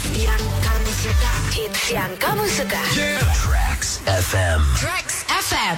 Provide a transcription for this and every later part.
yang kamu suka. Hits yang kamu suka. Tracks FM. Tracks FM.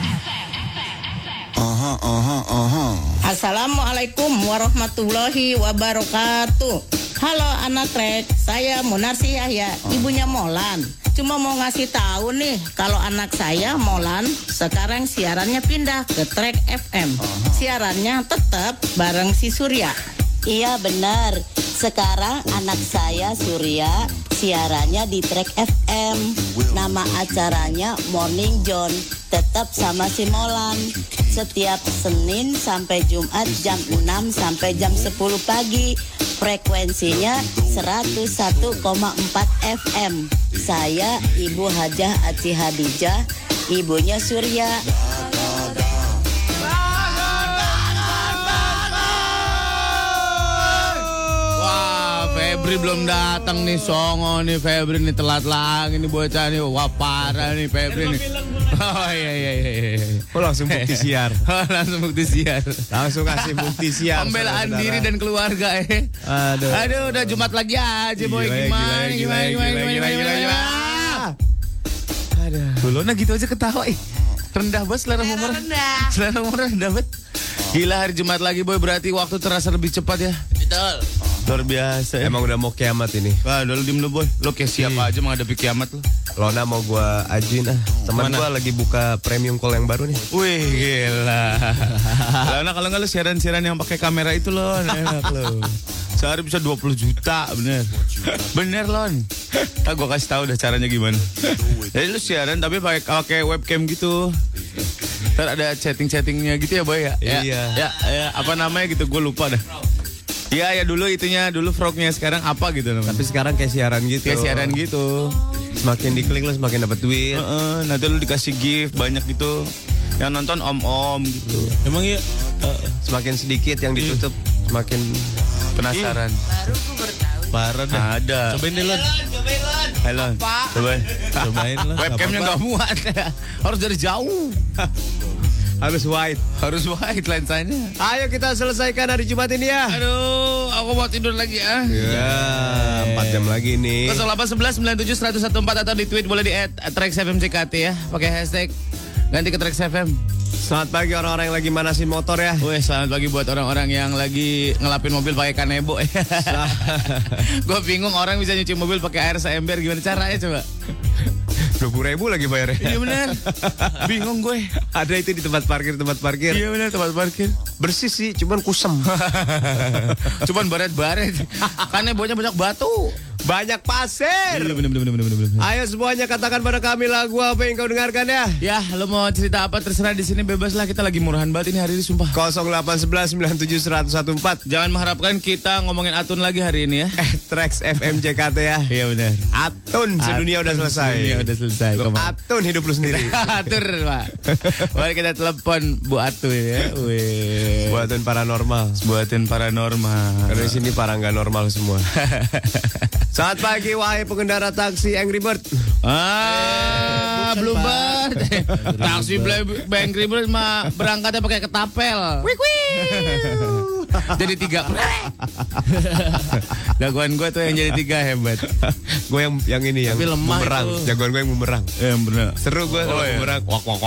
Assalamualaikum warahmatullahi wabarakatuh. Halo anak Trek, saya Munarsi Yahya, ibunya Molan. Cuma mau ngasih tahu nih, kalau anak saya Molan sekarang siarannya pindah ke Trek FM. Siarannya tetap bareng si Surya. Iya benar. Sekarang anak saya Surya siarannya di Trek FM. Nama acaranya Morning John. Tetap sama si Molan. Setiap Senin sampai Jumat jam 6 sampai jam 10 pagi. Frekuensinya 101,4 FM. Saya Ibu Hajah Aci Hadijah, ibunya Surya. Febri belum datang nih, songo nih Febri nih, telat lagi nih bocah nih. Wah parah nih Febri nih. Oh iya. Oh langsung bukti siar. Langsung bukti siar. Langsung kasih bukti siar. Pembelaan diri dan keluarga Aduh udah Jumat lagi aja boy. Gimana. Aduh. Dulu gitu aja ketawa rendah banget selera humor. Selera humor rendah banget. Gila, hari Jumat lagi boy, berarti waktu terasa lebih cepat ya. Betul. Luar biasa ya. Emang udah mau kiamat ini. Wah, udah lu diem lu boy. Lo kayak siapa aja menghadapi kiamat lu. Lona mau gua ajuin teman gua lagi buka premium call yang baru nih. Wih, gila. Lona kalau nggak lu siaran-siaran yang pakai kamera itu lo, enak lo. Sehari bisa 20 juta, bener. Bener Lon. Gua kasih tahu udah caranya gimana. Jadi lu siaran tapi pakai webcam gitu. Ntar ada chatting-chattingnya gitu ya boy ya. Iya. Ya, apa namanya gitu, gue lupa dah. Iya ya dulu itunya, dulu frognya, sekarang apa gitu namanya. Tapi sekarang kayak siaran gitu. Kayak siaran gitu. Semakin diklik lo semakin dapat duit. Nanti lu dikasih gift banyak gitu. Yang nonton om-om gitu. Emang ya semakin sedikit yang ditutup semakin penasaran. Baru gue bertahu. Parah dah. Ada. Cobain deh Lon. Halo. Cobain lah. Webcamnya nggak muat. Harus dari jauh. Harus white lensanya. Ayo kita selesaikan hari Jumat ini ya. Aduh, aku mau tidur lagi ya. Ya, 4 jam lagi nih. 0811 97 114 atau di tweet boleh di @traxfmjkt ya. Pakai hashtag ganti ke Trax FM. Selamat pagi orang-orang yang lagi manasin motor ya. Wih, selamat pagi buat orang-orang yang lagi ngelapin mobil pakai kanebo. Gue bingung orang bisa nyuci mobil pakai air seember, gimana caranya coba? 20.000 lagi bayarnya. Iya benar. Bingung gue. Ada itu di tempat parkir. Iya benar, tempat parkir. Bersih sih, cuman kusem. Cuman baret-baret. Kanebonya banyak batu. Banyak pasir. Iya benar. Ayo semuanya katakan pada kami lagu apa yang kau dengarkan ya. Ya, lo mau cerita apa terserah, di sini bebas lah, kita lagi murahan banget ini hari ini sumpah. 0811 97 114. Jangan mengharapkan kita ngomongin Atun lagi hari ini ya. Trax FM JKT ya. Iya benar. Atun sedunia udah selesai. Sedunia udah selesai. Atun hidup lu sendiri. Atur Pak. Mari kita telepon Bu Atun ya. Wih. Buatin paranormal. Karena di sini para nggak normal semua. Selamat pagi wahai pengendara taksi Angry Bird. Bluebird. Taksi Angry Bird mah berangkatnya pakai ketapel. Jadi 3. Jagoan gue tuh yang jadi 3 hebat. Gue yang ini yang bumerang. Jagoan gue yang bumerang. Bener. Seru gue bumerang.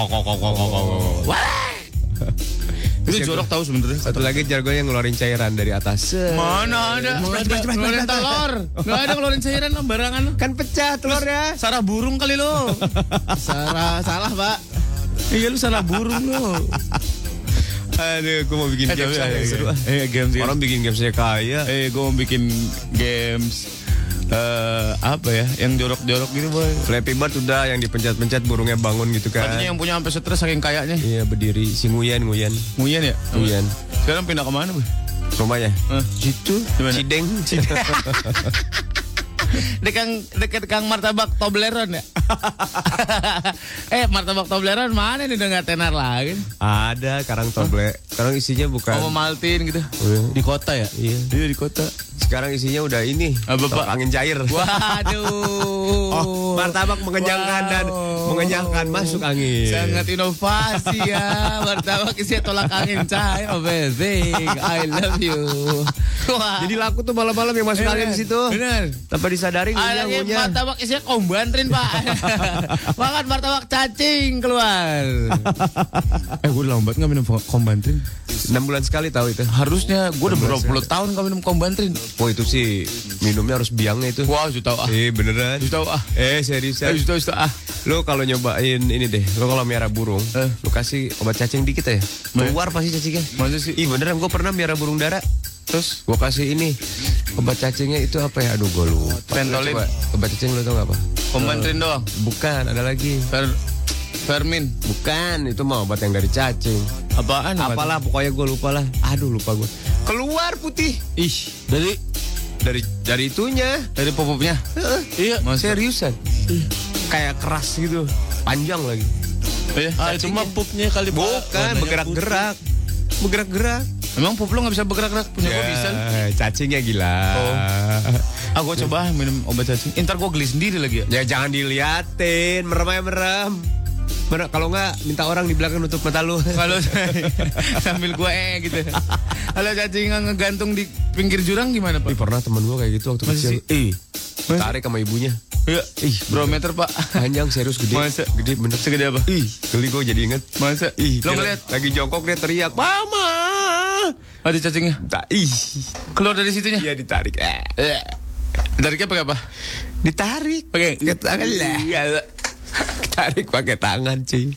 Itu jorok tahu sebenarnya. Satu lagi jargonnya ngeluarin cairan dari atas. Mana ada? Ngeluarin telur. Nggak ada ngeluarin cairan lo, barangan lo. Kan pecah telurnya. Sarah burung kali lo. Salah Pak. Iya lu salah burung lo. Aduh, gue mau bikin games yang seru. Games. Orang bikin gamesnya kaya. Gue mau bikin games. Apa ya? Yang jorok-jorok gitu boy. Flappy Bird udah, yang dipencet-pencet burungnya bangun gitu kan. Katanya yang punya sampai stres saking kayaknya. Iya berdiri. Si Nguyen ya? Nguyen. Sekarang pindah kemana boy? Rumahnya? Situ. Cideng. Dekat Kang Martabak Tobleron ya. Martabak Toblerone mana nih udah nggak tenar lagi? Ada karang toble. Sekarang isinya bukan. Sama Maltin gitu. Di kota ya? Iya. Iya di kota. Sekarang isinya udah ini. Apa, Pak? Angin cair. Waduh. Martabak mengenyangkan dan mengenyangkan masuk angin. Sangat inovasi ya. Martabak isinya tolak angin cair. Amazing. I love you. Wah. Jadi laku tuh malam-malam yang masuk angin di situ. Bener. Tanpa disadari ngunyah. Martabak isinya kombantrin, Pak. Makan martabak cacing keluar. Gue udah lambat nggak minum kombantrin. 6 bulan sekali tahu itu. Harusnya gue udah berapa puluh tahun nggak minum kombantrin. Oh itu sih minumnya harus biangnya itu. Wah, sudah tahu ah. Beneran. Sudah tahu ah. Seriusan. Sudah ah. Lo kalau nyobain ini deh, lo kalau miara burung, lo kasih obat cacing dikit ya. Keluar pasti cacingnya. Masa sih? Beneran, gue pernah miara burung dara. Terus gue kasih ini obat cacingnya itu apa ya? Aduh gue lupa. Pentolin. Obat cacing lo tau gak apa? Kombantrin doang. Bukan, ada lagi. Vermin. Bukan, itu mah obat yang dari cacing. Apaan? Apalah pokoknya gue lupa lah. Aduh lupa gue. Keluar putih. Ih, dari itunya. dari popopnya. Iya, seriusan. Kayak keras gitu. Panjang lagi. Itu mah pupnya kali. Bukan, bergerak-gerak. Bergerak-gerak. Emang pup lo gak bisa bergerak-gerak? Punya gue bisa. Cacingnya gila. Gue coba minum obat cacing. Ntar gue geli sendiri lagi ya. Ya jangan diliatin, merem aja merem. Kalau nggak minta orang di belakang nutup mata lu. Kalau sambil gue gitu. Kalau cacing ngegantung di pinggir jurang gimana, Pak? Pernah temen gue kayak gitu waktu kecil. Tarik sama ibunya. Iya. Berapa meter, Pak? Panjang, serius gede. Masa? Gede bener. Segede apa? Geli gue jadi inget. Masa? Lo ngeliat? Lagi jongkok dia teriak, "Mama!" Ada cacingnya? Keluar dari situnya? Iya ditarik. Tariknya pakai apa? Ditarik. Pakai tangan lah. Tarik pakai tangan, cuy.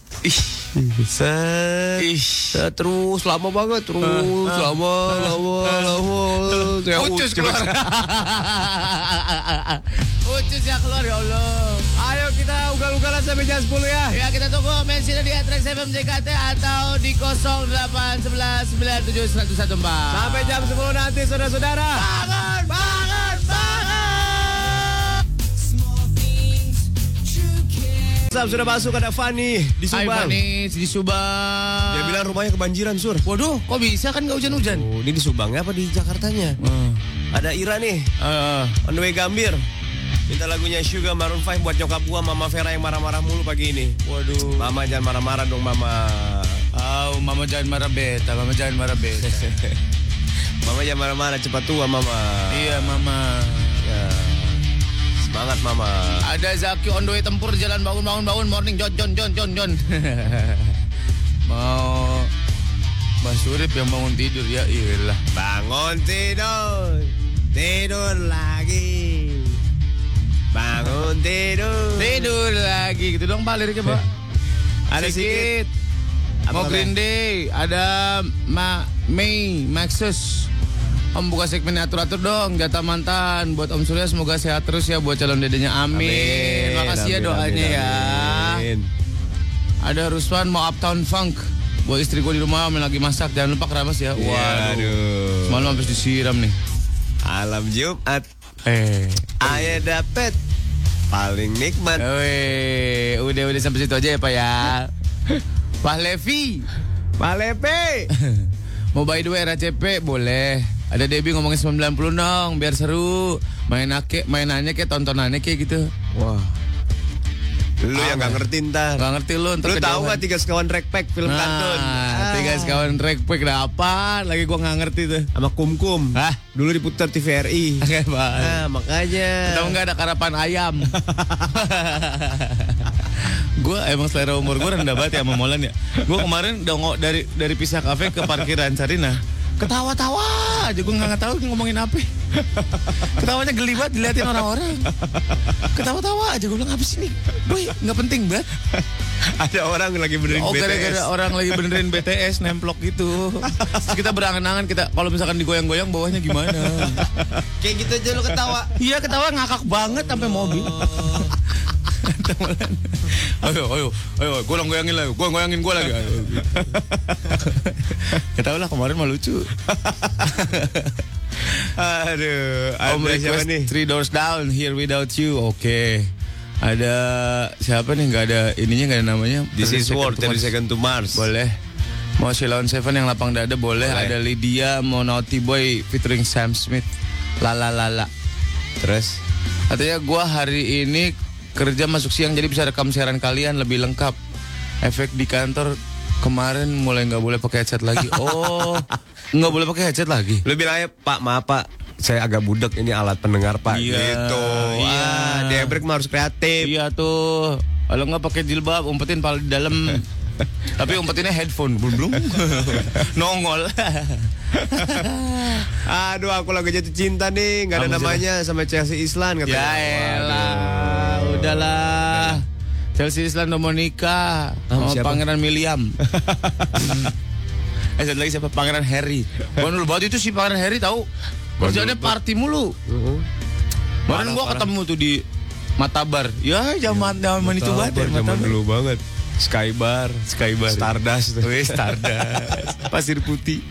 Set. Terus lama banget, lama. Ucus keluar. Ucus ya keluar, ya Allah. Ayo kita ugal-ugalan sampai jam 10 ya. Ya, kita tunggu mentionnya di @Trax FM JKT atau di 0811971014. Sampai jam 10 nanti saudara-saudara. Bangun. Sudah masuk, ada Fani di Subang. Fani di Subang. Dia bilang rumahnya kebanjiran, Sur. Waduh, kok bisa kan gak hujan-hujan? Oh, ini di Subangnya apa di Jakartanya? Ada Ira nih. On the way Gambir. Minta lagunya Sugar Maroon 5 buat nyokap gua, Mama Vera yang marah-marah mulu pagi ini. Waduh. Mama jangan marah-marah dong, Mama. Mama jangan marah beta. Mama jangan marah-marah, cepat tua, Mama. Iya, Mama. Ya. Semangat, Mama. Ada Zaki on the way tempur jalan bangun morning John. Mau Mas Surip yang bangun tidur ya iyalah. Bangun tidur lagi. Bangun tidur lagi gitu dong Pak liriknya Pak. Ada sedikit. Mau Green Day, ada May Maxus. Om buka segmen atur-atur dong, jatah mantan buat Om Surya, semoga sehat terus ya buat calon dedenya, amin. Makasih ya doanya ya. Ada Ruswan mau Uptown Funk buat istri gue di rumah lagi masak, jangan lupa keramas ya. Waduh, semalam habis disiram nih. Alam Jumat, ayah dapet paling nikmat. Udah sampai situ aja ya Pak ya. Pak Levi, mau by the way RCP boleh. Ada Debbie ngomongin 90 dong, biar seru. Mainannya kayak tontonannya kayak gitu. Wah. Lu yang gak ngerti ntar. Gak ngerti lu ntar. Lu tahu gak 3 sekawan Rekpack film kartun? 3 sekawan Rekpack dapat. Lagi gua gak ngerti tuh. Sama Kum-Kum. Dulu diputar TVRI. Makanya. Tahu gak ada karapan ayam. Gue emang selera umur gue rendah banget ya sama Molan ya. Gue kemarin dari Pisah Cafe ke parkiran Sarina, ketawa-tawa aja, gue nggak tahu ngomongin apa. Ketawanya geli banget diliatin orang-orang. Ketawa-tawa aja, gue bilang apa sih nih, boy nggak penting banget. Ada orang lagi benerin BTS. Gara-gara orang lagi benerin BTS nemplok gitu. Terus kita berangan-angan, kita kalau misalkan digoyang-goyang bawahnya gimana. Kayak gitu aja lo ketawa. Iya ketawa ngakak banget sampai mobil. Ayo, gue goyangin lagi, gue lagi. Ya tau lah kemarin mah lucu. Aduh, Om request 3 Doors Down, Here Without You. Oke. Ada siapa nih? Nggak ada ininya, nggak ada namanya. This is World, 30 Second to Mars. Boleh. Mau Sheila on Seven yang lapang dada boleh. Ada Lydia, mau Naughty Boy featuring Sam Smith. Lala. Terus? Katanya gue hari ini kerja masuk siang jadi bisa rekam siaran kalian lebih lengkap. Efek di kantor kemarin mulai nggak boleh pakai headset lagi. Oh, nggak boleh pakai headset lagi. Lu bilang aja, Pak, maaf Pak, saya agak budek, ini alat pendengar Pak. Iya, gitu. iya. Debrek mah harus kreatif. Iya tuh. Kalau nggak pakai jilbab, umpetin pala di dalam. Tapi umpetinnya headphone, belum nongol. Aduh, aku lagi jatuh cinta nih, nggak ada namanya sama Chelsea Islan katanya. Ya elah, udahlah. Chelsea Islan udah mau nikah sama Pangeran William. Satu lagi siapa? Pangeran Harry. Bandul banget itu si Pangeran Harry tahu. Kerjaannya party mulu. Kemarin gua ketemu tuh di Matabar. Ya zaman itu banget. Zaman dulu banget. Skybar, Stardust tuh. Stardust. Pasir putih.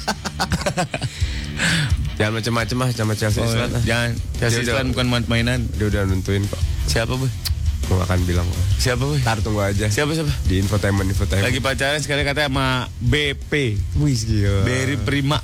Jangan macam-macam lah sama Chelsea Islan. Jangan. Chelsea Islan bukan mainan. Dia udah nentuin kok. Siapa, Bu? Gue gak akan bilang kok. Siapa, Bu? Ntar tunggu aja. Siapa? Di infotainment. Lagi pacaran sekali katanya sama BP. Wih, gila. Beri Prima.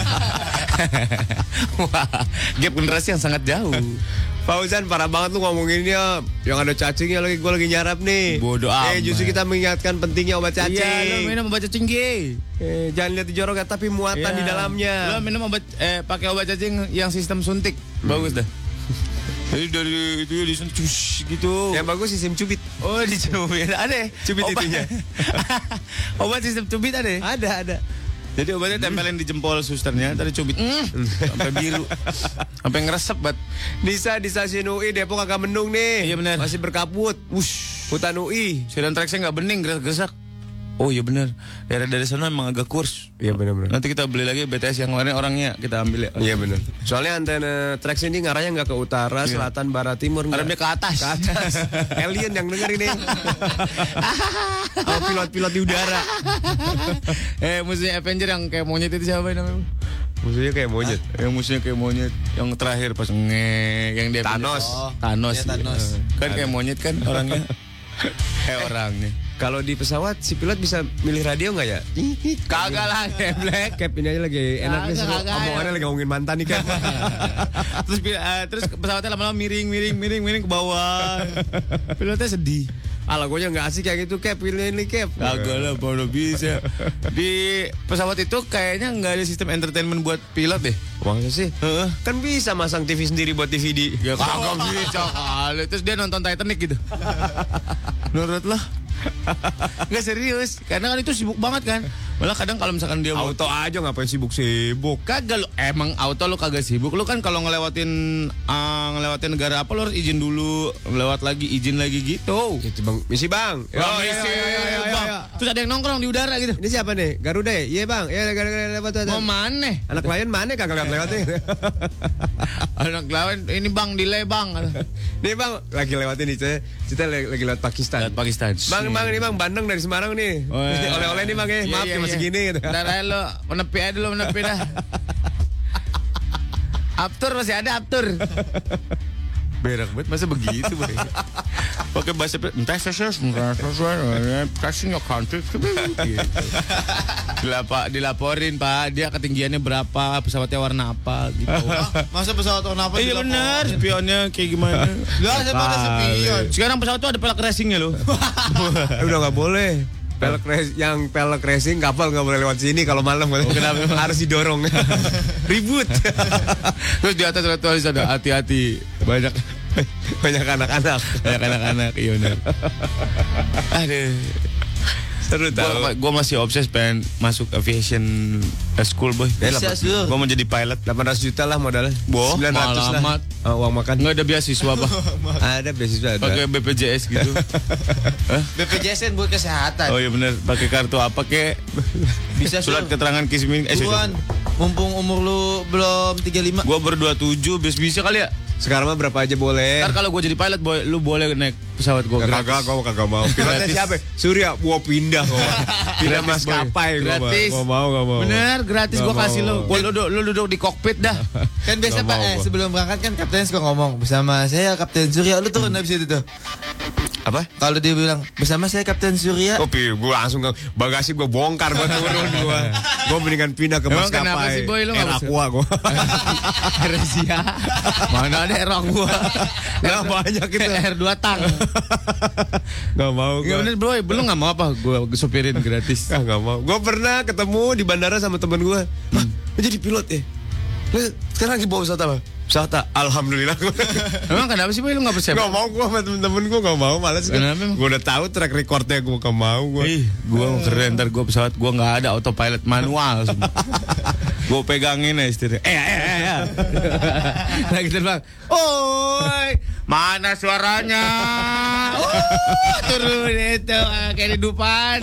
Wah, gap generasi yang sangat jauh. Fauzan, parah banget lu ngomonginnya. Yang ada cacingnya lagi, gue lagi nyarap nih. Bodoh amat. Justru kita mengingatkan pentingnya obat cacing. Iya, lo minum obat cacing G. Jangan lihat di joroknya, tapi muatan di dalamnya. Lo minum obat, pakai obat cacing yang sistem suntik. Bagus dah. Jadi dari itu disuntik gitu. Yang bagus sistem cubit. Oh, dicubit. Ada cubit itunya. Obat sistem cubit ada? Ada. Jadi obatnya tempelin di jempol susternya, tadi cubit sampai biru, sampai ngeresep banget. Di stasiun UI Depok agak mendung nih. Iya benar. Masih berkabut. Hutan UI. Sedan tracknya nggak bening, gerak-gerak. Oh iya benar. Daerah dari sana emang agak kurs. Iya benar. Nanti kita beli lagi BTS yang kemarin orangnya kita ambil ya. Iya benar. Soalnya antena tracks ini ngarahnya nggak ke utara, selatan, barat, timur. Ngarahnya ke atas. Ke atas. Alien yang denger ini. Oh, pilot di udara. Musuhnya Avenger yang kayak monyet itu siapa namanya? Musuhnya kayak monyet. Yang musuhnya kayak monyet. Yang terakhir pas yang dia Thanos. Thanos. Kan kayak monyet kan orangnya. Kayak orangnya. Kalau di pesawat si pilot bisa milih radio nggak ya? Kagak lah, Black. Cap ini aja lagi enak nih, omongannya lagi ngomongin mantan nih kan. Terus pesawatnya lama-lama miring ke bawah. Pilotnya sedih. Alah, gue nggak asik kayak gitu, Cap. Pilih ini, Cap. Kagak lah, baru bisa. Di pesawat itu kayaknya nggak ada sistem entertainment buat pilot deh. Masa sih? Kan bisa masang TV sendiri buat DVD. Ya kagak bisa kali. Terus dia nonton Titanic gitu. Menurut lo? Nggak serius, karena kan itu sibuk banget kan. Malah kadang kalau misalkan dia auto aja ngapain sibuk-sibuk. Kagak lo, emang auto lo kagak sibuk. Lo kan kalau ngelewatin negara apa lo harus izin dulu, lewat lagi izin lagi gitu. Gitu bang, misi bang. Misi bang. Terus ada yang nongkrong di udara gitu. Ini siapa nih? Garuda ya? Iya bang. Ya lewat. Mau mana? Anak lain mana kagak lewatnya? Anak lain ini bang delay bang. Nih bang, lagi lewatin nih kita lagi lewat Pakistan. Lewat Pakistan. Bang, ini bang Bandung dari Semarang nih. Oh, iya. Oleh-oleh nih bang ya. Maaf cuma segini gitu. Ntar lo menepi aja dulu, menepi dah. Aptur masih ada aptur. Berak banget masa begitu, Boy. Pakai bahasa passing your country. Dilaporin, Pak, dia ketinggiannya berapa, pesawatnya warna apa gitu. Masa pesawat warna apa? Iya benar, spionnya kayak gimana? Enggak, saya pada spion. Sekarang pesawat tuh ada pelek racingnya loh. Udah nggak boleh. Pelek racing kapal nggak boleh lewat sini kalau malam. Kenapa? Harus didorong. Ribut. Terus di atas ada tulis ada hati-hati. Banyak anak-anak. Iya benar. Aduh. Seru tau. Gue masih obses pengen masuk aviation school, Boy. Gue mau jadi pilot. 800 juta lah modalnya. 900 lah. Uang makan. Nggak ada beasiswa, Bang. Ada beasiswa. Pakai BPJS gitu. BPJS kan buat kesehatan. Oh iya benar. Pakai kartu apa kek? Bisa surat keterangan kismin. Mumpung umur lu belum 35. Gue baru 27, bisa kali ya? Sekarang mah berapa aja boleh. Ntar kalau gue jadi pilot, boy, lu boleh naik pesawat gue gratis. Kagak mau. Pilotnya siapa? Surya, gua pindah kok. Pindah maskapai gua. Gratis. Gak mau. Bener, gratis gue kasih lu. Lu duduk di kokpit dah. Kan biasa Pak, sebelum berangkat kan kapten suka ngomong bersama saya Kapten Surya, lu turun habis itu tuh. Apa? Kalau dia bilang bersama saya Kapten Surya. Gue langsung ke bagasi gue bongkar, gue turun gue mendingan pindah ke Emang maskapai. kenapa sih, Boy, lu Air Aqua gue. Resia. Mana ada air Aqua? Gak banyak itu. Air 2 tang. Gak mau gue. Gak bener, Boy, lu gak mau apa? Gue supirin gratis. Gak mau. Gue pernah ketemu di bandara sama temen gue. Lu jadi pilot ya? Lu sekarang lagi bawa pesawat apa? Pesawat, alhamdulillah. Emang kenapa sih, Boy, lu gak percaya? Gak mau gue sama temen-temen gue, gak mau. Males gue. Gue udah tahu track recordnya, gue gak mau gue. Gue keren, ntar gue pesawat gue gak ada autopilot manual. Gue pegangin ya setirnya. Lagi terbang. Oi, mana suaranya? Turun itu kehidupan.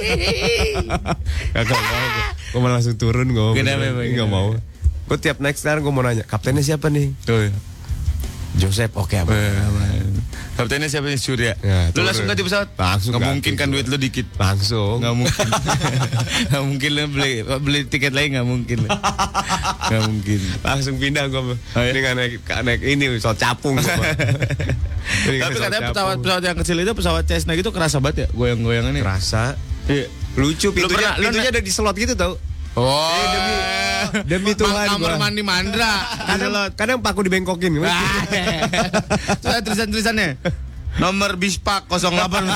Gak mau. Gue malah langsung turun. Gak mau. Gue tiap naik sekarang gue mau nanya, kaptennya siapa nih? Tuh. Joseph, oke apa? Kaptennya siapa nih? Surya. Ya, lu langsung ganti pesawat? Langsung. Gak mungkin kan duit lu dikit. Langsung. Gak mungkin. Gak mungkin lu beli tiket lain, gak mungkin. Gak mungkin. Langsung pindah gue. Ini kan naik ini pesawat capung. Tapi katanya pesawat yang kecil itu, pesawat Cessna gitu kerasa banget ya, goyang-goyangannya. Kerasa. Iya. Lucu pintunya ada di slot gitu tau. Oh, demi Tuhan kamar mandi Mandra. Kadang paku dibengkokin. Terus tulisan-tulisannya nomor Bispak 08.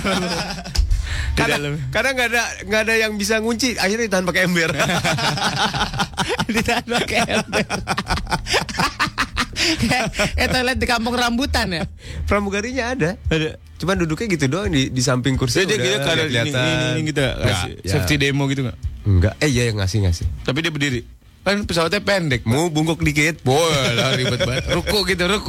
Kadang nggak ada yang bisa ngunci, akhirnya ditahan pakai ember. Ditahan pakai ember. Kayak toilet di kampung rambutan ya. Pramugarinya ada. Cuman duduknya gitu doang di samping kursi. Jadi gitu kalau ini gitu safety demo gitu nggak? Enggak. Iya ngasih. Tapi dia berdiri. Kan pesawatnya pendek. Mau bungkuk dikit. Boleh lah, ribet banget. Ruku.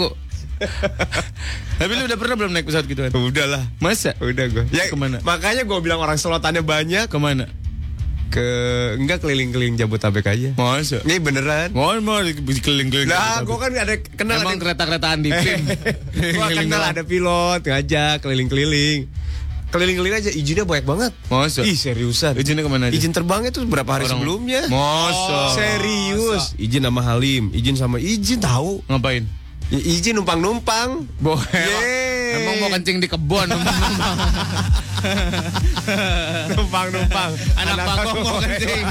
Tapi lu udah pernah belum naik pesawat gituan? Udah lah. Masa? Udah gue. Ya kemana? Makanya gue bilang orang selotannya banyak. Kemana? Enggak keliling-keliling Jabodetabek aja. Masa? Ini beneran. Mau keliling-keliling. Lah, gue kan ada kenal. Emang kereta-keretaan di film. Gue kenal ada pilot ngajak keliling-keliling. Keliling-keliling aja, izinnya banyak banget. Masa? Ih, seriusan. Izinnya kemana aja? Izin terbangnya tuh berapa hari sebelumnya. Masa? Serius. Izin sama Halim, izin tahu. Ngapain? Ya, izin numpang-numpang. Emang mau kencing di kebun. Numpang-numpang. Anak panggung mau kencing.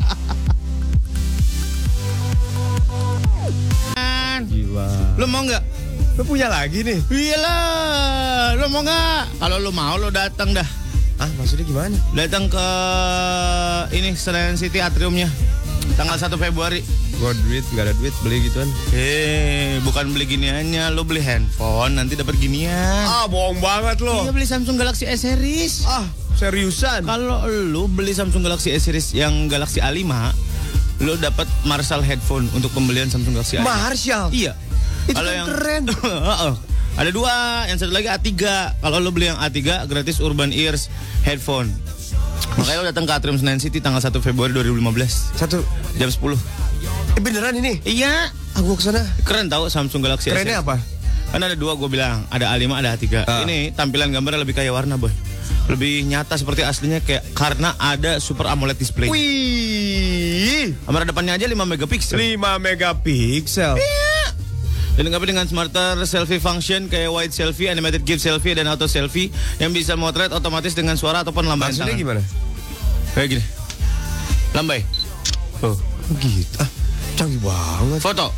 Gila. Lu mau nggak? Lu punya lagi nih? Iyalah. Lu mau nggak? Kalau lu mau, lu datang dah. Ah, maksudnya gimana? Datang ke ini Senayan City atriumnya. Tanggal 1 Februari. Gua nggak ada duit beli gituan. Bukan beli giniannya, lu beli handphone nanti dapat ginian. Ah, bohong banget lo. Iya, beli Samsung Galaxy S series. Ah, seriusan? Kalau lu beli Samsung Galaxy S series yang Galaxy A5, lu dapat Marshall headphone untuk pembelian Samsung Galaxy A5. Marshall? Iya. Itu kan keren. Ada 2, yang satu lagi A3. Kalau lu beli yang A3 gratis Urban Ears headphone. Makanya lu datang ke Atrium Senayan City tanggal 1 Februari 2015. Jam 10. Beneran ini? Iya. Gua kesana. Keren tau Samsung Galaxy S. Kerennya apa? Kan ada 2 gue bilang, ada A5, ada A3. Ini tampilan gambarnya lebih kayak warna, boy. Lebih nyata seperti aslinya karena ada Super AMOLED display. Wih. Kamera depannya aja 5 megapiksel. 5 megapiksel. Iya. Dilengkapi dengan smarter selfie function kayak wide selfie, animated GIF selfie, dan auto selfie yang bisa motret otomatis dengan suara ataupun lambaian tangan. Maksudnya gimana? Kayak gini. Lambai. Oh, gitu. Ah, canggih banget. Foto.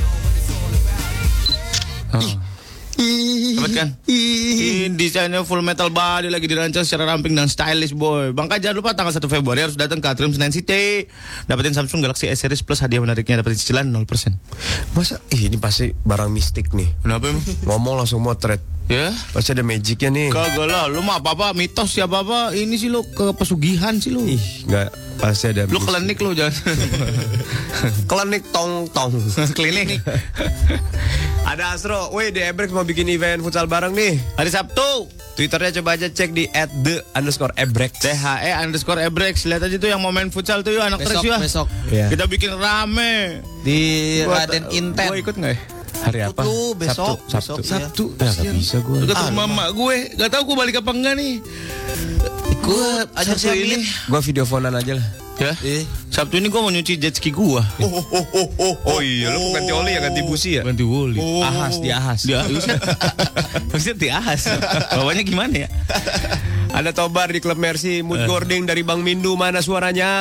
Hebat kan? Desainnya full metal body, lagi dirancang secara ramping dan stylish, boy. Bangka jangan lupa tanggal 1 Februari harus datang ke Atrium Senayan City. Dapetin Samsung Galaxy S series plus hadiah menariknya, dapetin cicilan 0%. Masa? Ini pasti barang mistik nih. Kenapa emang? Ngomong langsung motret. Ya? Pasti ada magicnya nih. Kagak lah, lu mah apa-apa mitos ya apa-apa. Ini sih lu ke pesugihan sih lu. Ih, enggak, pasti ada. Lu klinik lu jangan. Klinik tong-tong. Klinik. Ada Astro, weh di Ebrex mau bikin event futsal bareng nih. Hari Sabtu. Twitternya coba aja cek di @the_ebrex. THE_ebrex. Lihat aja tuh yang mau main futsal tuh yuk anak Trax yuk. Besok. Yeah. Kita bikin rame. Di Raden Inten. Gua ikut nggak ya? Hari apa? Tuh, besok. Sabtu. Sabtu. Ya gak bisa gue. Udah ketemu mama gue. Gak tahu gue balik apa enggak nih. Gue ajar Sabtu si ini. Gue video phonean aja lah. Ya. Sabtu ini gue mau nyuci jet ski gue. Oh iya, lu ganti oli ya, ganti busi ya? Ganti woli. Ahas, diahas. Maksudnya diahas. Bawanya gimana ya? Ada Tobar di Klub Mercy, Mood Gording dari Bang Mindu, mana suaranya?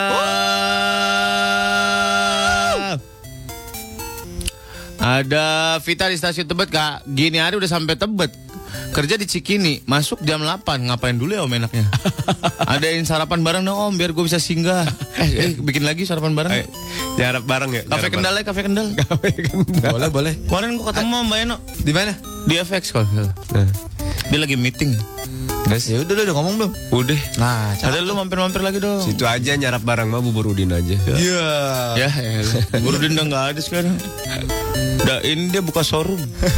Ada Vita di stasiun Tebet, Kak. Gini hari udah sampai Tebet. Kerja di Cikini, masuk jam 8. Ngapain dulu ya om enaknya? Adain sarapan bareng dong om, biar gue bisa singgah. Bikin lagi sarapan bareng. Jarap bareng ya? Kafe Kendal ya, Kafe Kendal. Boleh. Kemarin gue ketemu Mbak Eno. Di mana? Di FX kok. Dia lagi meeting. Ya udah ngomong belum? Udah. Nah, Ada lu mampir-mampir lagi dong. Situ aja nyarap bareng mah bubur udin aja. Iya. Ya, Burudin udah nggak ada sekarang. Ini dia buka showroom.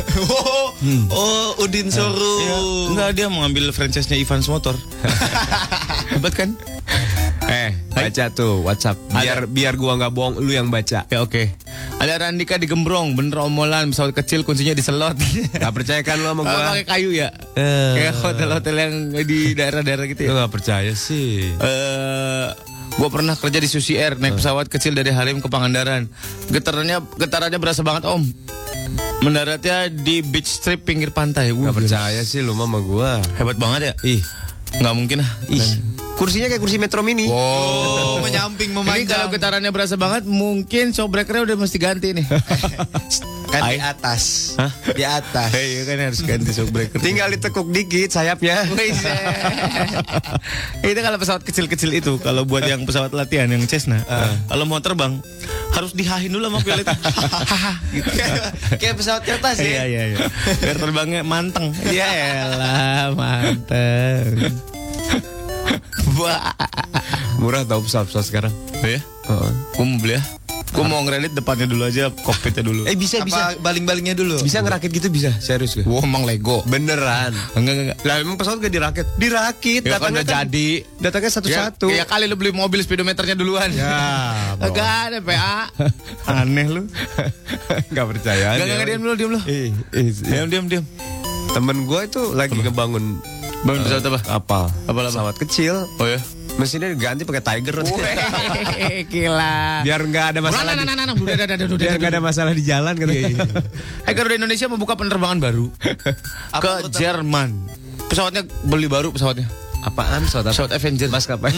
Udin Showroom. Enggak, dia mau ngambil franchise-nya Evans Motor. Hebat kan? Baca tuh WhatsApp. Biar gua nggak bohong, lu yang baca. Ya oke. Ada Randika di Gembrong, bener omolan, pesawat kecil kuncinya diselot. Gak percaya kan lu sama gua? Pakai kayu ya. Kayak hotel-hotel yang di daerah-daerah gitu ya. Lu gak percaya sih. Gue pernah kerja di Susi Air, naik pesawat kecil dari Halim ke Pangandaran. Getarannya berasa banget om. Mendaratnya di beach strip pinggir pantai. Gak percaya sih lu sama gua. Hebat banget ya. Nggak mungkin lah. Kursinya kayak kursi Metro Mini. Menyamping Ini memanjang. kalau getarannya berasa banget, mungkin showbreakernya udah mesti ganti nih. Kan di atas. Hah? Di atas. Iya kan harus ganti showbreaker. Tinggal ditekuk dikit sayapnya. Itu kalau pesawat kecil-kecil itu, kalau buat yang pesawat latihan yang Cessna, kalau mau terbang harus dihahin dulu sama pilot. Gitu. Kayak pesawat kertas ya. Iya. Biar terbangnya manteng. Ya elah, manteng. Murah tau pesawat sekarang. Ya? Gue mau beli ya. Gue mau ngeredit depannya dulu aja, kokpitnya dulu. Bisa. Apa baling-balingnya dulu? Bisa ngerakit gitu bisa, serius gue. Wah, emang Lego. Beneran. Enggak. Lah emang pesawat gak dirakit? Dirakit. Ya kan udah jadi. Datangnya satu-satu. Ya kali lu beli mobil speedometernya duluan. Ya. Enggak ada PA. Aneh lu. Gak percaya. Enggak, diam lu. Diam. Temen gue itu lagi ngebangun pesawat apa? Kapal. Apa? Pesawat kecil. Oh ya. Mesinnya diganti pakai Tiger. Gila. Biar nggak ada masalah. Biar nggak ada masalah di jalan kan. Garuda Indonesia membuka penerbangan baru ke Jerman. Pesawatnya beli baru pesawatnya. Apaan Pesawat Avenger. Maskapai.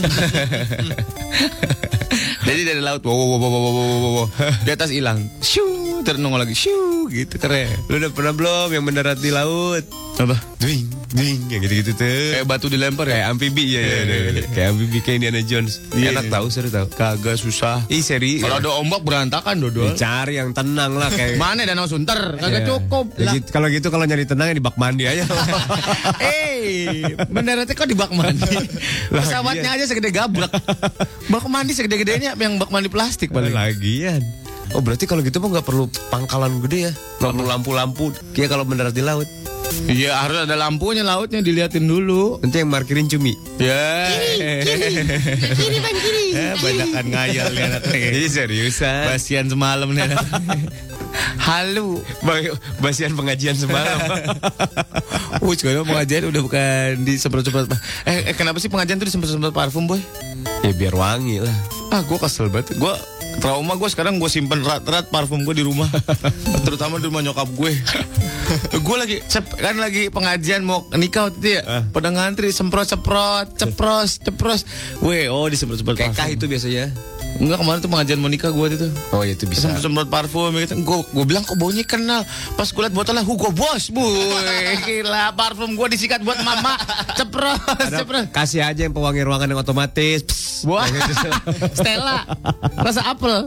Jadi dari laut, wow. Di atas hilang, shoo, terenung lagi, shoo, gitu keren. Lu udah pernah belum yang mendarat di laut? Apa? Dwing, yang gitu-gitu tuh. Kayak batu dilempar ya? Kayak amfibi ya. Kayak amfibi kayak Indiana Jones. Enak tahu, seru tahu. Kagak susah. Seri. Kalau ada ombak berantakan dodol. Cari yang tenang lah kayak. Mana Danau Sunter? Kagak cukup. Kalau gitu kalau nyari tenang ya di bak mandi aja. Mendaratnya kok di bak mandi? Pesawatnya aja segede gabrak. Bak mandi segede-gedenya yang bak mandi plastik paling. Lagian. Oh berarti kalau gitu mah nggak perlu pangkalan gede ya? Nggak perlu lampu-lampu. Kayak kalau mendarat di laut. Iya harus ada lampunya, lautnya diliatin dulu. Nanti yang markirin cumi. Ya. Kiri bang kiri. Banyakan ngayal nih anaknya. Ini seriusan. Basian semalam nih anak. Halu. Basian pengajian semalam. Sekarang pengajian udah bukan disemprot-semprot. Kenapa sih pengajian tuh disemprot-semprot parfum boy? Ya biar wangi lah. Gue kesel banget. Gue trauma sekarang gue simpen erat-erat parfum gue di rumah. Terutama di rumah nyokap gue. Gue lagi pengajian mau nikah waktu itu ya. Pada ngantri semprot-semprot, cepros. Disemprot-semprot parfum. Kekah itu biasanya. Enggak, kemarin tuh pengajian mau nikah gue itu. Oh itu bisa. Semprot parfum gitu. Gue bilang kok baunya kenal. Pas gue liat botolnya Hugo Boss. Gila, parfum gue disikat buat mama. Cepros. Kasih aja yang pewangi ruangan yang otomatis. Wah. Stella. Rasa apel.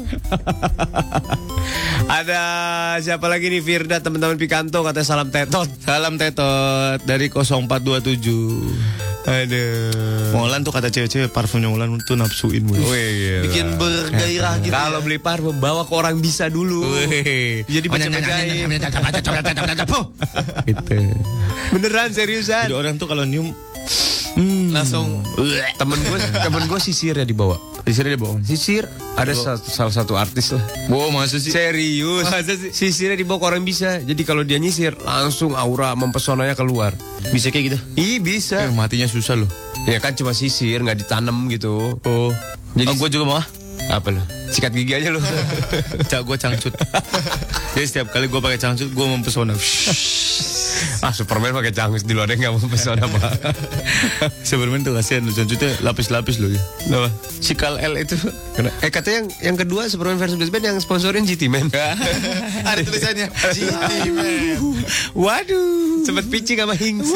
Ada siapa lagi nih? Firda, teman-teman Pikanto katanya salam tetot. Salam tetot dari 0427. Aduh. Molan tuh kata cewek-cewek parfumnya Molan tuh nafsuin gue. Bikin bergairah gitu. Kalau beli parfum bawa ke orang bisa dulu. Jadi baca-bacain. Gitu. Beneran seriusan. Jadi orang tuh kalau nyium Langsung temen gue sisir ya dibawa. Sisir ada salah satu artis lah. Wow, masa sih? Serius. Sisirnya dibawa ke orang bisa. Jadi kalau dia nyisir langsung aura mempesonanya keluar. Bisa kayak gitu? Ih bisa. Matinya susah loh. Ya kan cuma sisir nggak ditanam gitu. Oh. Jadi gue juga mau. Apa lo? Sikat gigi aja lo. Gue cangcut. Jadi setiap kali gue pakai cangcut gue mempesona. Superman pakai cangcut di luar nggak mempesona pak. Superman tuh kasihan loh, cangcutnya lapis-lapis loh ya. Kenapa? Sikal L itu. Katanya yang kedua Superman versus Batman yang sponsorin GT Man. ada tulisannya GT Man. Waduh. Sempet pitching sama Hinks.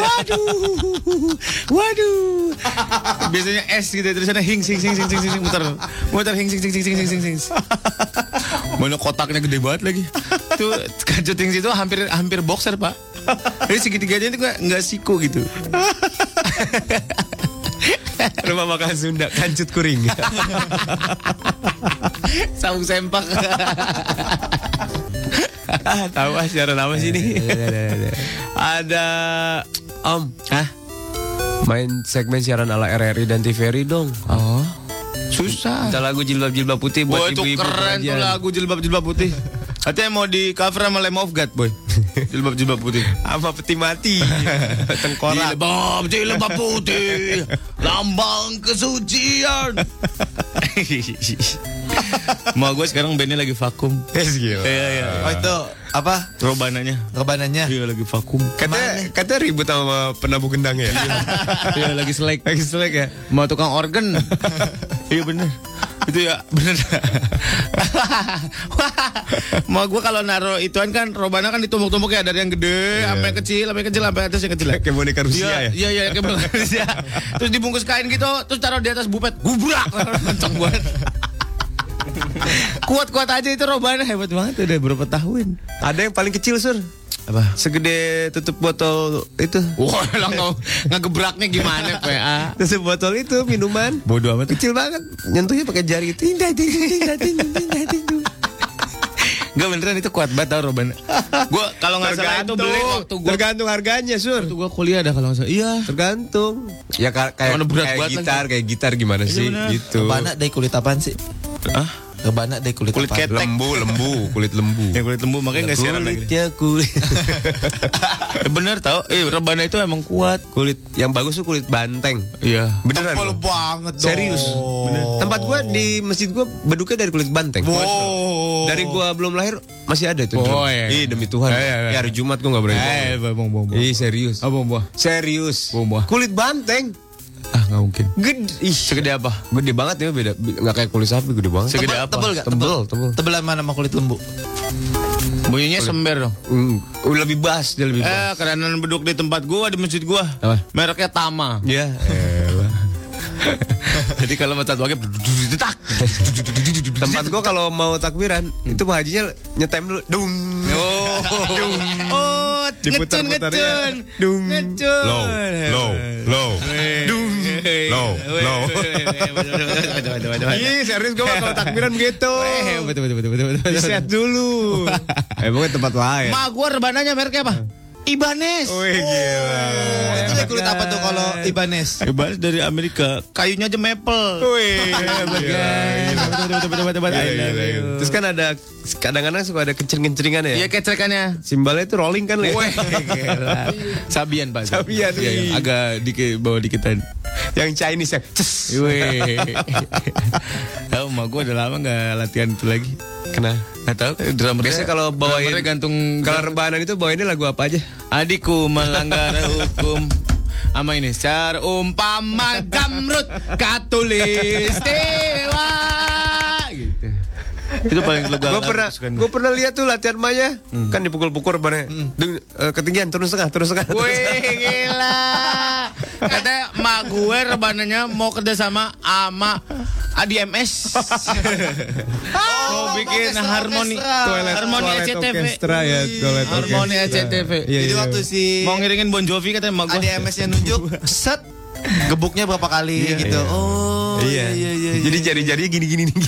Waduh. Biasanya S gitu tulisannya Hinks muter Hinks. Mana kotaknya gede banget lagi. Tuh kancut Hinks itu hampir boxer pak. Jadi segitiganya itu nggak siku gitu. Rumah makan Sunda kancut kuring. Saung sempak. Tahu siaran apa sih ini? Ada Om. Main segmen siaran ala RRI dan TVRI dong. Oh. Susah. Kita lagu jilbab-jilbab putih buat itu ibu-ibu keren tuh pengajian. lagu jilbab putih. Katanya mau di cover sama Lamb of God, boy. Jilbab putih. Sama peti mati. Tengkorak. Jilbab putih. Lambang kesucian. Mau gue sekarang bandnya lagi vakum. Iya. Oh itu apa? Robananya. Iya lagi vakum. Katanya ribut sama penabuh gendang ya. Iya lagi selek. Ya. Mau tukang organ. Iya bener. Itu ya bener. Mau gue kalau naruh ituan kan robana kan ditumpuk-tumpuk ya dari yang gede sampai yang kecil sampai atas yang kecil. Kayak boneka Rusia ya. Iya kayak boneka Rusia. Terus dibungkus kain gitu, terus taruh di atas bupet. Gubrak. Kenceng banget. Kuat-kuat aja itu robana, hebat banget udah berapa tahun. Ada yang paling kecil Sur. Apa? Segede tutup botol itu. Wah, ngegebraknya gimana PA? Tutup botol itu minuman. Bodoh amat. Kecil banget. Nyentuhnya pakai jari. Tindah. Gak beneran itu kuat banget tau robana. Gue kalau nggak salah itu beli waktu gue. Tergantung harganya Sur. Waktu gue kuliah ada kalau nggak salah. Iya. Tergantung. Ya kayak gitar gimana sih? Gitu. Rebana dari kulit apaan sih? Rebana dari kulit apa? Ketek. Kulit lembu. Yang kulit lembu makanya nggak siaran lagi. Kulit. Bener tau. Rebana itu emang kuat. Kulit yang bagus tuh kulit banteng. Iya. Beneran. Tebal banget dong. Serius. Bener. Tempat gua di masjid gua beduknya dari kulit banteng. Wow. Dari gua belum lahir masih ada tuh. Oh, iya. Ih demi Tuhan. Ya hari Jumat gua nggak berani. Bong. Ih serius. Bong. Serius. Bong. Kulit banteng. Nggak mungkin. Gede. Segede apa? Gede banget ya beda. Nggak kayak kulit sapi gede banget. Segede apa? Tebel gak? Tebel. Tebelan mana sama kulit lembu? Bunyinya sember dong. Lebih bass dia lebih bass. Kerenan beduk di tempat gua di masjid gua. Apa? Mereknya Tama. Ya. Jadi kalau mau tatuannya tak. Tempat gua kalau mau takbiran itu Pak Hajinya nyetem dulu. Dung. Oh, Diputar-putar ya. Dung. Low. Dung. Low. Ih, serius gua kalau takbiran begitu. Betul. Di-set dulu. Pokoknya tempat lain. Ma gua rebananya mereknya apa? Ibanez. Wih gila. Itu dari kulit apa tuh kalau Ibanez? Ibanez dari Amerika. Kayunya aja maple. Wih. Betul. Terus kan ada kadang-kadang suka ada kenceng-kenceringan ya. Iya kecrekannya. Simbalnya itu rolling kan ya. Wih, gila. Sabian Pak. Sabian, Iya, wih. agak bawah dikitan. Yang Chinese ya. Ces. Wih. Tahu mah gue udah lama nggak latihan itu lagi. Kenapa? Nggak tahu. Drummer Biasanya kalau bawain drummernya gantung. Kalau rebahan itu bawainnya lagu apa aja? Adikku melanggar hukum. Ama ini secara umpama Jamrut Katulistiwa gitu. Itu paling lega. Gue pernah lihat tuh latihan Maya, kan dipukul-pukul rebahannya. Ketinggian turun setengah. Wih gila. Katanya mak gue rebananya mau kerja sama Adi MS. Mau bikin harmoni SCTV. Harmoni SCTV. Jadi waktu si Mau ngiringin Bon Jovi katanya mak gue. ADMS yang nunjuk, set, gebuknya berapa kali gitu. Oh iya. Jadi jari-jarinya gini-gini nih.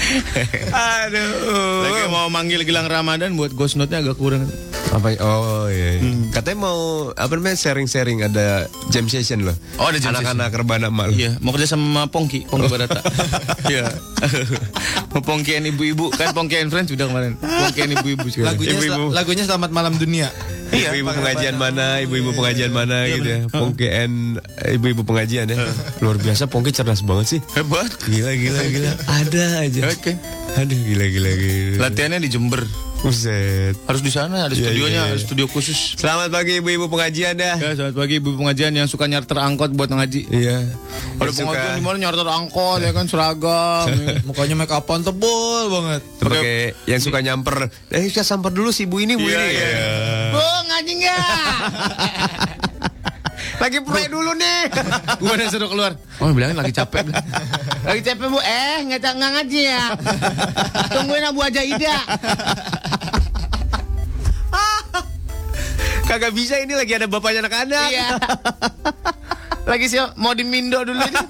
Aduh. Lagi mau manggil Gilang Ramadan buat ghost note-nya agak kurang. Apa? Oh iya. Katanya mau sharing-sharing ada jam session loh. Oh, ada jam anak-anak rebana mal. Iya, mau kerja sama Pongki Barata. Iya. Mau Pongkian ibu-ibu kan Pongkian Friends sudah kemarin. Pongkian ibu-ibu sekarang. Lagunya Selamat Malam Dunia. Ibu-ibu pengajian mana, ibu-ibu pengajian mana gitu ya. Pongkian ibu-ibu pengajian ya. Luar biasa, Pongki cerdas banget sih. Hebat. Gila. Ada aja. Oke. Aduh gila. Latihannya di Jember. Buset. Harus di sana, ada studionya, ada studio khusus. Selamat pagi ibu-ibu pengajian dah. Ya, selamat pagi ibu pengajian yang suka nyarter angkot buat ngaji. Iya. Ada pengajian di mana nyarter angkot ya kan seragam. Mukanya make upan tebal banget. Pakai yang suka nyamper. Kita samper dulu si ibu ini, Bu ini. Iya. Bu, ngaji enggak? Lagi pray dulu nih. Gue udah suruh keluar. Oh, bilangin lagi capek. Lagi capek, Bu. Nggak ngaji ya. Tungguin Abu Aja Ida. Kagak bisa, ini lagi ada bapaknya anak-anak. Iya. Lagi sih mau dimindo dulu ini.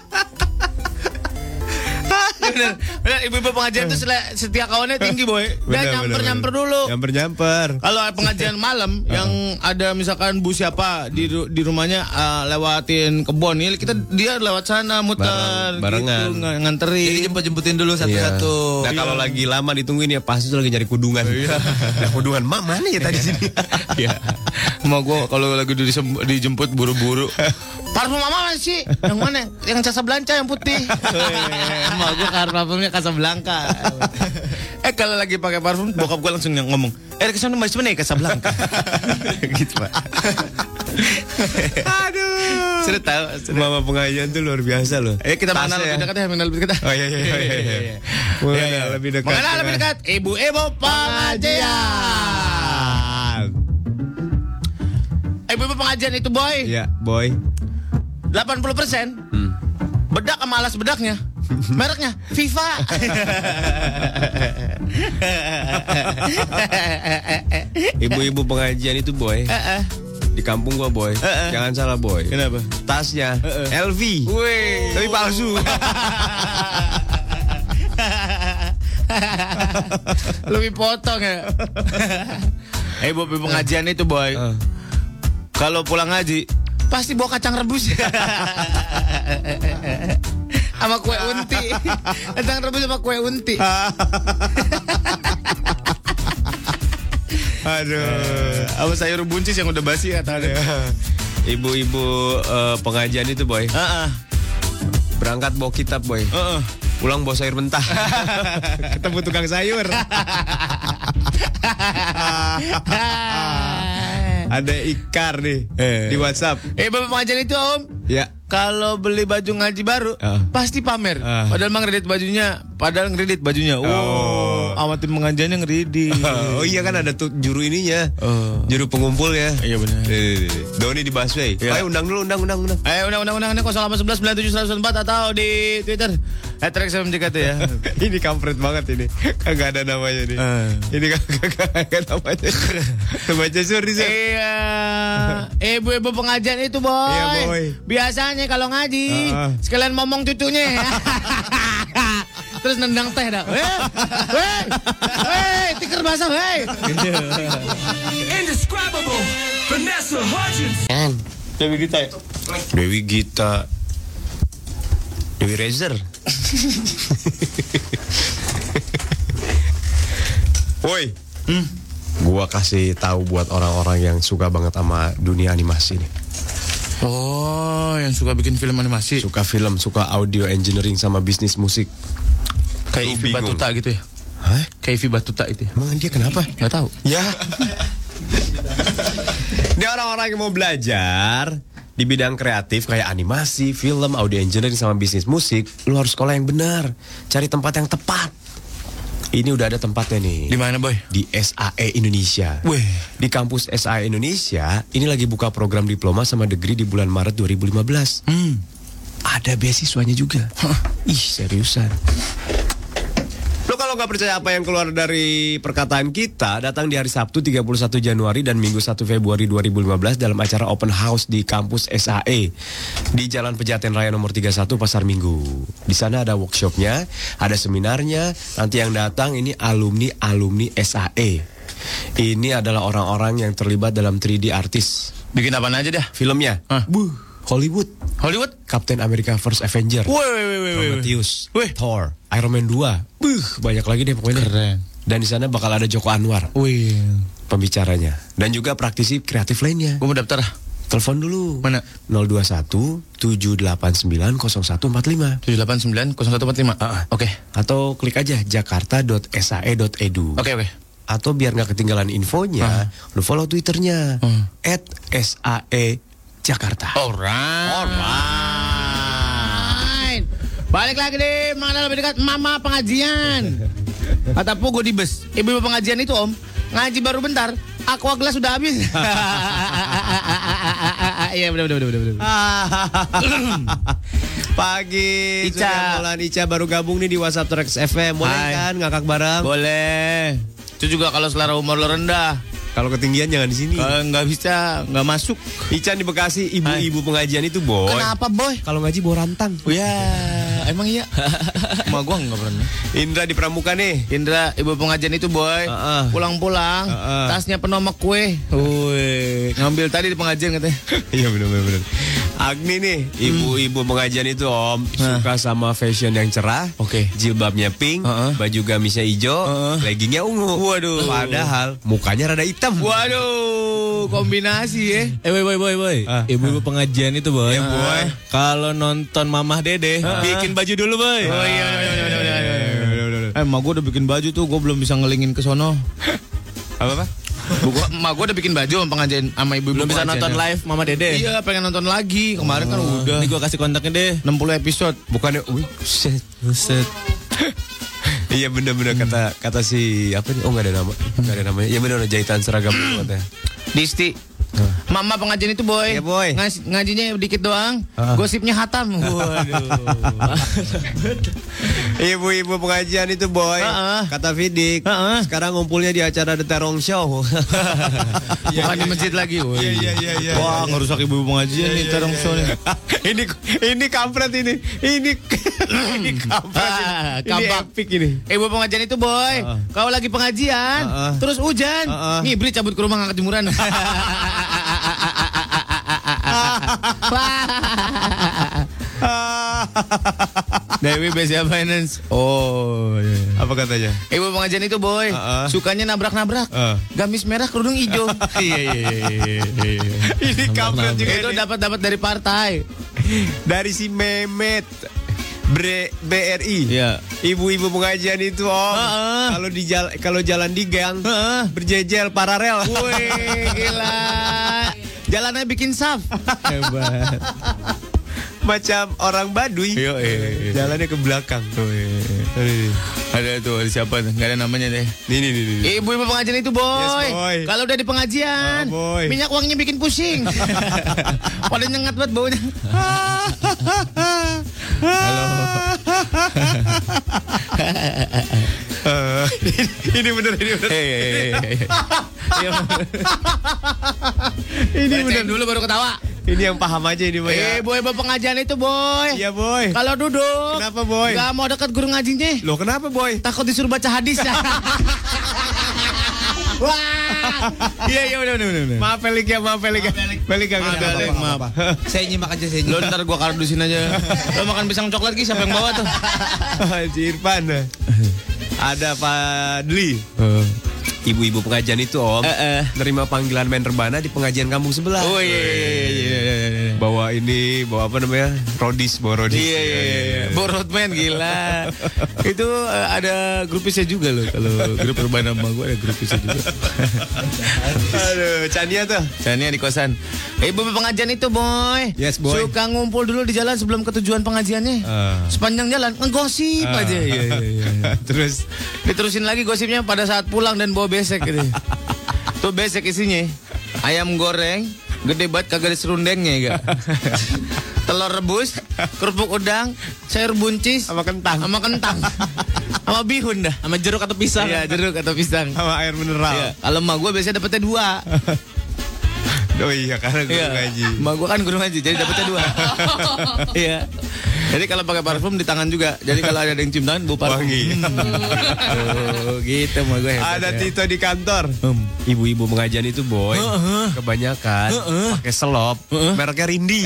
Bener, ibu-ibu pengajian itu setia kawannya tinggi, boy. Dia nyamper dulu. Nyamper. Kalau pengajian malam yang ada misalkan bu siapa di rumahnya lewatin kebon, dia lewat sana muter, barengan, gitu, nganterin. Jadi jemput-jemputin dulu satu-satu. Nah kalau lagi lama ditungguin ya pasti tuh lagi nyari kudungan. Nah kudungan mana ya tadi sini? Iya. Mau gue kalau lagi dijemput buru-buru. Parfum mama mana sih? Yang mana? Yang Casablanca yang putih. Mau gue parfumnya Casablanca. Kalau lagi pakai parfum, bokap gue langsung ngomong, kesana masih mana ya Casablanca? Gitu Pak. Aduh. Sudah tahu. Mama pengajian tuh luar biasa loh. Kita mengenal lebih dekat ya, mengenal lebih dekat. Oh iya. Mengenal lebih dekat. Mengenal lebih dekat. Ibu-ibu pengajian. Ibu-ibu pengajian itu boy. Iya, boy. 80% bedak sama alas bedaknya. Mereknya FIFA. Ibu-ibu pengajian itu boy. Di kampung gua boy. Jangan salah boy. Kenapa? Tasnya LV. Wih. Tapi palsu. Lebih potong ya. Ibu-ibu pengajian itu boy. Kalau pulang ngaji pasti bawa kacang rebus. Sama kue unti. Kacang rebus sama kue unti. Aduh. Apa sayur buncis yang udah basi katanya. Ibu-ibu pengajian itu boy. Berangkat bawa kitab boy. Pulang bawa sayur mentah. Ketemu tukang sayur. Ada ikar nih di WhatsApp. Bapak pengajian itu om. Ya. Kalau beli baju ngaji baru pasti pamer. Padahal emang ngedit bajunya. Sama tim pengajiannya ngedit. Oh iya kan ada tuh juru ininya. Juru pengumpul ya. Iya benar. Doni di busway. Ayo undang dulu, undang. Ayo undang 0811 97 104 atau di Twitter @rexfmjkt ya. Ini kampret banget ini. Kagak ada namanya nih. Ini kagak ada namanya. Baca suri. Iya. Ibu-ibu pengajian itu boy. Iya boy. Biasanya kalau ngaji sekalian ngomong cucunya. Terus nendang teh dah. Weh, tikar basah, weh. Indescribable Vanessa Hudgens. Dewi Gita ya? Dewi Gita. Dewi Rezer. Woi. Gua kasih tahu buat orang-orang yang suka banget sama dunia animasi nih. Oh, yang suka bikin film animasi. Suka film, suka audio engineering sama bisnis musik. Kayak Ivy Batuta gitu ya? Hah? Kayak Ivy Batuta itu ya? Emang dia kenapa? Gak tahu. Ya. Dia orang-orang yang mau belajar di bidang kreatif kayak animasi, film, audio engineering sama bisnis musik. Lu harus sekolah yang benar. Cari tempat yang tepat. Ini udah ada tempatnya nih. Di mana boy? Di SAE Indonesia. Weh. Di kampus SAE Indonesia, ini lagi buka program diploma sama degree di bulan Maret 2015. Ada beasiswanya juga. Ih, seriusan. Lo kalau Kalau nggak percaya apa yang keluar dari perkataan kita, datang di hari Sabtu 31 Januari dan Minggu 1 Februari 2015 dalam acara Open House di kampus SAE di Jalan Pejaten Raya nomor 31 Pasar Minggu. Di sana ada workshopnya, ada seminarnya. Nanti yang datang ini alumni SAE. Ini adalah orang-orang yang terlibat dalam 3D artis. Bikin apaan aja dah? Filmnya, Hollywood, Captain America First Avenger, Prometheus, Thor, Iron Man 2, banyak lagi deh pokoknya. Keren. Dan di sana bakal ada Joko Anwar, pembicaranya, dan juga praktisi kreatif lainnya. Gue mau daftar. Telepon dulu. Mana? 021 789 0145. 789-0145. Oke. Atau klik aja jakarta.sae.edu. Oke. Atau biar nggak ketinggalan infonya, lu follow Twitternya @SAE Jakarta. Alright. Balik lagi deh, mana lebih dekat mama pengajian. Kata gue di bus, ibu pengajian itu om, ngaji baru bentar, aqua gelas sudah habis. Iya benar. Pagi, Ica. Surya Molan Ica baru gabung nih di WhatsApp Trax FM. Boleh kan ngakak bareng? Boleh. Itu juga kalau selera umur lo rendah. Kalau ketinggian jangan di sini. Kalau nggak bisa, nggak masuk. Ica di Bekasi, ibu-ibu pengajian itu boy. Kenapa boy? Kalau ngaji bawa rantang. Ya, emang iya. Ma gua nggak pernah. Indra di Pramuka nih. Indra, ibu pengajian itu boy. Pulang-pulang, tasnya penuh sama kue. Wih, ngambil tadi di pengajian katanya. Iya benar. Agni nih, ibu-ibu pengajian itu om suka sama fashion yang cerah. Oke. Jilbabnya pink, baju gamisnya hijau, leggingnya ungu. Waduh. Padahal mukanya rada hitam. Waduh, kombinasi ya. Boy. Ibu-ibu pengajian itu boy. Ya, boy. Kalau nonton Mamah Dede, bikin baju dulu boy. Oh iya. Emak gue udah bikin baju tuh, gue belum bisa ngelingin ke sono. Apa? Emak gue udah bikin baju sama pengajian sama ibu-ibu. Belum bisa pengajiannya. nonton live Mama Dede. Iya, pengen nonton lagi. Kemarin kan udah. Ini gue kasih kontaknya deh. 60 episode. Bukannya, Buset. Iya benar-benar kata si apa nih? Oh nggak ada namanya. Iya benar jahitan seragam katanya. Disti. Mama pengajian itu boy. Iya, boy. Ngajinya dikit doang. Gosipnya hatam. Waduh. Ibu-ibu pengajian itu boy. Kata Fidik. Sekarang ngumpulnya di acara The Terong Show. Bukan di masjid lagi. Iya. Wah, ngerusak ibu pengajian nih terong show nih. Ini kampret ini. Ini kampret. Ini Kampak. epic ini. Ibu pengajian itu boy. Kalau lagi pengajian, terus hujan, ngibrit cabut ke rumah ngangkat jemuran. Dewi Besia Finance. Oh iya. Apa katanya? Ibu pengajian itu boy, sukanya nabrak-nabrak. Gamis merah kerudung hijau. Iya. Ini kampret juga Itu ini. dapat dari partai. Dari si Mehmet BRI. Iya. Ibu-ibu pengajian itu om. Kalau jalan di gang berjejer paralel. Wih, gila. Jalannya bikin saf. Hebat. Macam orang Baduy. Iya. Jalannya ke belakang. Ada tuh, ada siapa tuh? Gak ada namanya deh. Nih. Ibu-ibu pengajian itu boy. Yes, boy. Kalau udah di pengajian, boy. minyak wanginya bikin pusing. Pada nyengat banget baunya. Ini bener. Ini bener dulu baru ketawa. Ini yang paham aja ini boy. Ibu-ibu pengajian itu boy. Iya boy. Kalau duduk, Kenapa boy? gak mau dekat guru ngajinya. Loh kenapa boy? Takut disuruh baca hadis. Wah. Iya benar. Maaf Pelik ya. Maaf. Saya nyimak aja Lo ntar gua kardusin aja. Lo makan pisang coklat ki siapa yang bawa tuh? Si Irfan. Ada Pak Dli. Ibu-ibu pengajian itu om nerima panggilan main rebana di pengajian kampung sebelah. Oh iya. Bawa apa namanya? Rodis. Iya. Borotman gila. Itu ada grupisnya juga loh. Kalau grup urbana sama gue ada grupisnya juga. Aduh, Chania tuh. Chania di kosan. Ibu pengajian itu boy. Yes, boy. Suka ngumpul dulu di jalan sebelum ke tujuan pengajiannya. Sepanjang jalan ngegosip aja. Iya. Terus diterusin lagi gosipnya pada saat pulang dan bawa besek gitu. Tuh besek isinya ayam goreng gede banget kagak ada serundengnya ya. Telur rebus, kerupuk udang, sayur buncis sama kentang. Sama bihun dah. Sama jeruk atau pisang. Iya, jeruk atau pisang. Sama air mineral. Iya. Kalau emak gue biasanya dapetnya 2. Oh iya, karena guru ngaji. Emak gue kan guru ngaji, jadi dapetnya 2. Iya. Jadi kalau pakai parfum di tangan juga. Jadi kalau ada yang cium tangan, bau parfum. Wangi. Tuh, gitu emak gue hebat. Ada ya. Tito di kantor. Ibu-ibu pengajian itu boy, kebanyakan pakai selop, mereknya Rindi.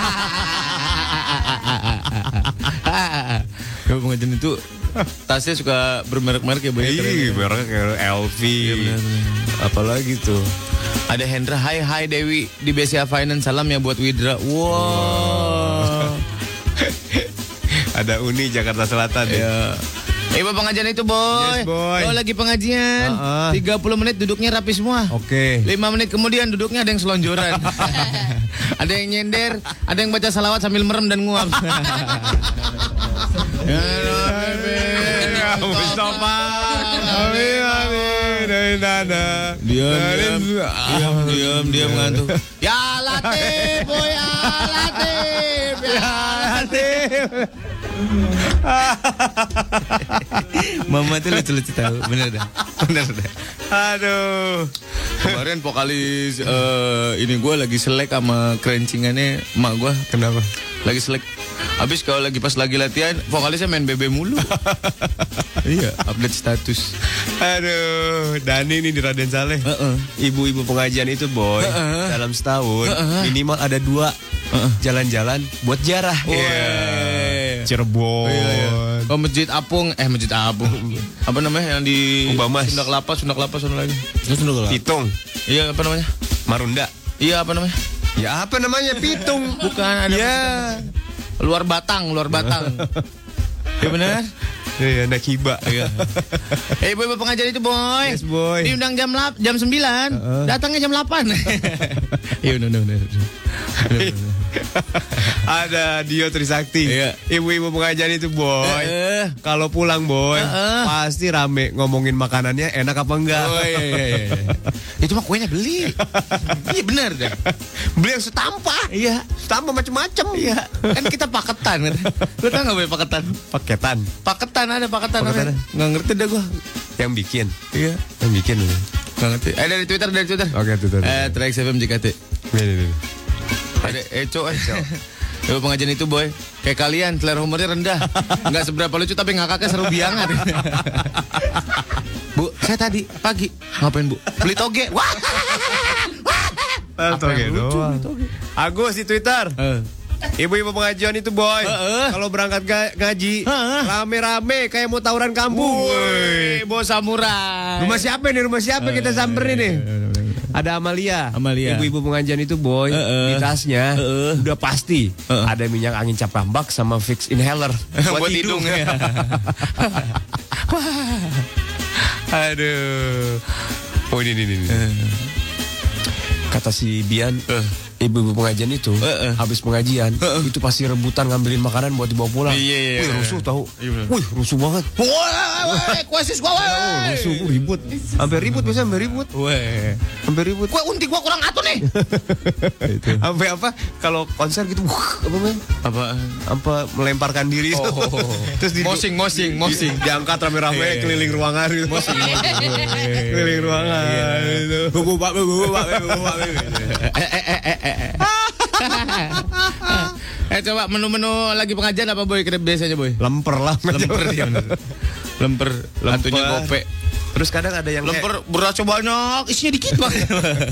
Kalau pengajian itu tasnya suka bermerek-merek ya banyak. Iya, mereknya kayak LV. Iya, benar. Apalagi tuh. Ada Hendra, hai Dewi di BCA Finance, salam ya buat Widra. Wow. Ada Uni Jakarta Selatan ya. Ibu pengajian itu boy. Yes, boy. Kalau lagi pengajian 30 menit duduknya rapi semua. Oke. 5 menit kemudian duduknya ada yang selonjoran. Ada yang nyender, ada yang baca salawat sambil merem dan nguap. Ya Mustafa. Amin. Nana. Diam ngantuk. Ya Latif, boy, ya Latif. Ya Latif. Mama tuh lucu-lucu tahu, bener dah. Aduh. Kemarin vokalis ini gue lagi selek sama kerencingannya emak gue. Kenapa? Lagi selek. Habis kalau pas lagi latihan, vokalisnya main BB mulu. Iya, update status. Aduh, Dani ini di Raden Saleh. Ibu-ibu pengajian itu boy, dalam setahun minimal ada 2 jalan-jalan buat jarah. Cirebon. Oh, Masjid Apung. Apa namanya yang di Ubamas. Sunda Kelapa sana lagi. Pitung. Iya, apa namanya? Marunda. Iya, apa namanya? Ya apa namanya? Pitung. Bukan, ada Luar Batang. Ya benar? Iya, anak hiba. Iya. Ibu-ibu pengajian itu boy. Yes, boy. Diundang jam 9, datangnya jam 8. Iya, benar. Ada Dio Trisakti. Iya. Ibu-ibu pengajian itu boy. Kalau pulang boy, pasti rame ngomongin makanannya enak apa enggak. Oh, iya. Itu mah kuenya beli. Iya benar deh. Beli yang setampah. Iya. Setampah macam-macam. Iya. Kan kita paketan. Lu tau gak boy paketan? Paketan. Ada paketan. Paketan. Nggak ngerti dah gua. Yang bikin. Iya. Yang bikin. Nggak ngerti. Dari Twitter. Oke, Twitter. Trax FM JKT. Ini. Ada Eco. Ibu pengajian itu boy, kayak kalian selera humornya rendah, nggak seberapa lucu tapi ngakaknya seru biangat. Bu, saya tadi pagi ngapain bu? Beli toge. Wah. Toge doang. Agus di Twitter. Ibu-ibu pengajian itu boy, kalau berangkat ngaji rame-rame kayak mau tawuran kampung. Woi, bos samurai. Rumah siapa kita samperin nih? Ada Amalia. Ibu-ibu pengajian itu boy, di tasnya udah pasti ada minyak angin cap rambak sama Vicks inhaler buat hidung. Aduh. Oh ini. Kata si Bian, ibu-ibu pengajian itu habis pengajian itu pasti rebutan ngambilin makanan buat dibawa pulang. Iya. Wih, rusuh tahu. Wih, rusuh banget. Woi, kuasis gua woi. Rusuh, ribut. Sampai ribut. Woi. Sampai ribut. Gua unti gua kurang atuh nih. Sampai apa? Kalau konser gitu, apa melemparkan diri itu. Terus mosing. Diangkat rame-rame keliling ruangan gitu. Keliling ruangan itu. Bubuk. Coba menu-menu lagi pengajian apa boy? Biasanya boy? Lemper. Lantunya gope. Terus kadang ada yang lemper berasnya banyak, isinya dikit banget.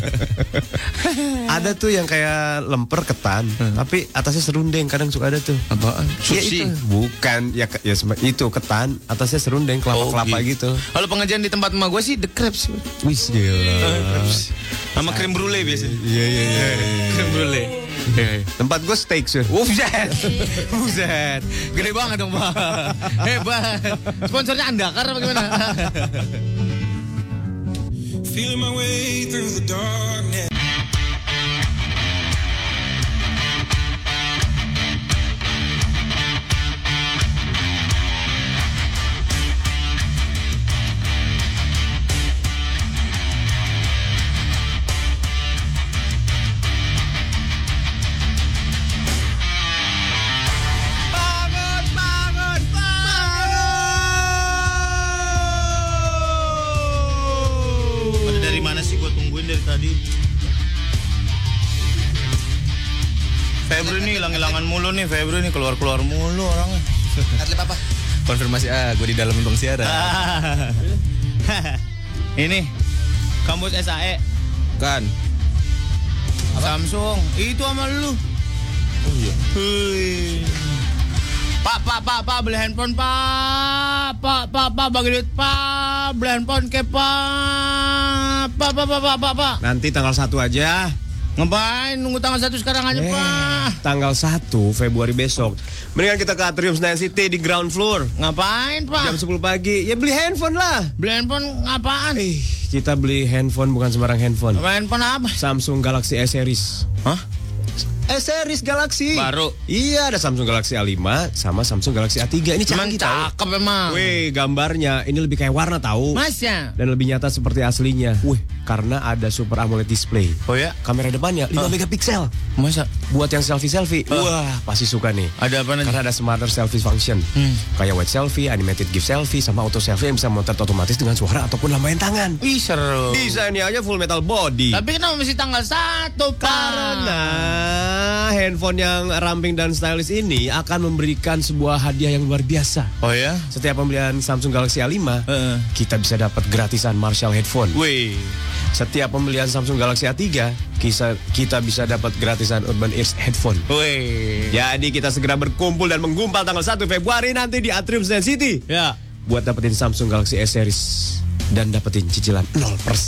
Ada tuh yang kayak lemper ketan, tapi atasnya serundeng. Kadang suka ada tuh. Apaan? Ya Sushi? itu. Bukan, itu ketan, atasnya serundeng kelapa-kelapa gitu. Kalau pengajian di tempat emak gue sih the crepes. Wis gila. Sama krim brulee biasanya. Iya. Krim brulee. Tempat gue steak sih. Buset. Gede banget dong, Pak. Hebat. Sponsornya Andakar apa gimana? Feeling my way through the darkness. tadi. Febri nih hilang-hilangan mulu nih, Febri nih keluar-keluar mulu orangnya. Atlet apa? Konfirmasi gue di dalam untung siaran. Ini kampus SAE Kan. Samsung itu sama lu. Oh iya. Pak beli handphone Pak bagi duit Pak, beli handphone ke Pak. Nanti tanggal 1 aja. Ngapain nunggu tanggal 1 sekarang aja Pak? Tanggal 1 Februari besok. Mendingan kita ke Atrium Senayan City di ground floor. Ngapain Jam Pak? 10 pagi. Ya beli handphone lah. Beli handphone apaan? Kita beli handphone bukan sembarang handphone. Handphone apa? Samsung Galaxy S Series. Hah? S Series Galaxy. Baru? Iya, ada Samsung Galaxy A5 sama Samsung Galaxy A3. Ini Emang canggih tahu. cakep emang. Wih, gambarnya ini lebih kayak warna tahu. Masya. Dan lebih nyata seperti aslinya. Wih, karena ada Super AMOLED display. Oh ya? Kamera depannya 5 megapiksel. Masa? Buat yang selfie-selfie, wah pasti suka nih. Ada apa nanti? Karena ada smarter selfie function. Kayak wide selfie, animated GIF selfie, sama auto selfie yang bisa motret otomatis dengan suara ataupun lambaian tangan. Ih seru. Desainnya aja full metal body. Tapi kenapa mesti tanggal 1 Pak? Karena handphone yang ramping dan stylish ini akan memberikan sebuah hadiah yang luar biasa. Oh ya? Setiap pembelian Samsung Galaxy A5, kita bisa dapat gratisan Marshall headphone. Wih. Setiap pembelian Samsung Galaxy A3, kita bisa dapat gratisan Urban Ears headphone. Wih. Jadi kita segera berkumpul dan menggumpal tanggal 1 Februari nanti di Atrium Senayan City. Ya. Buat dapetin Samsung Galaxy S Series dan dapetin cicilan 0%.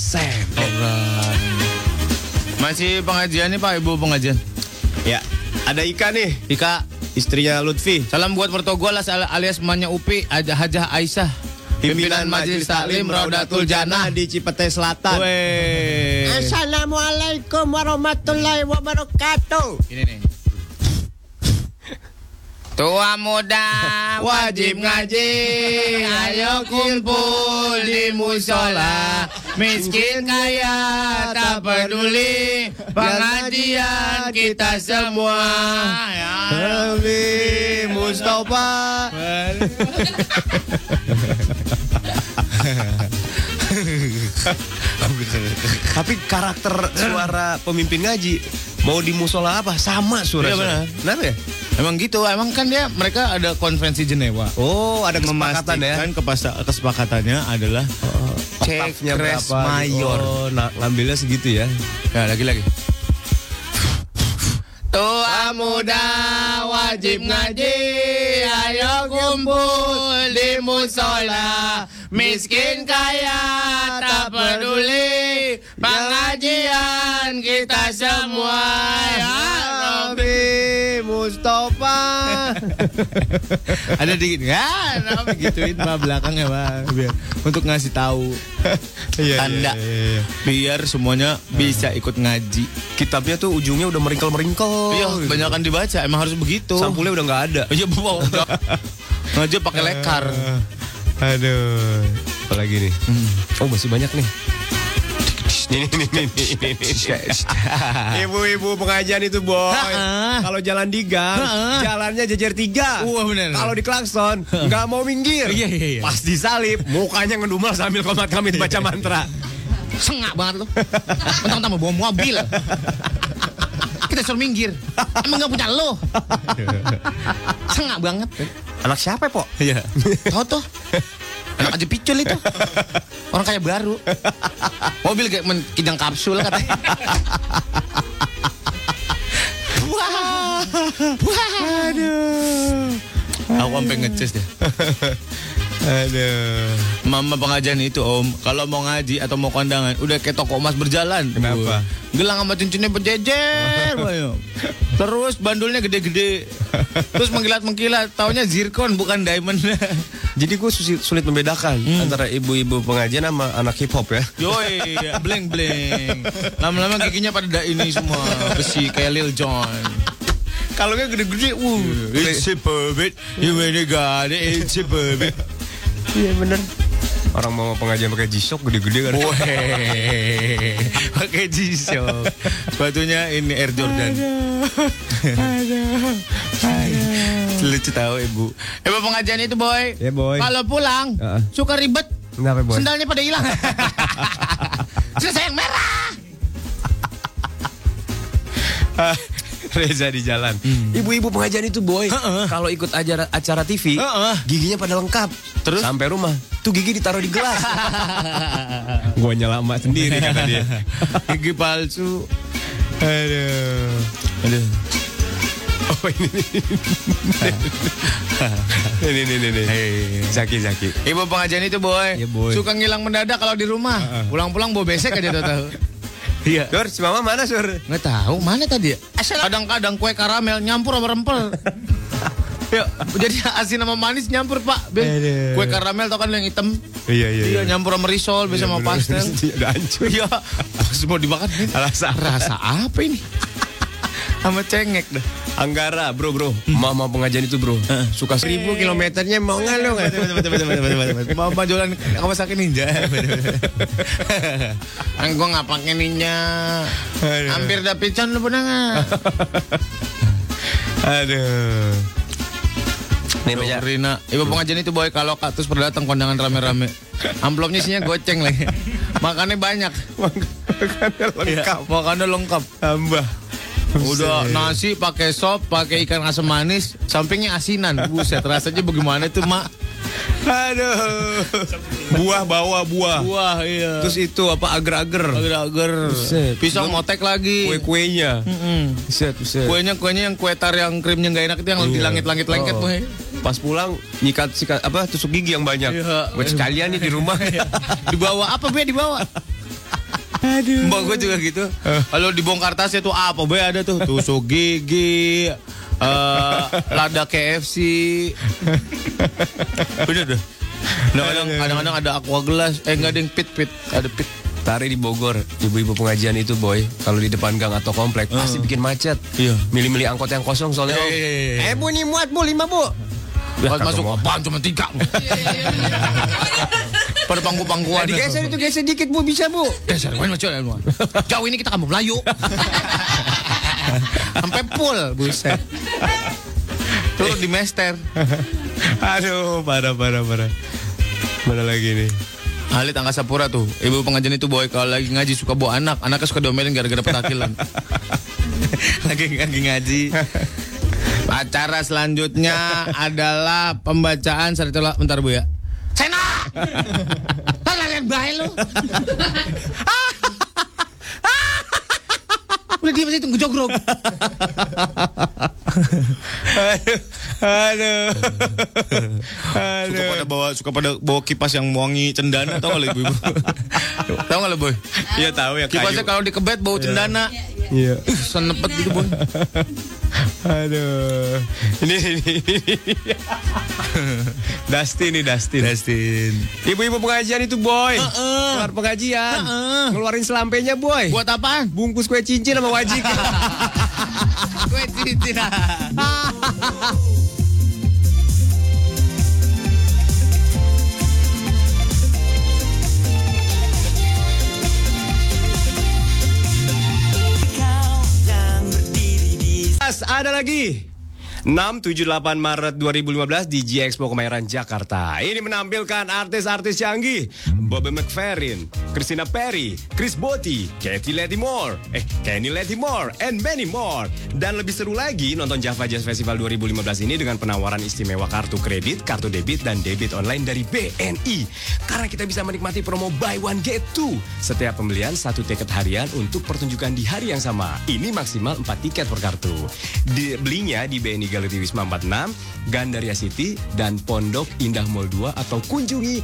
Masih pengajian nih Pak, Ibu pengajian. Ya, ada Ika nih, Ika, istrinya Lutfi. salam buat mertua alias emaknya Upi, Hajah Aisyah. Pimpinan Majelis Taklim Raudatul Jannah di Cipete Selatan. Weh. Assalamualaikum warahmatullahi wabarakatuh. Ini nih. Tua muda wajib ngaji, ayo kumpul di musola. Miskin kaya tak peduli, pengajian kita semua. Nabi Mustafa. Tapi karakter suara pemimpin ngaji mau di musola apa sama suara. Iya, benar. Kenapa ya? Emang gitu, emang kan mereka ada konferensi Jenewa. Oh, ada kesepakatan ya. Memastikan kesepakatannya adalah cek res mayor. Oh, ngambilnya segitu ya. Ya, lagi. Tua muda wajib ngaji, ayo kumpul di musola. Miskin kaya tak peduli, pengajian kita semua. Ya Nabi Mustafa. Ada dikit kan? Apa gituin mah belakangnya mah biar untuk ngasih tahu tanda biar semuanya bisa ikut ngaji. Kitabnya tuh ujungnya udah meringkel-meringkel. Iya, banyakan dibaca. Emang harus begitu. Sampulnya udah nggak ada. Iya, udah. Ngaji pakai lekar. Aduh. Apalagi nih? Oh, masih banyak nih. Nih. Ibu-ibu pengajian itu, boy. Kalau jalan di gang, jalannya jejer 3. Wah, bener. Kalau di klakson, nggak mau minggir. Iya. Pas disalip, mukanya ngedumel sambil komat kamit baca mantra. Sengak banget lu. Mentang-mentang mau bawa mobil. Kita suruh minggir. Emang gak punya lo. Sengak banget. Anak siapa, Pok? Iya. Tahu tuh. Anak aja picul itu. Orang kayak baru. Mobil kayak kijang kapsul katanya. Wah. Aduh. Aku sampai ngeces deh. Aduh. Mama pengajian itu om, kalau mau ngaji atau mau kondangan, udah kayak toko emas berjalan. Kenapa? Gelang sama cincinnya berjejer. Terus bandulnya gede-gede. Terus mengkilat-mengkilat. Taunya zircon bukan diamond. Jadi gue sulit membedakan antara ibu-ibu pengajian sama anak hip hop ya. Yoi, bleng-bleng. Lama-lama giginya pada ini semua besi kayak Lil Jon. Kalau gede-gede, it's a pervert. You really got it, it's a pervert. Iya bener. Orang mau pengajian pakai G-Shock gede-gede kan. Weh, pakai G-Shock. Sepatunya ini Air Jordan. Aduh. Lucu tahu ibu. Pengajian itu boy. Ya boy. Kalau pulang suka ribet. Kenapa boy? Sendalnya pada hilang. Selesai yang merah. Reza di jalan. Ibu-ibu pengajian itu boy, kalau ikut acara TV, giginya pada lengkap. Terus sampai rumah, tuh gigi ditaruh di gelas. Gua nyelama sendiri kata dia. Gigi palsu. Aduh. Oh ini. Zaki. Ibu pengajian itu boy, boy. suka ngilang mendadak kalau di rumah. Pulang-pulang bawa besek aja tahu. Iya. Sur, si mama mana Sur? Nggak tahu mana tadi ya. Kadang-kadang kue karamel nyampur sama rempel. Ya, jadi asin sama manis nyampur Pak. Kue karamel tau kan yang hitam. Iya. Nyampur sama risol, bisa sama pastel. Udah hancur. Iya. Pas mau dimakan rasa apa ini? Sama cengek dah. Anggara bro. Mama pengajian itu bro. Suka 1000 kilometernya mau nggak lo nggak? Mama jualan Kawasaki Ninja. Gue nggak pakai Ninja. Hampir dapet can lu pernah nggak? Aduh. Nih baca Rina, ibu pengajian itu boy kalau kaktus berdatang kondangan rame-rame. Amplopnya isinya goceng lagi. Makannya banyak. Makannya lengkap. Tambah. Udah nasi pakai sop, pakai ikan asam manis, sampingnya asinan. Buset, rasanya bagaimana tuh, Mak? Aduh. Buah bawa buah. Buah, iya. Terus itu apa agar-agar. Pisang motek lagi. Kue-kuenya. Buset. Kuenya yang kue tar yang krimnya nggak enak itu yang di langit-langit lengket, boy. Pas pulang nyikat tusuk gigi yang banyak. Iya. Buat sekalian nih di rumah. Dibawa apa, Be? Dibawa. Aduh. Mbak gue juga gitu. Kalau dibongkar tasnya tuh apa? Be ada tuh tusuk gigi, lada KFC. Bener dah. Kadang-kadang ada aqua gelas. Enggak ada yang pit. Ada pit. Tari di Bogor, ibu-ibu pengajian itu boy, kalau di depan gang atau komplek pasti bikin macet. Iya. Milih-milih angkot yang kosong soalnya. Bu nih muat bu 5 bu. Pas masuk apaan cuma 3. Pada pangku-pangkuan. Digeser itu geser dikit bu bisa bu. Geser jauh ini kita kamu Melayu. Sampai full buset. Turun di mester. Aduh parah. Mana lagi nih? Alit Angkasa Pura tuh. Ibu pengajian itu boy kalau lagi ngaji suka bawa anaknya suka diomelin gara-gara petakilan. lagi ngaji. Acara selanjutnya adalah pembacaan saritola. Bentar Bu ya. Sena! Lalian bae lu. Udah diam aja tunggu jogrok. Aduh. Suka pada bawa kipas yang wangi cendana, tau gak lo ibu-ibu? Tau gak lo boy? Iya tahu ya. Kipasnya kalau dikebet bau cendana. Iya. Senepet gitu boy. Aduh. Ini. Dustin. Ibu-ibu pengajian itu boy. Keluar pengajian. Ngeluarin selampenya boy. Buat apaan? Bungkus kue cincin sama wajik. Kue cincin. Ada lagi 6-7-8 Maret 2015 di G-Expo Kemayoran, Jakarta. Ini menampilkan artis-artis canggih. Bobby McFerrin, Christina Perri, Chris Botti, Kenny Lattimore, and many more. Dan lebih seru lagi, nonton Java Jazz Festival 2015 ini dengan penawaran istimewa kartu kredit, kartu debit, dan debit online dari BNI. Karena kita bisa menikmati promo buy one get two. Setiap pembelian 1 tiket harian untuk pertunjukan di hari yang sama. Ini maksimal 4 tiket per kartu. Belinya di BNI Galeri Wisma 46, Gandaria City, dan Pondok Indah Mall 2 atau kunjungi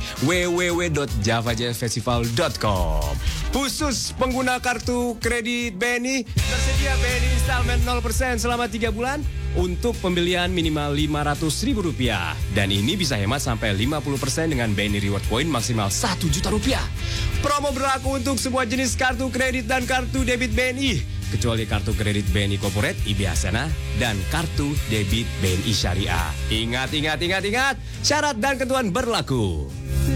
www.javajazzfestival.com. Khusus pengguna kartu kredit BNI, tersedia BNI installment 0% selama 3 bulan untuk pembelian minimal Rp500.000. Dan ini bisa hemat sampai 50% dengan BNI Reward Point maksimal Rp1 juta. Promo berlaku untuk semua jenis kartu kredit dan kartu debit BNI. Kecuali kartu kredit BNI Corporate, IB Hasanah, dan kartu debit BNI Syariah. Ingat, syarat dan ketentuan berlaku.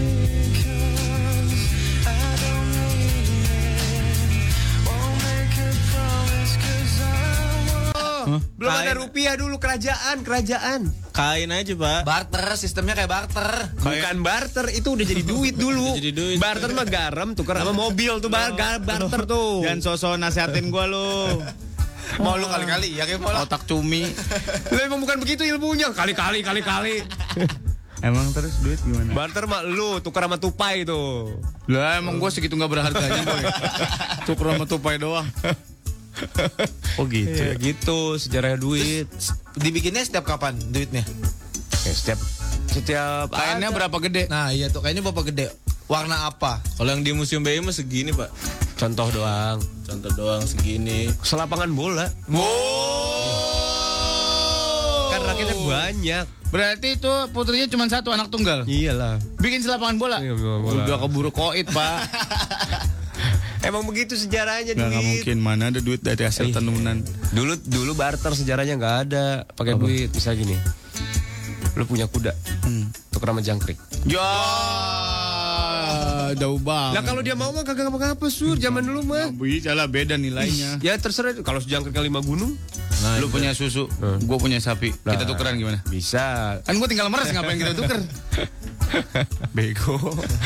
Belum ada rupiah dulu, kerajaan. Kain aja Pak. Barter, sistemnya kayak barter. Bukan barter, itu udah jadi duit dulu. Barter mah garam tukar sama mobil tuh barter tuh. Jangan sosok nasehatin gua lu. Mau lu kali-kali ya kayak mau lah. Otak cumi. Lu emang bukan begitu ilmunya. Kali-kali. Emang terus duit gimana? Barter mah lu tukar sama tupai tuh. Lah emang gue segitu nggak berharganya boy. Cukur sama tupai doang. Oh gitu. Ya, gitu sejarah duit. Dibikinnya setiap kapan duitnya? Ya, setiap Kainnya berapa gede? Nah iya tuh kayaknya bapak gede. Warna apa? Kalau yang di Museum BI mah segini, Pak. contoh doang. Contoh doang segini. Selapangan bola. Kan rakyatnya banyak. Berarti itu putrinya cuma satu, anak tunggal. Iyalah. Bikin selapangan bola. Iya, bola. Udah keburu koit, Pak. Emang begitu sejarahnya Nggak duit. mungkin, mana ada duit dari hasil tenunan. Dulu barter sejarahnya nggak ada pakai duit. Misalnya gini, lu punya kuda, tuker sama jangkrik. Ya, jauh banget. Lah kalau dia mau mah kagak apa-apa sur, zaman dulu mah. Bisa lah, beda nilainya. Ya terserah, kalau jangkriknya 5 gunung. Nah, lu punya susu, gue punya sapi. Kita tukeran gimana? Bisa. Kan gue tinggal meres, ngapain kita tuker? Bego.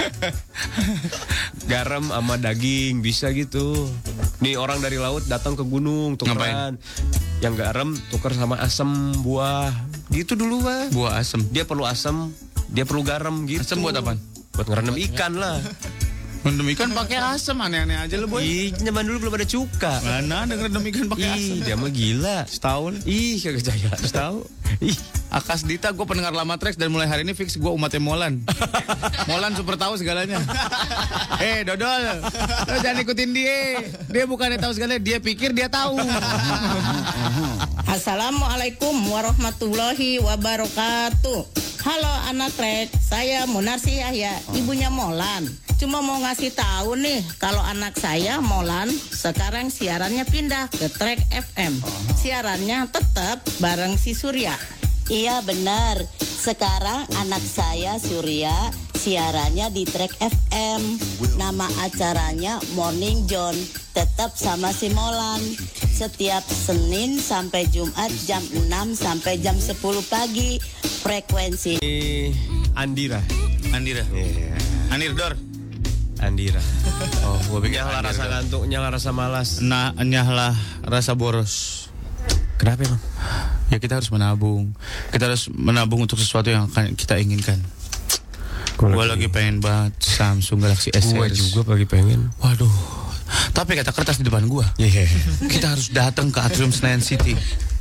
Garam sama daging bisa gitu. Nih orang dari laut datang ke gunung tukeran. Yang garam tuker sama asam buah. Gitu dulu mah. Buah asem. Dia perlu asam, dia perlu garam gitu. Asem buat apaan? Buat ngerendam ikan lah. Ngerendam ikan pakai asem, aneh-aneh aja lu boy. Ih, zaman dulu belum ada cuka. Mana ada ngerendam ikan pakai asem? Ih, dia mah gila. Setahun. Ih, kagak jaya. Tahu? Ih, Akas Dita, gue pendengar lama Trax dan mulai hari ini fix gue umatnya Molan. Molan super tahu segalanya. Dodol, lo jangan ikutin dia. Dia bukannya tahu segalanya, dia pikir dia tahu. Assalamualaikum warahmatullahi wabarakatuh. Halo anak Trax, saya Munarsi Yahya, ibunya Molan. Cuma mau ngasih tahu nih, kalau anak saya Molan sekarang siarannya pindah ke Trax FM. Siarannya tetap bareng si Surya. Iya benar. Sekarang anak saya Surya siarannya di Trax FM. Nama acaranya Morning John. Tetap sama si Molan. Setiap Senin sampai Jumat jam 6 sampai jam 10 pagi. Frekuensi Andira. Andira. Anirdor. Andira. Oh, gue pikir Nyala rasa ngantuk, nyala rasa malas. Nah, nyahlah rasa boros. Kenapa emang? Ya kita harus menabung. Kita harus menabung untuk sesuatu yang akan kita inginkan. Gue lagi pengen banget Samsung Galaxy S Gue series. juga lagi pengen. Waduh. Tapi kata kertas di depan gua. Iya. Kita harus datang ke Atrium Senayan City.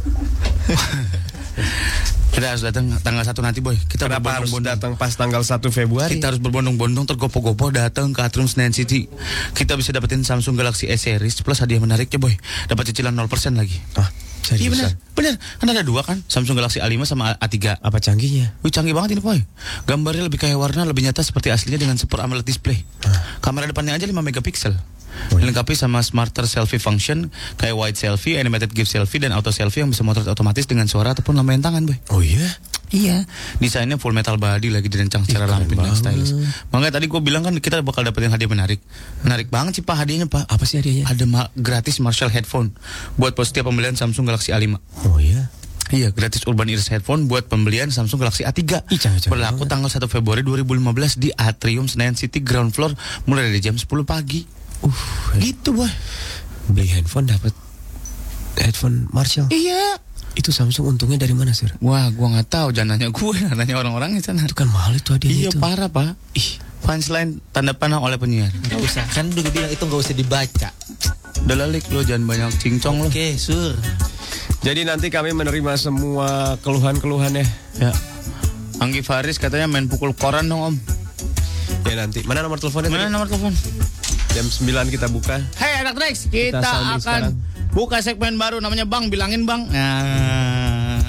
Kita harus datang tanggal 1 nanti boy. Kita Kenapa harus berbondong-bondong. datang pas tanggal 1 Februari? Kita harus berbondong-bondong tergopoh-gopoh datang ke Atrium Senayan City. Kita bisa dapetin Samsung Galaxy S series plus hadiah menariknya boy. Dapat cicilan 0% lagi. Ah, Iya seriusan? benar. Kan ada 2 kan, Samsung Galaxy A5 sama A3. Apa canggihnya? Wih canggih banget ini boy. Gambarnya lebih kayak warna, lebih nyata seperti aslinya dengan Super AMOLED display. Kamera depannya aja 5 megapiksel. Dilengkapi sama smarter selfie function kayak wide selfie, animated GIF selfie, dan auto selfie yang bisa motret otomatis dengan suara ataupun lambaian tangan boy. Oh iya? Iya. Desainnya full metal body, lagi dirancang secara ramping dan stylish. Makanya tadi gue bilang kan kita bakal dapetin hadiah menarik. Menarik banget sih pak hadiahnya pak. Apa sih hadiahnya? Ada gratis Marshall headphone buat setiap pembelian Samsung Galaxy A5. Oh iya? Iya, gratis Urban Ears headphone buat pembelian Samsung Galaxy A3. Canggih Berlaku tanggal 1 Februari 2015 di Atrium Senayan City ground floor mulai dari jam 10 pagi. Gitu boy. Beli handphone dapat headphone Marshall. Iya. Itu Samsung untungnya dari mana sir? Wah, gua nggak tahu. Jangan nanya gue, nanya orang-orang di sana. Itu kan mahal itu hadiahnya. Iya itu. parah pak. Ih, punchline tanda panah oleh penyiar. Gak usah, kan udah bilang itu gak usah dibaca. Udah lalik lo, jangan banyak cincong lo. Oke, Sur. Jadi nanti kami menerima semua keluhan-keluhannya. Ya. Anggi Faris katanya main pukul koran dong om. Ya nanti. Mana nomor teleponnya? Mana tadi? nomor telepon? Jam 9 kita buka. Hei anak Trax, kita sounding akan sekarang. buka segmen baru namanya Bang Bilangin Bang. Nah.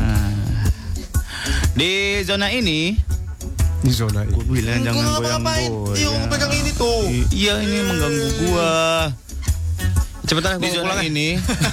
Di zona ini, Di zona ini. gue bilang jangan goyang-goyang. Iya, gue pegang ini tuh. Iya ini mengganggu gua. Cepetan Di gua zona pulang. ini,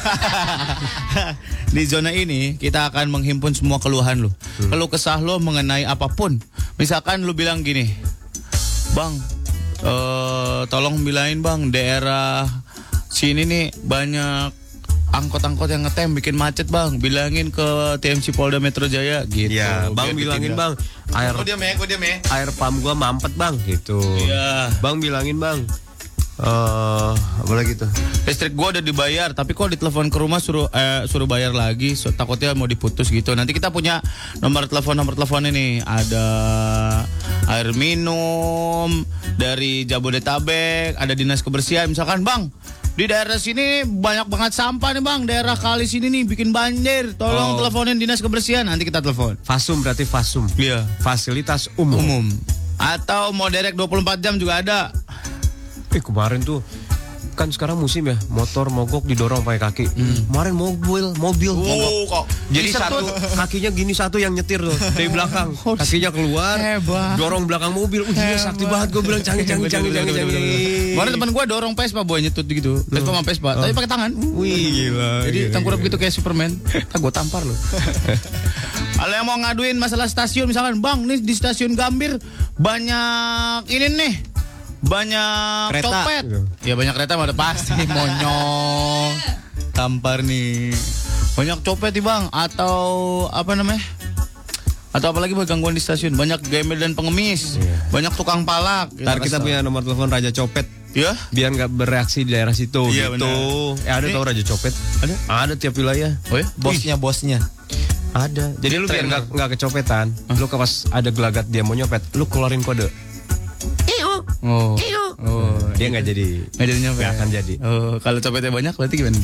di zona ini kita akan menghimpun semua keluhan lu. Keluh kesah lu mengenai apapun. Misalkan lu bilang gini, Bang, tolong bilangin Bang, daerah sini nih banyak angkot-angkot yang ngetem bikin macet Bang. Bilangin ke TMC Polda Metro Jaya gitu. Iya, Bang Biar bilangin ditindak. Bang. Gue diam ya. Air pump gua mampet Bang gitu. Iya. Bang bilangin Bang. Apa lagi tuh? Listrik gua udah dibayar, tapi kok ditelepon ke rumah suruh bayar lagi, takutnya mau diputus gitu. Nanti kita punya nomor telepon ini. Ada air minum dari Jabodetabek, ada dinas kebersihan. Misalkan bang, di daerah sini banyak banget sampah nih bang, daerah kali sini nih bikin banjir. Tolong teleponin dinas kebersihan, nanti kita telepon. Fasum berarti Fasum. Iya. Fasilitas umum. Atau mau direct 24 jam juga ada. Kemarin tuh kan sekarang musim ya, motor mogok didorong pakai kaki. Kemarin mobil mogok. Kok Jadi satu kakinya gini, satu yang nyetir tuh dari belakang. Kakinya keluar, hebat. dorong belakang mobil. Iya sakti banget, gue bilang canggih. Kemarin teman gue dorong Vespa boy nyetut gitu. Vespa sama Vespa, tapi pakai tangan. Wih gila. Jadi tengkurap gitu kayak Superman. Gue tampar loh. Kalau yang mau ngaduin masalah stasiun, misalkan bang nih di stasiun Gambir banyak ini nih, banyak kereta. Copet. Ya banyak kereta mah udah pasti monyong. Tampar nih. Banyak copet nih bang, atau apa namanya? Atau apalagi gangguan di stasiun, banyak gembel dan pengemis, banyak tukang palak. Ntar kita punya nomor telepon Raja Copet. Ya? Biar nggak bereaksi di daerah situ. Iya, gitu. Ada tau Raja Copet? Ada tiap wilayah. Oh ya? Bosnya. Ada. Jadi lu biar nggak kecopetan, lu pas ada gelagat dia mau nyopet, lu keluarin kode. Oh. Dia nggak jadi. Nggak akan jadi. Oh, kalau copetnya banyak berarti gimana?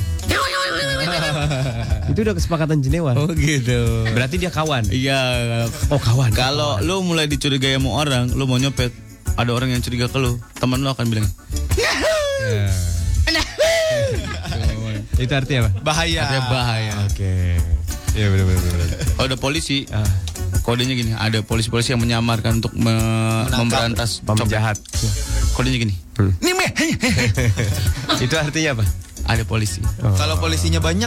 Itu udah kesepakatan Jenewa. Oh gitu. Berarti dia kawan. Iya. Oh kawan. Kalau lu mulai dicurigai sama orang, lu mau nyopet, ada orang yang curiga ke lu, teman lu akan bilang. Itu artinya apa? Bahaya. Artinya bahaya. Oke. Iya benar. Kalau ada polisi, kodenya gini, ada polisi-polisi yang menyamarkan untuk memberantas penjahat. Kodenya gini. Itu artinya apa? Ada polisi. Kalau polisinya banyak,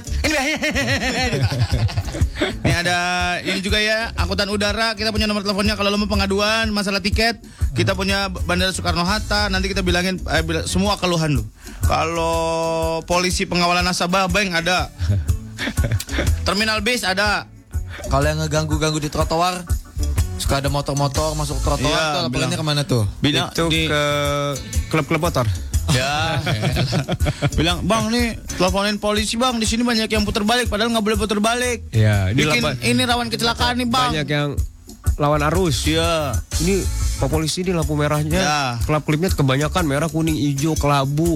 Ini ada ini juga ya, angkutan udara, kita punya nomor teleponnya kalau lo mau pengaduan masalah tiket. Kita punya Bandara Soekarno-Hatta, nanti kita bilangin semua keluhan lu. Kalau polisi pengawalan nasabah bank ada. Terminal bis ada. kalau yang ngeganggu di trotoar, suka ada motor-motor masuk trotoar, Iya, tuh laporannya kemana tuh? Itu ke klub-klub motor. Ya, bilang bang nih teleponin polisi bang, di sini banyak yang putar balik, padahal nggak boleh putar balik. Ya, ini rawan kecelakaan nih bang. Banyak yang lawan arus. Iya. Ini Pak Polisi ini lampu merahnya, Ya. klip-klipnya kebanyakan merah, kuning, hijau, kelabu,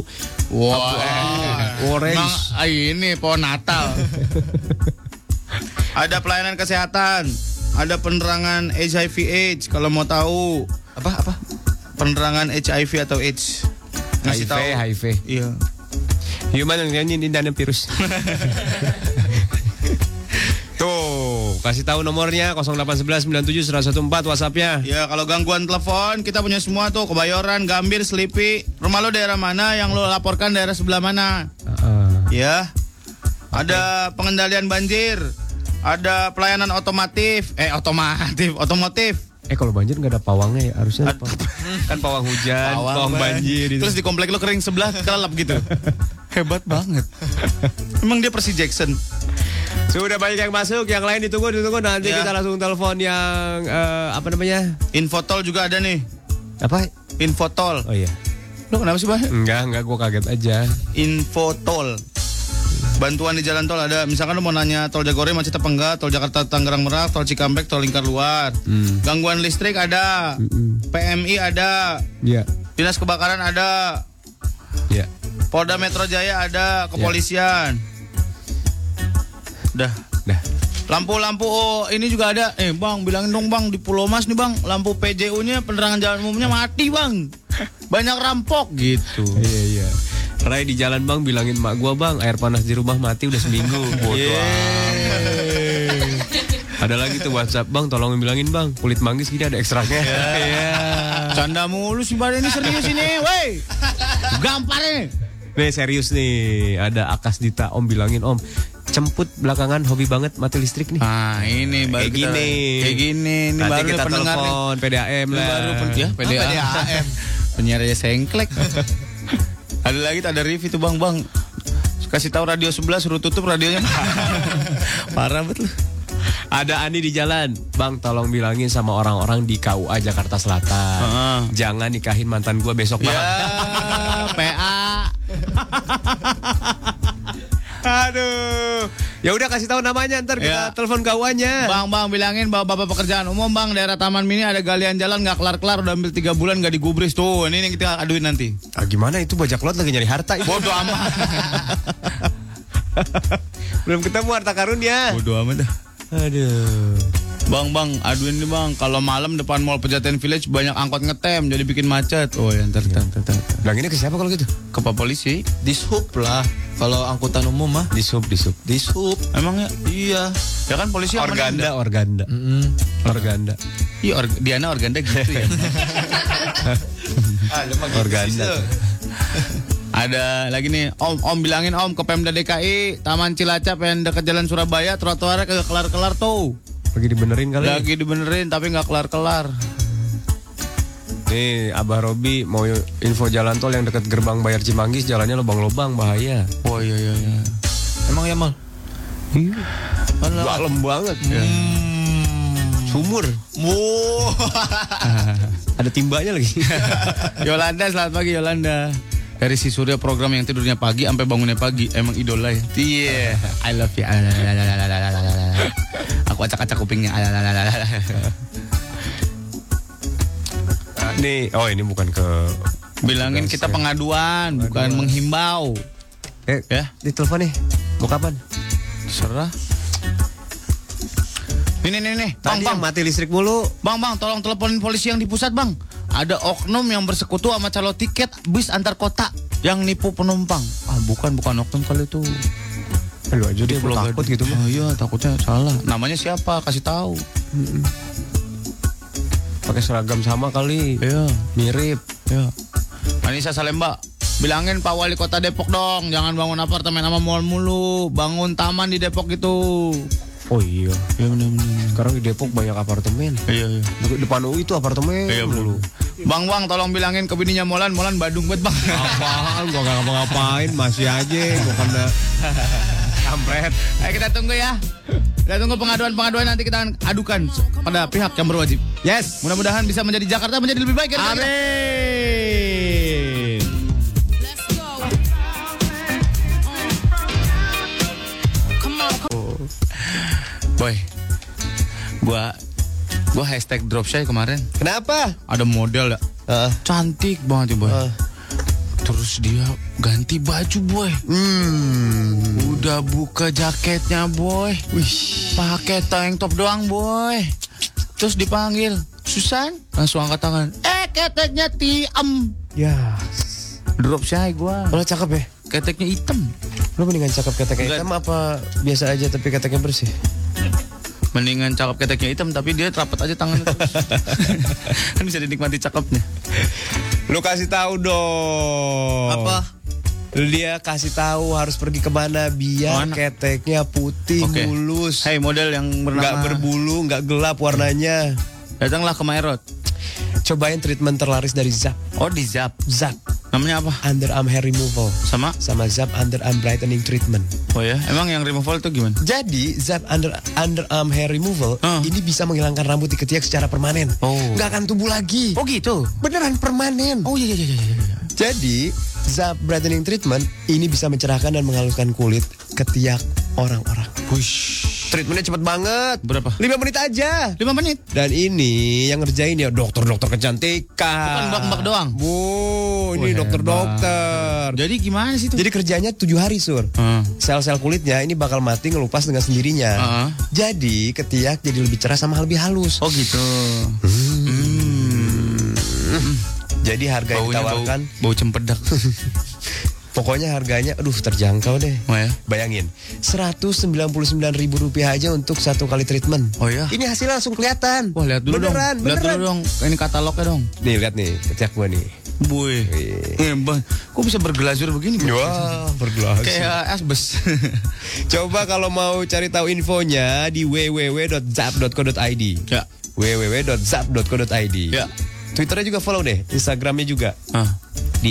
orange. Ini pohon Natal. Ada pelayanan kesehatan, ada penerangan HIV/AIDS kalau mau tahu. Apa? Penerangan HIV atau AIDS. Ngasih tahu. HIV. Iya. Human ini dan virus. Tuh, kasih tahu nomornya 0811971114 WhatsApp-nya. Ya, kalau gangguan telepon kita punya semua tuh, Kebayoran, Gambir, Selipi. Rumah lo daerah mana, yang lo laporkan daerah sebelah mana? Ya. Ada pengendalian banjir. Ada pelayanan otomotif. Kalau banjir nggak ada pawangnya ya, harusnya ada kan pawang hujan, pawang banjir. Terus di komplek lo kering sebelah kelelap gitu. Hebat banget. Emang dia Percy Jackson. Sudah banyak yang masuk, yang lain ditunggu nanti Ya. kita langsung telepon yang apa namanya? Infotol juga ada nih. Apa? Infotol. Oh iya. Lo kenapa sih, Bang? Enggak, gue kaget aja. Infotol. Bantuan di jalan tol ada. Misalkan lo mau nanya tol Jagorawi macet apa enggak, tol Jakarta Tangerang Merak, tol Cikampek, tol Lingkar Luar. Gangguan listrik ada. PMI ada. Iya. Dinas kebakaran ada. Iya. Polda Metro Jaya ada, kepolisian. Dah. Lampu-lampu ini juga ada. Bang, bilangin dong bang, di Pulau Mas nih bang, lampu PJU-nya, penerangan jalan umumnya mati bang. Banyak rampok gitu. Iya. Ray di jalan bang, bilangin mak gua bang, air panas di rumah mati udah seminggu. Bodoh amat. Ada lagi tuh WhatsApp bang, tolong bilangin bang, kulit manggis gini ada ekstraknya. Iya. Canda mulu sih Bang, ini serius ini, woi. Gampar nih. Nih serius nih, ada Akas Dita, om bilangin om, cemput belakangan hobi banget mati listrik nih. Ini baru kayak gini. Ini nanti baru kita pendengar telepon PDAM lah. Baru PDAM. Penyiar aja sengklek. Ada lagi, ada review tuh bang. Kasih tahu radio sebelah, suruh tutup radionya. Parah betul. Ada Ani di jalan, bang tolong bilangin sama orang-orang di KUA Jakarta Selatan, jangan nikahin mantan gue besok Ya, malam. PA Aduh. Ya udah kasih tahu namanya, ntar kita Ya. telepon kawannya. Bang, bilangin bapak pekerjaan umum bang, daerah Taman Mini ada galian jalan nggak kelar-kelar, udah ambil 3 bulan nggak digubris tuh. Ini yang kita aduin nanti. Ah, gimana itu bajak laut lagi nyari harta. Bodoh amat. Belum ketemu harta karunnya. Bodoh amat dah. Aduh. Bang, aduin nih bang, kalau malam depan Mall Pejaten Village banyak angkot ngetem, jadi bikin macet. Oh ya, ntar. Bilang ini ke siapa kalau gitu? Ke Pak Polisi. Dishub lah. Kalau angkutan umum mah. Dishub. Dishub. Emangnya? Iya. Ya kan polisi yang menindak. Organda. Organda. Iya, Diana Organda gitu ya. Organda. Ada lagi nih, Om bilangin Om ke Pemda DKI, Taman Cilacap yang dekat Jalan Surabaya, trotoarnya kagak kelar-kelar tuh. Lagi dibenerin kali. Lagi dibenerin tapi nggak kelar-kelar. Nih, Abah Robi mau info jalan tol yang dekat gerbang Bayar Cimanggis, jalannya lubang-lubang, bahaya. Oh iya. Emang ya mal? Dalam banget. Sumur. Wow. Ada timbanya lagi. Yolanda, selamat pagi Yolanda. Dari si Surya program yang tidurnya pagi sampai bangunnya pagi, emang idola ya. Iya, I love you. Aku acak-acak kupingnya. Nih, oh ini bukan ke Bilangin kita pengaduan, bukan menghimbau. Ya, ditelepon nih. Mau kapan? Serah. Nih. Tadi yang mati listrik mulu. Bang, tolong teleponin polisi yang di pusat, Bang. Ada oknum yang bersekutu sama calo tiket bis antar kota yang nipu penumpang. Ah, bukan oknum kali itu. Lu aja dia takut gitu mah. Oh iya, takutnya salah. Namanya siapa? Kasih tahu. Pakai seragam sama kali. Iya, mirip. Iya. Anissa Salemba, bilangin Pak Wali Kota Depok dong, jangan bangun apartemen sama mall mulu, bangun taman di Depok gitu. Oh iya. Iya benar. Sekarang di Depok banyak apartemen. Iya. Depan UI itu apartemen. Iya dulu. Bang, tolong bilangin ke bininya Molan Badung banget, Bang. Apaan? Gua gak ngapa-ngapain, masih aja. Gua kena kampret. Ayo kita tunggu ya. Kita tunggu pengaduan nanti kita akan adukan pada pihak yang berwajib. Yes. Mudah-mudahan bisa menjadi Jakarta menjadi lebih baik. Amin. Boy, gua hashtag dropshy kemarin. Kenapa? Ada model ya, cantik banget ya boy. Terus dia ganti baju boy. Udah buka jaketnya boy. Pakai tank top doang boy. Terus dipanggil Susan, langsung angkat tangan. Keteknya tiam. Ya. Dropshy gua. Kalau cakep ya? Keteknya hitam. Lu mendingan cakep keteknya hitam apa biasa aja tapi keteknya bersih? Mendingan cakep keteknya hitam tapi dia rapat aja tangannya terus. Kan bisa dinikmati cakepnya. Lu kasih tahu dong. Apa? Dia kasih tahu harus pergi kemana biar keteknya putih, mulus. Hey, model yang bernama nggak berbulu, nggak gelap warnanya. Datanglah ke Maerot. Cobain treatment terlaris dari Zap. Oh, di Zap. Namanya apa? Underarm hair removal. Sama Zap underarm brightening treatment. Oh ya, emang yang removal itu gimana? Jadi Zap underarm hair removal ini bisa menghilangkan rambut di ketiak secara permanen. Nggak akan tumbuh lagi. Oh gitu? Beneran permanen. Oh iya. Jadi Zap brightening treatment ini bisa mencerahkan dan menghaluskan kulit ketiak orang-orang. Treatmentnya cepet banget. Berapa? 5 menit aja. 5 menit. Dan ini yang ngerjain ya dokter-dokter kecantikan. Bukan mbak-mbak doang. Ini dokter-dokter. Jadi gimana sih itu? Jadi kerjanya 7 hari Sur. Sel-sel kulitnya ini bakal mati ngelupas dengan sendirinya. Jadi ketiak jadi lebih cerah sama lebih halus. Oh gitu. Jadi harga yang ditawarkan bau cempedak. Pokoknya harganya terjangkau deh. Oh ya? Bayangin, Rp199.000 aja untuk 1 kali treatment. Oh ya? Ini hasilnya langsung kelihatan. Wah, lihat dulu beneran. Lihat dulu dong. Ini katalognya dong. Nih, lihat nih, ketiak gua nih. Boy. Bang, kok bisa berglazur begini? Wah, berglazur. Kayak asbes. Coba kalau mau cari tahu infonya di www.zap.co.id. Ya. www.zap.co.id. Ya. Twitternya juga follow deh, Instagramnya juga. Di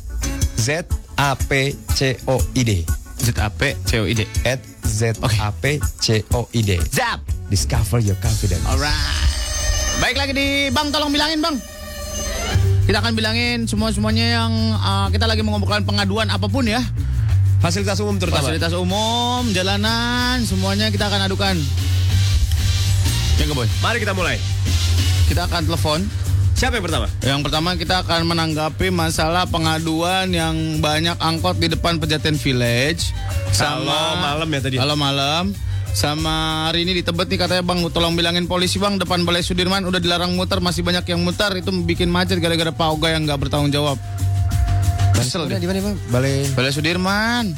@ZAPCOID. ZAPCOID. @ZAPCOID. Zap. Discover your confidence. Alright. Baik lagi di Bang, tolong bilangin Bang. Kita akan bilangin semuanya yang kita lagi mengumpulkan pengaduan apapun ya. Fasilitas umum terutama. Fasilitas umum, jalanan, semuanya kita akan adukan. Ya nggak Boy? Mari kita mulai. Kita akan telepon. Siapa yang pertama? Yang pertama kita akan menanggapi masalah pengaduan yang banyak angkot di depan Pejaten Village. Kalau malam ya tadi. Kalau malam. Sama hari ini di Tebet nih katanya bang, tolong bilangin polisi bang, depan Balai Sudirman udah dilarang muter, masih banyak yang muter, itu bikin macet gara-gara Pak Oga yang nggak bertanggung jawab. Kesel deh. Di mana Bang? Balai Sudirman.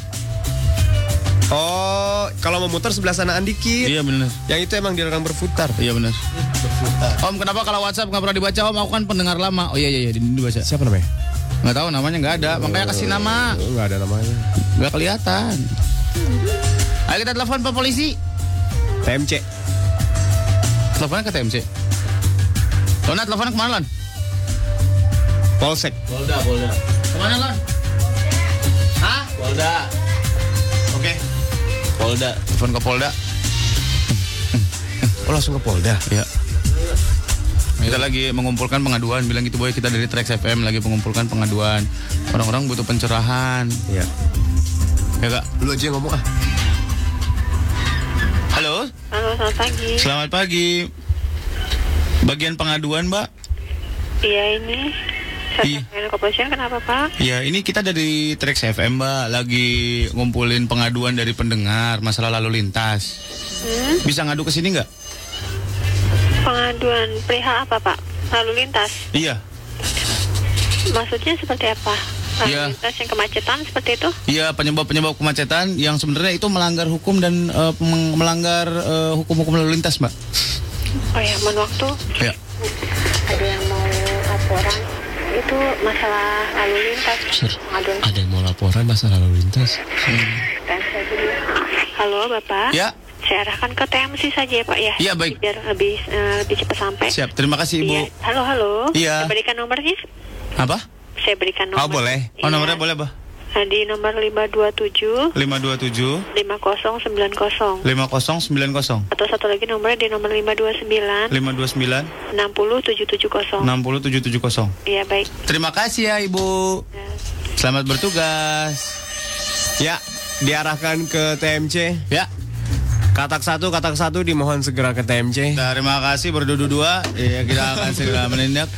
Oh, kalau mau muter sebelah sanaan dikit. Iya benar. Yang itu emang dilarang berputar. Iya benar. Om, kenapa kalau WhatsApp nggak pernah dibaca Om? Aku kan pendengar lama. Oh iya dibaca. Siapa namanya? Nggak tahu namanya, nggak ada. Makanya kasih nama. Nggak ada namanya. Nggak kelihatan. Ayo kita telepon Pak Polisi. TMC. Teleponnya ke TMC. Lona, teleponnya kemana Lon? Polsek. Polda. Kemana Lon? Hah? Polda. Oke. Polda. Telepon ke Polda. Oh, langsung ke Polda. Ya. Kita lagi mengumpulkan pengaduan. Bilang gitu Boy, kita dari Trax FM lagi mengumpulkan pengaduan. Orang-orang butuh pencerahan. Iya. Ya Kak? Lu aja yang ngomong ah. Halo? Halo, selamat pagi. Selamat pagi. Bagian pengaduan, Mbak? Iya, ini. Iya. Kepolisian kenapa, Pak? Ya, ini kita dari Trax FM, Mbak, lagi ngumpulin pengaduan dari pendengar masalah lalu lintas. Bisa ngadu ke sini nggak? Pengaduan perihal apa, Pak? Lalu lintas? Iya. Maksudnya seperti apa? Lalu Iya. lintas yang kemacetan seperti itu? Iya, penyebab kemacetan yang sebenarnya itu melanggar hukum dan melanggar hukum-hukum lalu lintas, Mbak. Oh ya, mohon waktu. Ya. Ada yang mau laporan. Itu masalah lalu lintas. Pengaduan. Ada yang mau laporan masalah lalu lintas. Halo, Bapak. Ya. Saya arahkan ke TMC saja ya, Pak ya. Iya, baik. Biar lebih cepat sampai. Siap, terima kasih, Ibu. Iya. Halo. Iya. Saya berikan nomornya. Apa? Saya berikan nomor. Oh, boleh. Oh, nomornya boleh, Bah? Di nomor 527 527 5090 5090 atau satu lagi nomornya di nomor 529 529 60770. 60770. Iya, baik. Terima kasih ya, Ibu. Selamat bertugas. Ya, diarahkan ke TMC. Ya. Katak satu dimohon segera ke TMC. Terima kasih berdua-dua. Ya, kita akan segera menindak.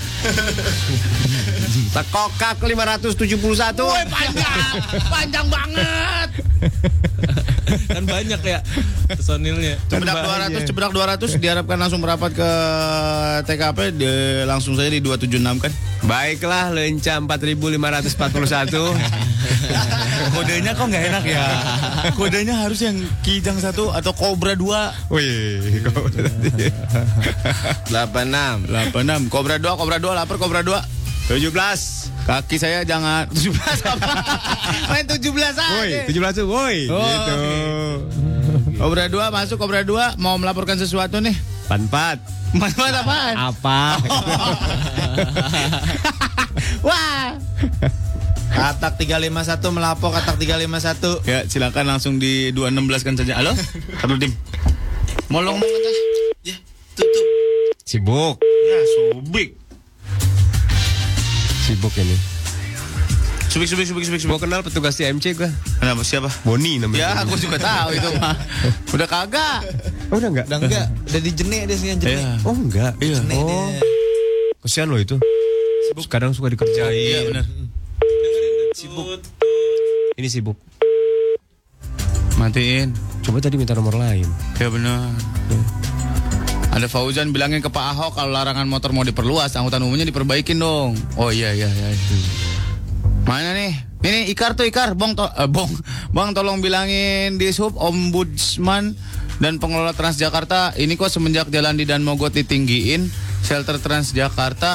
Tekokak 571. Woi, panjang banget. Kan banyak ya personilnya. Cebedak 200 diharapkan langsung merapat ke TKP langsung saja di 276 kan. Baiklah, Lenca 4541. Kodenya kok nggak enak ya. Kodenya harus yang Kijang 1 atau Cobra 2. Wih, 86 Cobra 2 lapar Cobra 2. 17. Kaki saya jangan 17 apa? Main 17 aja. Woi, 17 tuh, woi. Oh, Gitu. Okay. Cobra 2 masuk, Cobra 2 mau melaporkan sesuatu nih. 44. Manfaat apaan? Apa? Wah. Katak 351 melapor katak 351. Ya, silakan langsung di 216 kan saja. Halo? Halo, Dim. Molong mau atas. Ya, tutup. Sibuk. Ya, subik. Sibuk ini. Subik. Mau kenal petugas TMC gua. Kenapa, siapa? Boni namanya. Ya, aku juga tahu itu mah. Udah kagak. Oh, udah enggak? Udah enggak, udah dijenek dia sih yang jenek. Iya. Oh, enggak. Iya. Jenek dia. Kesian loh itu. Kadang suka dikerjain. Iya, benar. Sibuk. Ini sibuk. Matiin. Coba tadi minta nomor lain. Ya benar. Ada Fauzan bilangin ke Pak Ahok kalau larangan motor mau diperluas, angkutan umumnya diperbaikin dong. Oh iya. Mana nih? Ini Ikar, Bang tolong bilangin di sub Ombudsman dan pengelola Transjakarta, ini kok semenjak jalan di Dan Mogot ditinggiin, shelter Transjakarta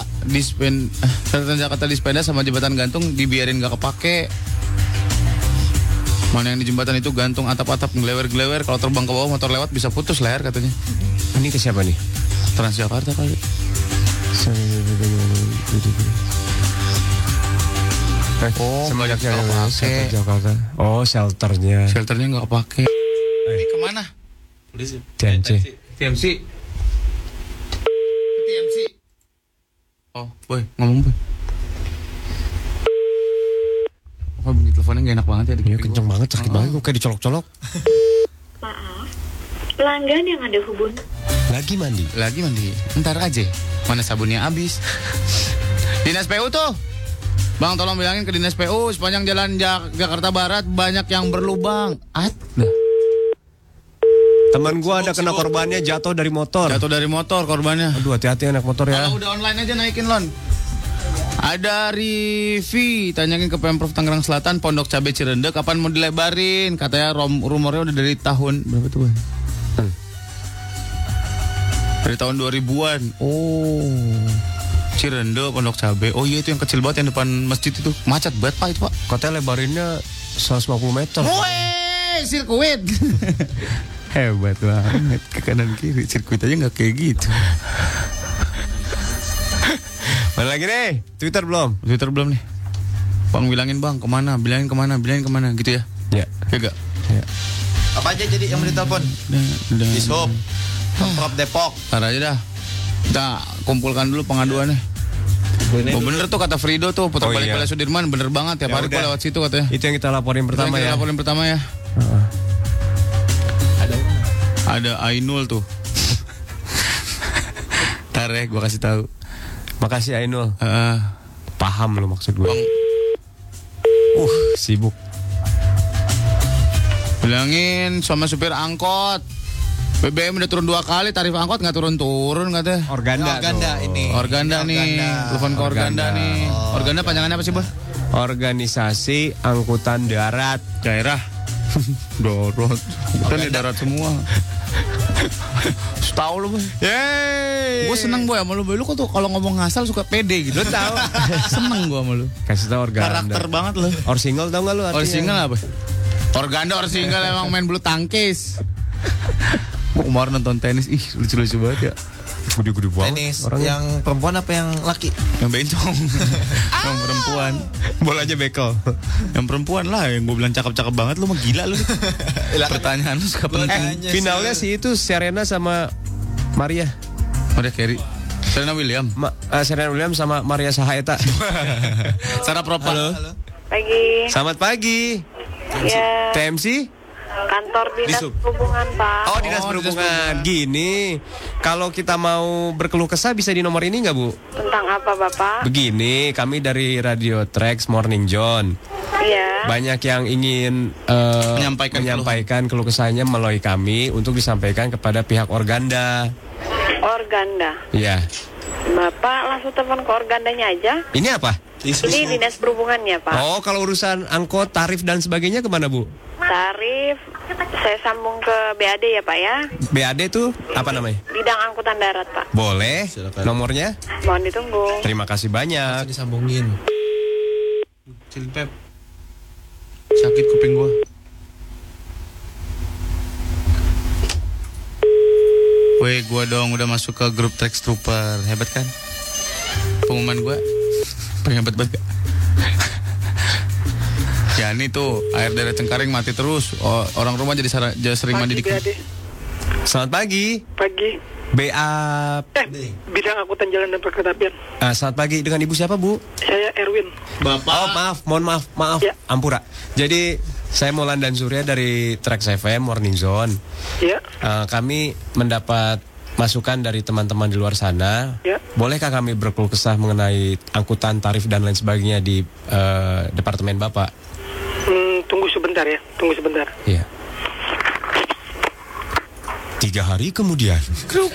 di sepeda sama jembatan gantung dibiarin gak kepake. Mana yang di jembatan itu gantung atap-atap ngelewer-gelewer, kalau terbang ke bawah motor lewat bisa putus leher katanya. Ini ke siapa nih? Transjakarta kali. Oh, semenjak nggak kepake. Jakarta. Oh, shelternya. Shelternya nggak kepake. Ini kemana? Polisi. TMC. Oh, boy, ngomong boy. teleponnya gak enak banget ya. Iya kenceng banget, sakit banget gue kayak dicolok-colok. Maaf, pelanggan yang Anda hubungi. Lagi mandi. Ntar aja. Mana sabunnya habis. Dinas PU tuh. Bang tolong bilangin ke Dinas PU sepanjang jalan Jakarta Barat banyak yang berlubang. Teman gue ada kena korbannya jatuh dari motor. Korbannya. Aduh hati-hati anak motor ya. Kalau udah online aja naikin lon. Ada Rivi tanyain ke Pemprov Tangerang Selatan Pondok Cabe Cirende kapan mau dilebarin? Katanya rumornya udah dari tahun berapa tuh, Bang? Dari tahun 2000-an. Oh. Cirende Pondok Cabe. Oh iya itu yang kecil banget yang depan masjid itu. Macet banget Pak itu, Pak. Katanya lebarinnya 150 meter. Woi, sirkuit. Hebat banget. Ke kanan kiri sirkuit aja nggak kayak gitu. Mana lagi nih? Twitter belum nih. Bang bilangin bang kemana? Bilangin kemana gitu ya? Ya. Ya gak? Ya. Apa aja jadi yang mau ditelepon? Dishub, Pemprov Depok. Ntar aja dah. Kita kumpulkan dulu pengaduannya. Oh bener tuh kata Frido tuh putar balik Wilayah Sudirman bener banget ya. Hari gua lewat situ katanya. Itu yang kita laporin pertama ya. Ada Ainul tuh. Ntar ya gue kasih tahu. Makasih Ainul. Paham lo maksud gue. Sibuk. Bilangin sama supir angkot. BBM udah turun 2 kali, tarif angkot nggak turun-turun katanya. Organda nih. Telepon ke Organda nih. Organda panjangannya apa sih, Bang? Organisasi Angkutan Darat Daerah. Darat. Kita nih darat semua. Tahu lu, Boy. Yeay. Gue seneng Boy sama lu, Boy. Lu kok tuh kalau ngomong ngasal suka pede gitu. Lu tahu. Seneng gue sama lu. Kasih tahu Organda. Karakter banget lu. Orsingle tau gak lu artinya? Orsingle apa? Organda Orsingle emang main bulu tangkis. Gue kemarin nonton tenis, lucu-lucu banget ya. Gede-gede banget. Tenis orangnya. Yang perempuan apa yang laki? Yang bencong. Yang perempuan. Bolanya bekel. Yang perempuan lah, yang gue bilang cakep-cakep banget. Lu mah gila lu. Pertanyaan lu suka penting. Finalnya sih itu Serena sama Maria Carey. Serena Williams. Serena Williams sama Maria Sahaeta. Sarah Propa. Halo. Pagi. Selamat pagi. Ya. TMC? Kantor Dinas Perhubungan, Pak. Oh, Dinas Perhubungan. Gini, kalau kita mau berkeluh kesah bisa di nomor ini nggak, Bu? Tentang apa, Bapak? Begini, kami dari Radio Trax Morning John. Iya. Banyak yang ingin menyampaikan keluh kesahnya melalui kami untuk disampaikan kepada pihak Organda. Organda? Iya. Bapak langsung telepon ke Organdanya aja. Ini apa? Ini Dinas Perhubungannya, Pak. Oh, kalau urusan angkot, tarif dan sebagainya kemana, Bu? Tarif, saya sambung ke BAD ya Pak ya. BAD tuh apa namanya? Bidang Angkutan Darat Pak. Boleh. Silakan. Nomornya? Mohon ditunggu. Terima kasih banyak. Masih disambungin. Cilpep. Sakit kuping gua. Weh, gua dong udah masuk ke grup Trax Trooper. Hebat kan? Pengumuman gua. Hebat banget gak? Ya ini tuh air daerah Cengkareng mati terus. Orang rumah jadi sering mandi di. Selamat pagi. Pagi. Bidang Angkutan Jalan dan Perkeretaapian. Selamat pagi, dengan Ibu siapa, Bu? Saya Erwin. Bapak. Oh, maaf. Ya. Ampura. Jadi saya Molan dan Surya dari Trax FM Morning Zone. Ya. Kami mendapat masukan dari teman-teman di luar sana. Ya. Bolehkah kami berkeluh kesah mengenai angkutan, tarif dan lain sebagainya di departemen Bapak? Tunggu sebentar ya. Iya. 3 hari kemudian. Kruk.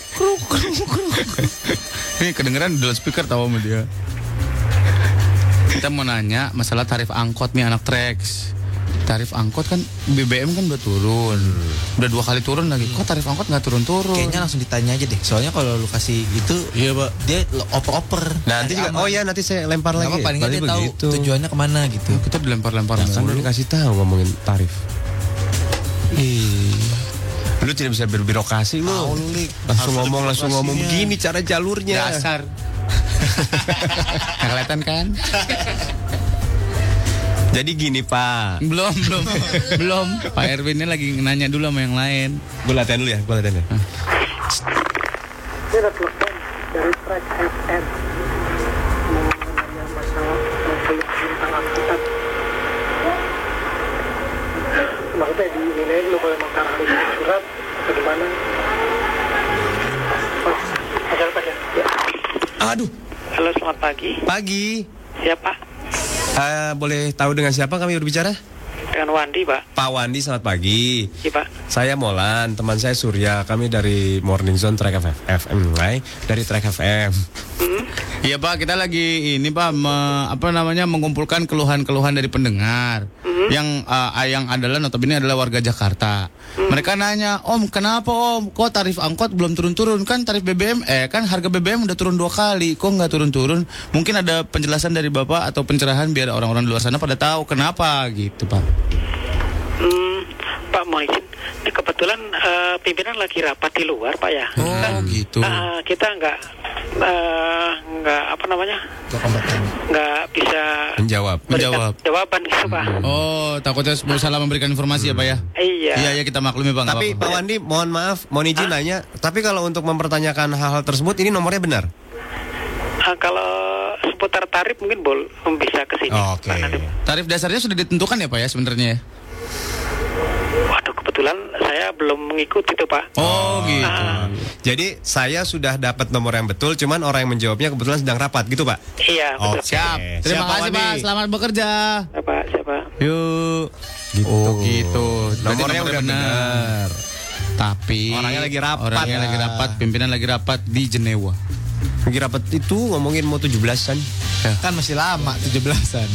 Ini kedengeran di speaker tahu sama dia. Kita mau nanya masalah tarif angkot nih anak Trax. Tarif angkot kan BBM kan udah turun. Udah 2 kali turun lagi. Kok tarif angkot nggak turun-turun? Kayaknya langsung ditanya aja deh. Soalnya kalau lu kasih itu, iya Pak, dia oper-oper. Nanti juga. Oh iya, nanti saya lempar lagi. Paling nggak dia tahu tujuannya kemana gitu. Kita dilempar-lempar. Kan udah dikasih tahu ngomongin tarif. Lu tidak bisa berbirokrasi lu. Langsung ngomong begini cara jalurnya. Dasar. Kelihatan kan? Jadi gini Pak. Belum. Pak Erwin ini lagi nanya dulu sama yang lain. Gue latihan dulu ya. Ini ada telepon dari Trax FM. Mau nanya masalah tentang angkutan. pagi. Pagi. Siapa? Boleh tahu dengan siapa kami berbicara? Dengan Wandi, Pak. Pak Wandi, selamat pagi. Iya, Pak. Saya Molan, teman saya Surya. Kami dari Morning Zone Track FM, dari Track FM. Iya Pak, kita lagi ini Pak mengumpulkan keluhan-keluhan dari pendengar yang adalah notabene adalah warga Jakarta. Mereka nanya, Om, kenapa Om? Kok tarif angkot belum turun-turun? Kan tarif BBM, kan harga BBM udah turun 2 kali. Kok nggak turun-turun? Mungkin ada penjelasan dari Bapak atau pencerahan biar orang-orang di luar sana pada tahu kenapa gitu Pak. Pak, mau izin. Ini kebetulan pimpinan lagi rapat di luar, Pak ya. Oh, gitu. Kita nggak bisa menjawab jawaban gitu, Pak. Oh, takutnya salah memberikan informasi ya Pak ya. Iya kita maklumi Pak. Tapi Pak Wandi, mohon maaf, mohon izin nanya. Tapi kalau untuk mempertanyakan hal-hal tersebut, ini nomornya benar? Kalau seputar tarif mungkin bisa ke sini. Oke. Tarif dasarnya sudah ditentukan ya Pak ya sebenarnya? Waduh, kebetulan saya belum mengikuti itu, Pak. Oh, gitu. Jadi saya sudah dapat nomor yang betul, cuman orang yang menjawabnya kebetulan sedang rapat, gitu Pak? Iya, betul. Siap. Terima kasih Pak, selamat bekerja. Siapa? Yuk. Gitu. Nomornya udah benar. Tapi orangnya lagi rapat. Pimpinan lagi rapat di Jenewa. Lagi rapat itu ngomongin mau 17-an. Ya. Kan masih lama 17-an.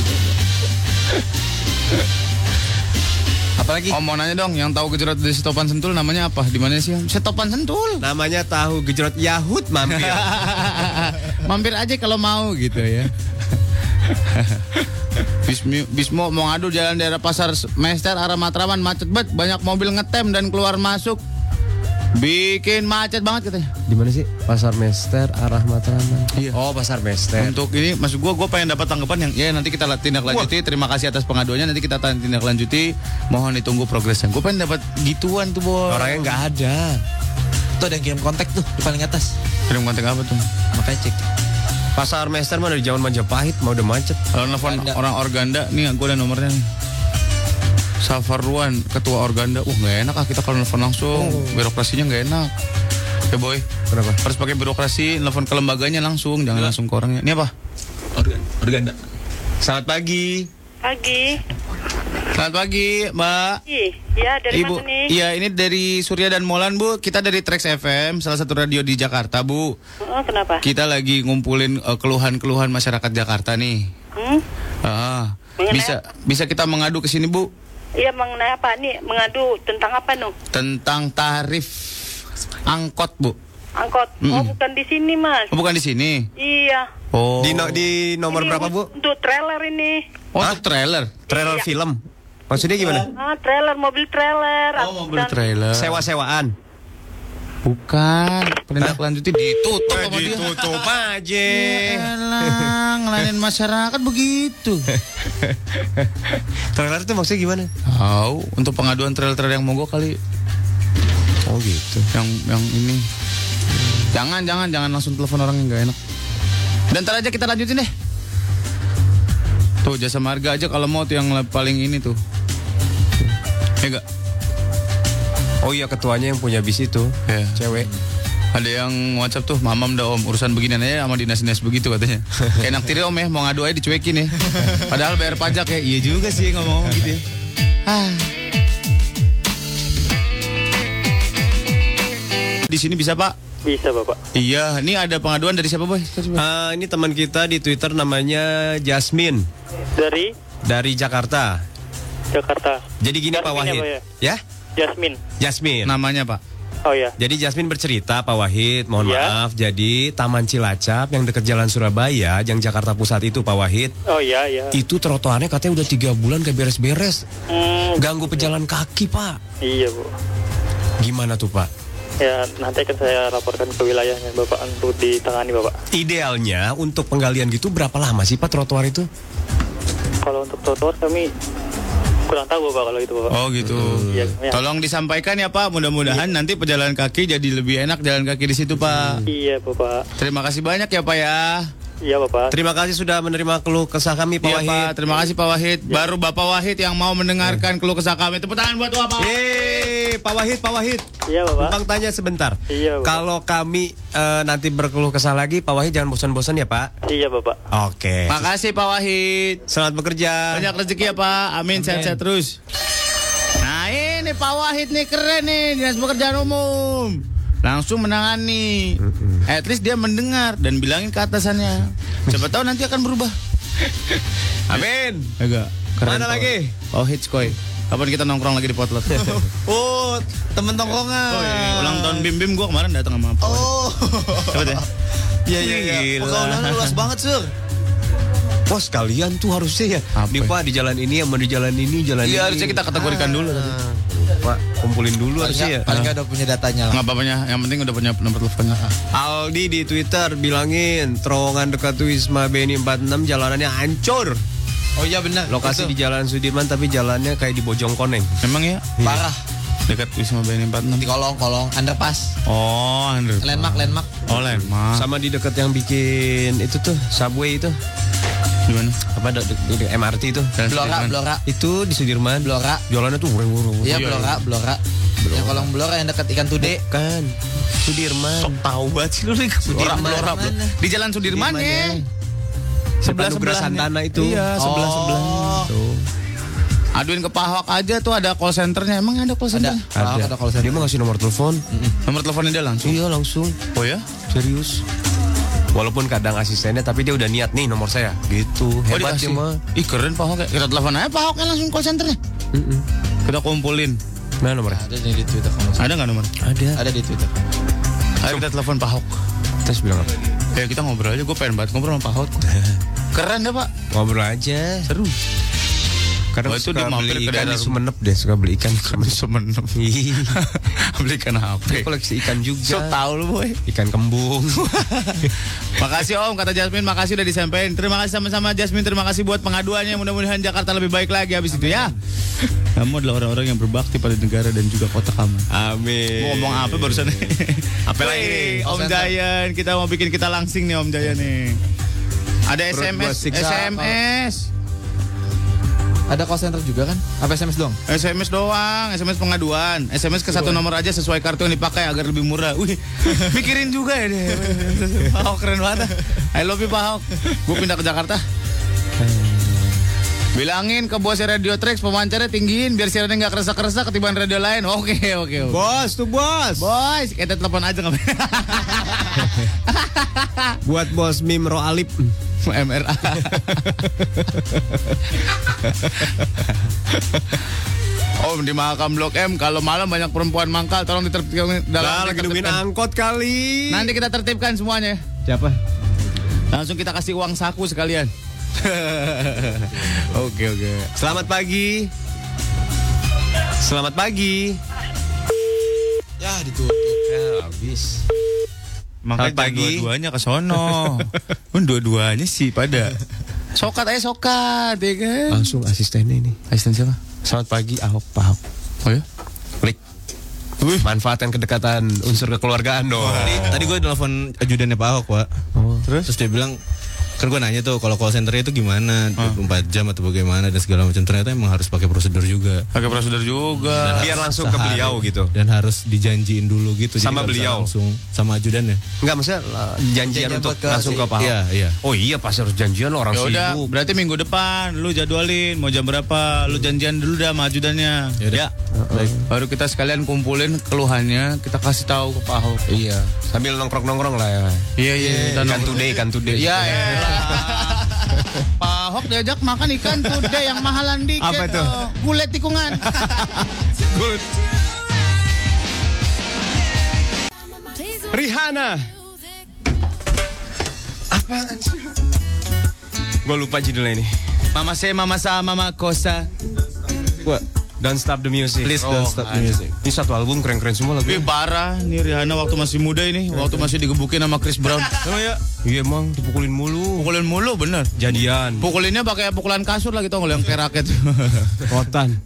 Apalagi? Mau nanya dong, yang tahu gejrot di Setopan Sentul namanya apa? Di mana sih? Setopan Sentul. Namanya tahu gejrot Yahut, mampir. Mampir aja kalau mau gitu ya. Bismo mau ngadu jalan daerah Pasar Mester arah Matraman macet banget, banyak mobil ngetem dan keluar masuk. Bikin macet banget katanya. Di mana sih? Pasar Mester arah Matraman. Iya. Oh, Pasar Mester. Untuk ini maksud gue pengen dapat tanggapan yang ya nanti kita tindak lanjuti. Terima kasih atas pengaduannya, nanti kita tindak lanjuti. Mohon ditunggu progresnya. Gue pengen dapat gituan tuh, Boy. Orangnya nggak ada. Tuh ada yang kirim kontak tuh di paling atas. Kirim kontak apa tuh? Makanya cek. Pasar Mester mah dari zaman Majapahit, mau udah macet. Kalau nelfon orang Organda, nih gue ada nomornya nih. Safarwan, ketua Organda. Nggak enak kita kalau nelfon langsung. Birokrasinya nggak enak. Ya Boy. Kenapa? Harus pakai birokrasi, nelfon ke lembaganya langsung, jangan langsung ke orangnya. Ini apa? Organda. Selamat pagi. Selamat pagi, Mbak. Iya, dari Ibu, mana nih? iya, ini dari Surya dan Molan, Bu. Kita dari Trax FM, salah satu radio di Jakarta, Bu. Kenapa? Kita lagi ngumpulin keluhan-keluhan masyarakat Jakarta nih. Bisa kita mengadu ke sini, Bu? Iya, mengenai apa nih? Mengadu tentang apa, Nu? Tentang tarif angkot, Bu. Angkot? Oh, bukan di sini, Mas. Oh, bukan di sini? Iya. Oh. Di nomor Ini berapa, Bu? Untuk trailer ini. Oh, untuk trailer? Trailer film. Maksudnya gimana? Trailer, mobil trailer. Oh, mobil trailer. Sewa-sewaan. Bukan. Penindaklanjuti ditutup sama dia. Ditutup aja. Yalah, ngelainin masyarakat begitu. Trailer itu maksudnya gimana? Tahu, untuk pengaduan trailer-trailer yang mogok kali. Oh gitu. Yang ini. Jangan langsung telepon orang yang gak enak. Dan ntar aja kita lanjutin deh. Tuh Jasa Marga aja kalau mau tuh yang paling ini tuh. Ya gak? Oh iya, ketuanya yang punya bis itu, cewek. Ada yang WhatsApp tuh, mamam dah Om, urusan beginian aja sama dinas-dinas begitu katanya. Kayak enak tiri Om ya, mau ngadu aja dicuekin ya. Padahal bayar pajak ya. Iya juga sih ngomong gitu ya. Di sini bisa Pak? Bisa Bapak. Iya, ini ada pengaduan dari siapa Boy? Ini teman kita di Twitter namanya Jasmine. Dari Jakarta. Jadi gini Jasmine, Pak Wahid. Ya? Jasmine. Namanya Pak? Oh ya. Jadi Jasmine bercerita Pak Wahid, mohon maaf. Jadi Taman Cilacap yang dekat Jalan Surabaya, yang Jakarta Pusat itu Pak Wahid. Oh iya. Itu trotoarnya katanya udah 3 bulan gak beres-beres. Ganggu pejalan kaki Pak. Iya Bu. Gimana tuh Pak? Ya nanti akan saya laporkan ke wilayahnya Bapak untuk ditangani Bapak. Idealnya untuk penggalian gitu berapa lama sih Pak trotoar itu? Kalau untuk trotoar kami kurang tahu Bapak kalau itu Bapak. Oh gitu. Ya. Tolong disampaikan ya Pak, mudah-mudahan nanti pejalan kaki jadi lebih enak jalan kaki di situ Pak. Iya Bapak. Terima kasih banyak ya Pak ya. Iya Bapak. Terima kasih sudah menerima keluh kesah kami Pak Wahid. Pak, terima kasih Pak Wahid. Baru Bapak Wahid yang mau mendengarkan keluh kesah kami. Tepuk tangan buat Bapak. Yeay. Pak Wahid. Iya, Bapak. Bang tanya sebentar. Iya, Bapak. Kalau kami nanti berkeluh kesah lagi, Pak Wahid jangan bosan-bosan ya, Pak. Iya, Bapak. Oke. Makasih Pak Wahid. Selamat bekerja. Banyak rezeki ya Pak. Amin, sehat-sehat terus. Nah ini Pak Wahid nih keren nih, Dinas Pekerjaan Umum. Langsung menangani. At least dia mendengar dan bilangin ke atasannya. Siapa tahu nanti akan berubah. Amin. Agak keren. Mana Pak lagi? Pak Wahid Skoy. Kapan kita nongkrong lagi di Potlot? Oh, temen tongkrongan. Oh, iya. Ulang tahun Bim gua kemarin datang sama Pak Wahid. Oh. Coba deh. Iya. Gila. Pergaulannya luas banget, Sur. Bos kalian tuh harusnya ya. Apa? Nih Pak di jalan ini sama di jalan ini, jalan ini. Iya harusnya kita kategorikan dulu tadi. Pak, kumpulin dulu harusnya ya. Paling nggak udah punya datanya lah. Nggak apa-apanya, yang penting udah punya nomor teleponnya. Aldi di Twitter bilangin terowongan dekat Wisma BNI 46 jalanannya hancur. Oh iya benar. Lokasi di Jalan Sudirman tapi jalannya kayak di Bojongkoneng. Memang ya? parah. Dekat Wisma BNI 46. Di kolong underpass. Oh, underpass. Landmark. Oh, landmark. Sama di dekat yang bikin itu tuh subway itu. Di mana? Apa di MRT itu? Blora. Itu di Sudirman. Blora. Jualannya tuh ureng-ureng. Iya, Blora. Yang kolong Blora yang dekat ikan tude. Kan. Sudirman. Sok tahu banget sih lu nih. Blora. Mana? Di Jalan Sudirman ya. Sebelah Sebelah Santana itu. Iya, sebelah tuh. Aduin ke Pak Ahok aja tuh ada call centernya. Emang ada call center? Ada call center. Dia mau ngasih nomor telepon. Nomor teleponnya dia langsung. Iya langsung. Oh ya? Serius. Walaupun kadang asistennya tapi dia udah niat nih nomor saya. Gitu. Hebat dikasih. dia mah. Ih keren Pak Ahok ya. Kita telepon aja Pak Ahok kan langsung call centernya. Kita kumpulin. Mana nomornya? Ada nih di Twitter. Ada nggak nomor? Ada di Twitter. Ayo kita telepon Pak Ahok. Terus bilang apa? Ya kita ngobrol aja. Gue pengen banget ngobrol sama Pak Ahok. Keren deh Pak. Ngobrol aja. Seru. Karena Oh, itu suka dia mampir beli ke ikan daerah di Sumenep deh. Suka beli ikan di Sumenep. Semenem. Beli ikan Dia HP. koleksi ikan juga. So tau lu boy. Ikan kembung. Makasih Om, kata Jasmine, makasih udah disampaikan. Terima kasih sama-sama Jasmine, terima kasih buat pengaduannya. Mudah-mudahan Jakarta lebih baik lagi habis itu ya. Kamu adalah orang-orang yang berbakti pada negara dan juga kota kamu. Amin. Mau ngomong apa barusan? Apa lagi nih? Om Jayan, kita mau bikin kita langsing nih Om Jayan nih. Ada Perut gua SMS, siksa. SMS. Ada call center juga kan? Apa SMS doang? SMS doang, SMS pengaduan. SMS ke satu nomor aja sesuai kartu yang dipakai agar lebih murah. Wih, mikirin juga ya deh. Pak Ahok keren banget. I love you Pak Ahok. Gue pindah ke Jakarta. Bilangin ke bos Radio Trax pemancarnya tinggiin biar siarannya nggak kerasa-kerasa ketiban radio lain. Oke. Bos tuh bos. Boys, kita telepon aja nggak? Buat bos Mimro Alip. MRA. Om di Mahakam Blok M kalau malam banyak perempuan mangkal tolong ditertibkan Lah lagi nungguin angkot kali. Nanti kita tertibkan semuanya. Siapa? Langsung kita kasih uang saku sekalian. Oke. Selamat pagi. Selamat pagi. Ya ditutup. Ya habis. Makanya Selamat pagi. dua-duanya ke sono. Dua-duanya sih pada. Sokat ya kan. Langsung asistennya ini. Asisten siapa? Selamat pagi Ahok, Pak Ahok. Oh ya? Klik. Manfaatkan kedekatan unsur kekeluargaan dong. Tadi gue telepon ajudannya Pak Ahok, Pak. Terus dia bilang, kan gue nanya tuh kalau call centernya itu gimana, 24 jam atau bagaimana dan segala macam. Ternyata emang harus pakai prosedur juga. Pakai prosedur juga. Biar langsung ke beliau gitu. Dan harus dijanjiin dulu gitu. Sama nggak bisa beliau? langsung sama ajudannya. Enggak maksudnya janjian untuk langsung ke Pak Ahok. Iya. Oh iya pasti harus janjian lo orang Ya udah, sibuk. berarti minggu depan lu jadwalin mau jam berapa, lu janjian dulu dah sama ajudannya. Yaudah. Ya. Baru kita sekalian kumpulin keluhannya, kita kasih tahu ke Pak Ahok. Iya. Sambil nongkrong-nongkrong lah ya. Iya. Ikan today. Ya elah. Pak Ahok diajak makan ikan kude yang mahalan dikit. Apa tuh? Gulai tikungan. Rihanna. Apaan sih? Gue lupa judulnya ini. Mama saya, mama sa, mama kosa. What? Don't Stop the Music. Please don't stop the music. Ini satu album keren-keren semua lagu. Wih parah, nih Rihanna waktu masih muda ini, waktu masih digebukin sama Chris Brown. Emang ya? Iya emang dipukulin mulu. Pukulin mulu bener. Jadian. Pukulinnya pakai pukulan kasur lagi tau nggak yang kayak raket. Rotan.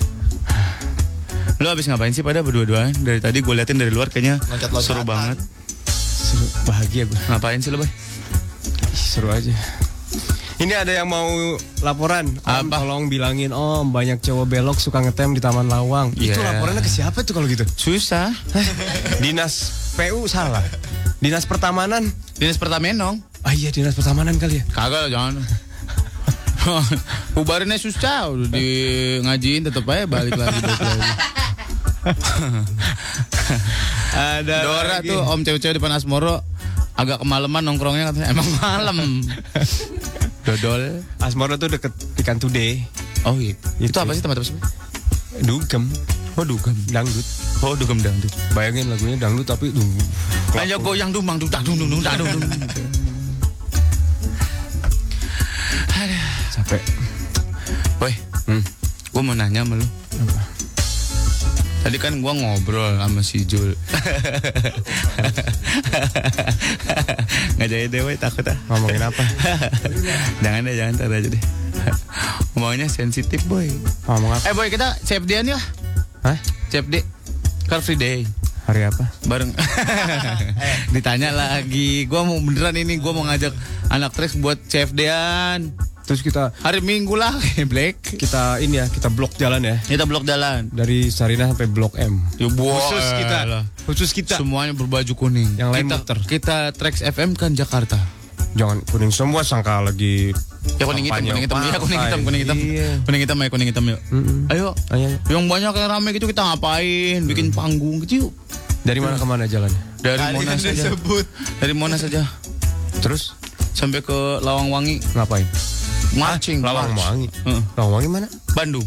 Lu habis ngapain sih pada berdua-duaan? Dari tadi gue liatin dari luar kayaknya seru banget. Seru, bahagia gue. Ngapain sih lu, Bay? Seru aja. Ini ada yang mau laporan. Om, tolong bilangin Om, banyak cowok belok suka ngetem di Taman Lawang. Itu laporannya ke siapa tuh kalau gitu? Susah. Dinas PU salah. Dinas Pertamanan. Dinas Pertamenong. Ah iya, Dinas Pertamanan kali ya. Kagak lah, jangan. Bubarinnya susah, udah di ngajiin tetep aja balik lagi. Ada Dora lagi. tuh om cewek-cewek depan Asmoro agak kemalaman nongkrongnya katanya. Emang malam. Dodol. Asmoro tuh deket Ikan Today. Oh iya. Itu apa sih tempat apa sih? Dugem. Oh dugem. Dangdut. Oh dugem dangdut. Bayangin lagunya dangdut tapi Ayo goyang dumang dung dung dung dung dung. Capek. Boy, gue mau nanya sama lu. Apa? Tadi kan gue ngobrol sama si Jul. Nggak jadi deh, boy, takut ah. Ngomongin apa? Jangan deh, jangan, ntar aja deh. Ngomongnya sensitif, boy. Ngomong apa? Boy, kita CFD-an ya? Hah? CFD, Car Free Day. Hari apa? Bareng. Ditanya lagi. Gue mau beneran ini, gue mau ngajak anak Trax buat CFD-an. Terus kita hari Minggu lah, Black. Kita ini ya, kita blok jalan ya. Kita blok jalan. Dari Sarinah sampai Blok M. Ya, Khusus kita. Semuanya berbaju kuning. Yang lain kita, muter. Kita Trax FM kan Jakarta. Jangan kuning semua, sangka lagi. Ya kuning hitam. Ya kuning hitam. Iya. Kuning hitam yuk. Ayo. Yang banyak yang rame gitu kita ngapain? Bikin panggung gitu yuk. Dari mana ke mana jalannya? Dari Monas saja. Dari Monas saja. Terus sampai ke Lawangwangi. Ngapain? Marching. Lawangwangi. Lawangwangi mana? Bandung.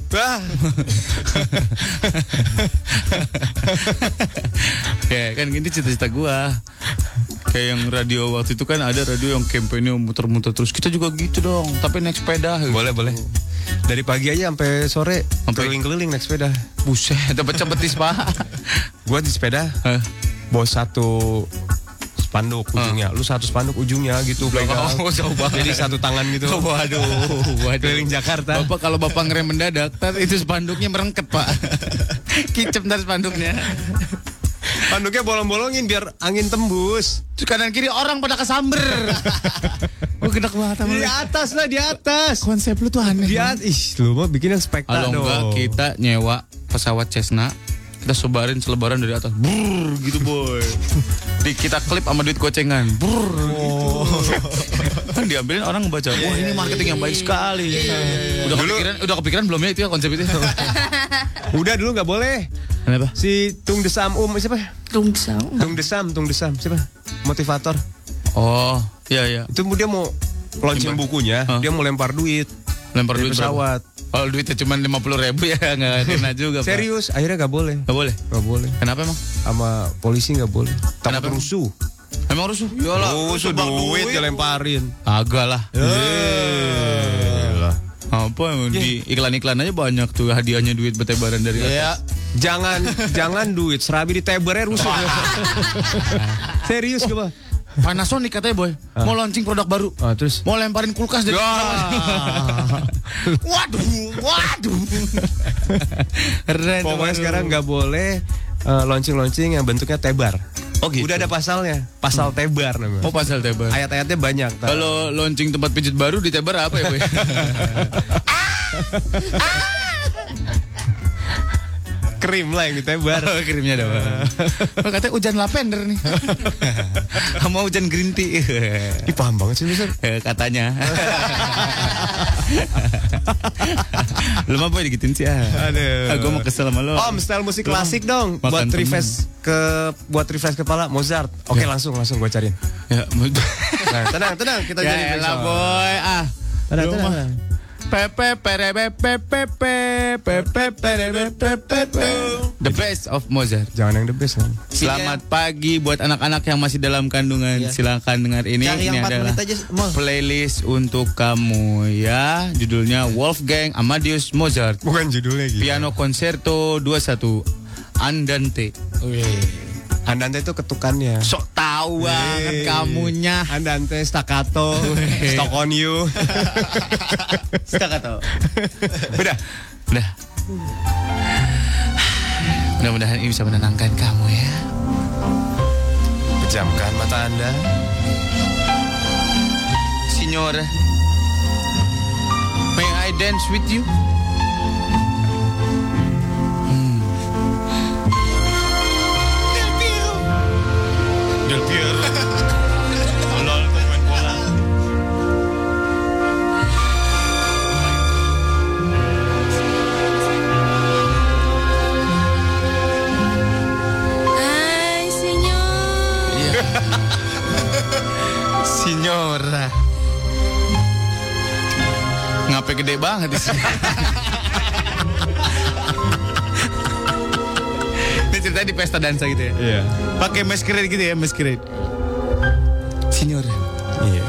Ya kan gini cita-cita gua. Kayak yang radio waktu itu kan ada radio yang kampanye muter-muter terus. Kita juga gitu dong, tapi naik sepeda. Boleh. Dari pagi aja sampai sore keliling-keliling naik sepeda. Buset, dapat cebetis Pak. Gua di sepeda. Bawa satu spanduk ujungnya. Lu satu spanduk ujungnya gitu pegang. Oh, jauh banget. Jadi satu tangan gitu. Waduh. Keliling Jakarta. Bapak kalau bapak ngerem mendadak, tar itu spanduknya merengket, Pak. Kicep ntar spanduknya. Spanduknya bolong-bolongin biar angin tembus. Terus kanan kiri orang pada kesamber. Gue gedak banget sama Di atas lah, di atas. Konsep lu tuh aneh. Di atas. Lu mau bikin yang spektakuler dong. Kalau enggak kita nyewa pesawat Cessna, kita sebarin selebaran dari atas. Brrr, gitu boy. Kita klip sama duit gocengan. Brrr, gitu. Kan diambilin orang ngebaca. Wah, ini marketing yang baik sekali. Udah kepikiran belum ya itu ya konsep itu? Udah dulu nggak boleh. Kenapa? Si Tung Desam siapa? Tung Desam siapa? Motivator. Oh, iya. Itu dia mau launching bukunya, dia mau lempar duit. Lempar duit pesawat. Kalau duitnya cuma 50.000 ya nggak kena juga. Serius, akhirnya nggak boleh. Nggak boleh. Kenapa emang? Sama polisi nggak boleh. Kenapa? Rusuh. Emang rusuh? Yalah. Rusuh duit dilemparin. Agak lah. Apa emang di iklan-iklan aja banyak tuh hadiahnya duit bertebaran dari atas. Jangan duit, serabi ditebarnya rusuh. Serius gak, Panasonic katanya boy, mau launching produk baru. Terus mau lemparin kulkas dari Waduh. Keren. Pokoknya sekarang nggak boleh launching yang bentuknya tebar. Oh gitu. Udah ada pasalnya, pasal tebar namanya. Oh pasal tebar. Ayat-ayatnya banyak. Kalau launching tempat pijit baru di tebar apa ya boy? Krim lah yang ditebar. Oh, krimnya doang. Katanya hujan lavender nih. Sama hujan green tea. Ih, paham banget sih Mister. Katanya. Lu mah boy digituin sih ah. Aduh. Gue mau kesel sama lo. Om, style musik klasik dong. Buat refresh kepala Mozart. Oke, langsung gue cariin. Ya, tenang kita jadi lah boy. Tenang. The best of Mozart. Jangan yang the best kan. Selamat pagi buat anak-anak yang masih dalam kandungan. Silakan dengar ini. Cari Ini yang 4 adalah menit aja, playlist untuk kamu ya. Judulnya Wolfgang Amadeus Mozart. Bukan judulnya gitu. Piano Concerto 21 Andante. Andante itu ketukannya. Sok tahu banget kamunya. Andante, staccato, stock on you. Staccato. Udah. Mudah-mudahan ini bisa menenangkan kamu ya. Pejamkan mata Anda. Signor, dance with you. Del Piero. Lol, pemain bola. Ay, señor. Signora. Ngapain gede banget di sini? Ini ceritanya di pesta dansa gitu ya? Iya. Pakai masquerade gitu ya, masquerade. Signora. Iya.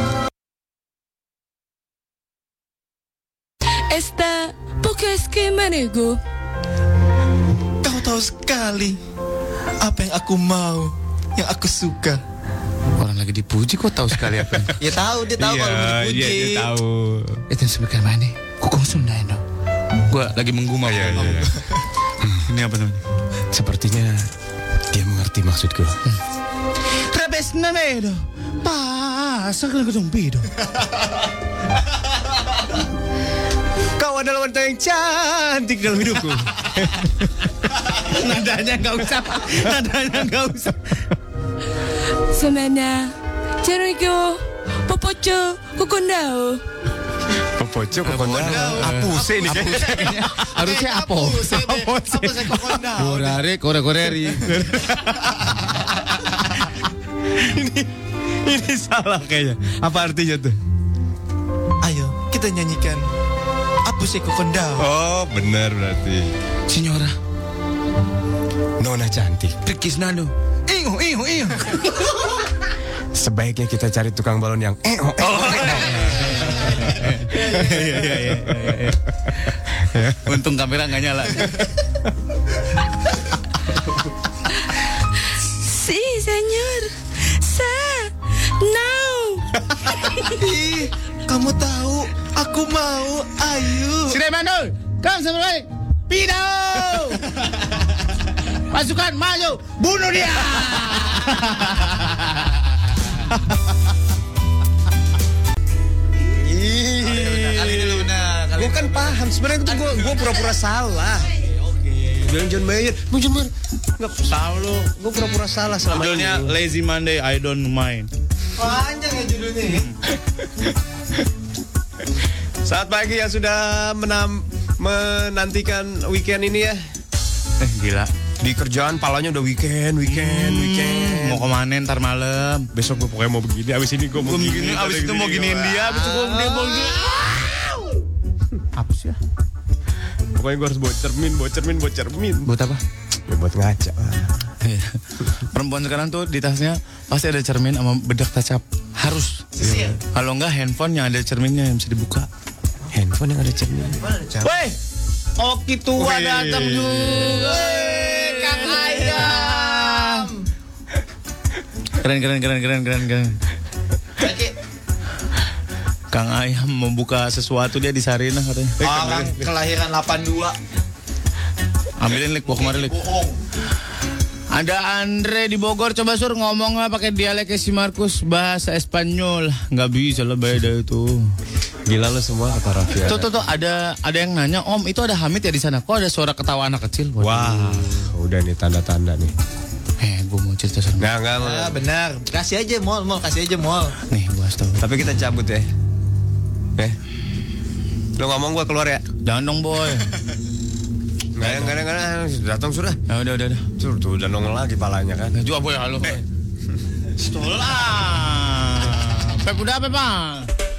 Esta, porque es que manego. Kau tahu sekali apa yang aku mau, yang aku suka. Orang lagi dipuji kok tahu sekali apa? Ya tahu, dia tahu kalau mau dipuji. Iya, dia tahu. Itu sebagai mana? Kukong Sunda no. Gua lagi menggumam. Iya. Ini apa namanya? Sepertinya dia mengerti maksudku. Rebes namedo. Pasa ke tumpido. Kau adalah wanita yang cantik dalam hidupku. Nadanya nggak usah. Semana, Jericho, Popocho, Kokondao. Popocho, kokondao. Apuse ini kayaknya. Harusnya apose kokondao. Koreri. Ini salah kayaknya. Apa artinya tuh? Ayo, kita nyanyikan Apuse Kokondao. Oh, benar berarti. Signora. Nona cantik. Rikis Nano. Iyo. Sebaiknya kita cari tukang balon yang Iya. Untung kamera nggak nyala. Sí, señor. Now. Ih, kamu tahu, aku mau. Ayo. Siremano, kamu sampai Pido. Pasukan maju, bunuh dia. Gue kan paham sebenarnya itu gue pura-pura salah. Bilang John Mayer, nggak tahu lo. Gue pura-pura salah selama Judulnya ini. Lazy Monday, I don't mind. Panjang ya judulnya. Saat pagi yang sudah menantikan weekend ini ya. Gila. Di kerjaan palanya udah weekend. Mau kemana ntar malam? Besok gue pokoknya mau begini. Abis ini gue mau begini. Abis itu mau giniin dia. Abis itu dia mau gini. Apa sih ya? Pokoknya gue harus bawa cermin. Buat apa? Ya buat ngaca. Perempuan sekarang tuh di tasnya pasti ada cermin sama bedak touch up. Harus. Kalau enggak handphone yang ada cerminnya yang bisa dibuka. Handphone yang ada cermin. Weh, Oki tua datang juga. Kang Ayam. Keren. Kang Ayam membuka sesuatu dia di Sarinah katanya. Orang kelahiran 82. Ambilin Lik, bawa kemarin Lik. Ada Andre di Bogor, coba Sur ngomongnya pakai dialeknya si Markus, bahasa Espanyol. Nggak bisa lah beda itu. Gila lo semua kata Raffi. Tuh ada yang nanya, Om itu ada Hamid ya di sana? Kok ada suara ketawa anak kecil? Wah, udah nih tanda-tanda nih. Gue mau cerita sama. Enggak. Ah, benar. Kasih aja mall. Nih, gua tahu. Tapi kita cabut ya. Lo ngomong gue keluar ya. Jangan dong boy. Enggak. Datang sudah. Ya udah. Tuh udah nongol lagi palanya kan. Juga boy halo. Stola. Pep udah apa bang?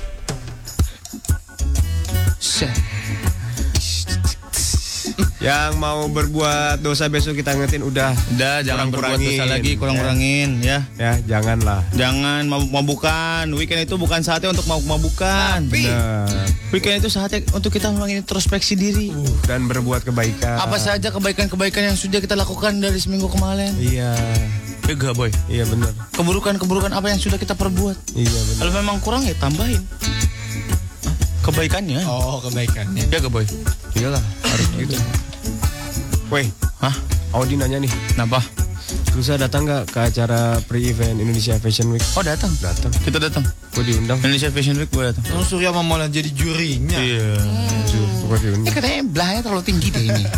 Yang mau berbuat dosa besok kita ngetin udah Jangan berbuat dosa lagi, kurang-kurangin ya. Ya, janganlah. Jangan mabuk-mabukan. Weekend itu bukan saatnya untuk mabuk-mabukan. Benar. Weekend itu saatnya untuk kita mengintrospeksi diri. Dan berbuat kebaikan. Apa saja kebaikan-kebaikan yang sudah kita lakukan dari seminggu kemarin. Iya. Enggak boy. Iya benar. Keburukan apa yang sudah kita perbuat. Iya benar. Kalau memang kurang ya tambahin kebaikannya. Oh, kebaikannya. Ya gak boy? Iyalah, harus gitu. Woi, Audi nanya nih. Kenapa? Lusa datang gak ke acara pre-event Indonesia Fashion Week? Oh datang. Datang. Kita datang. Gue diundang. Indonesia Fashion Week gue datang. Oh, Surya sama Molan jadi jurinya. Iya. Gue diundang. Katanya belahnya terlalu tinggi deh ini.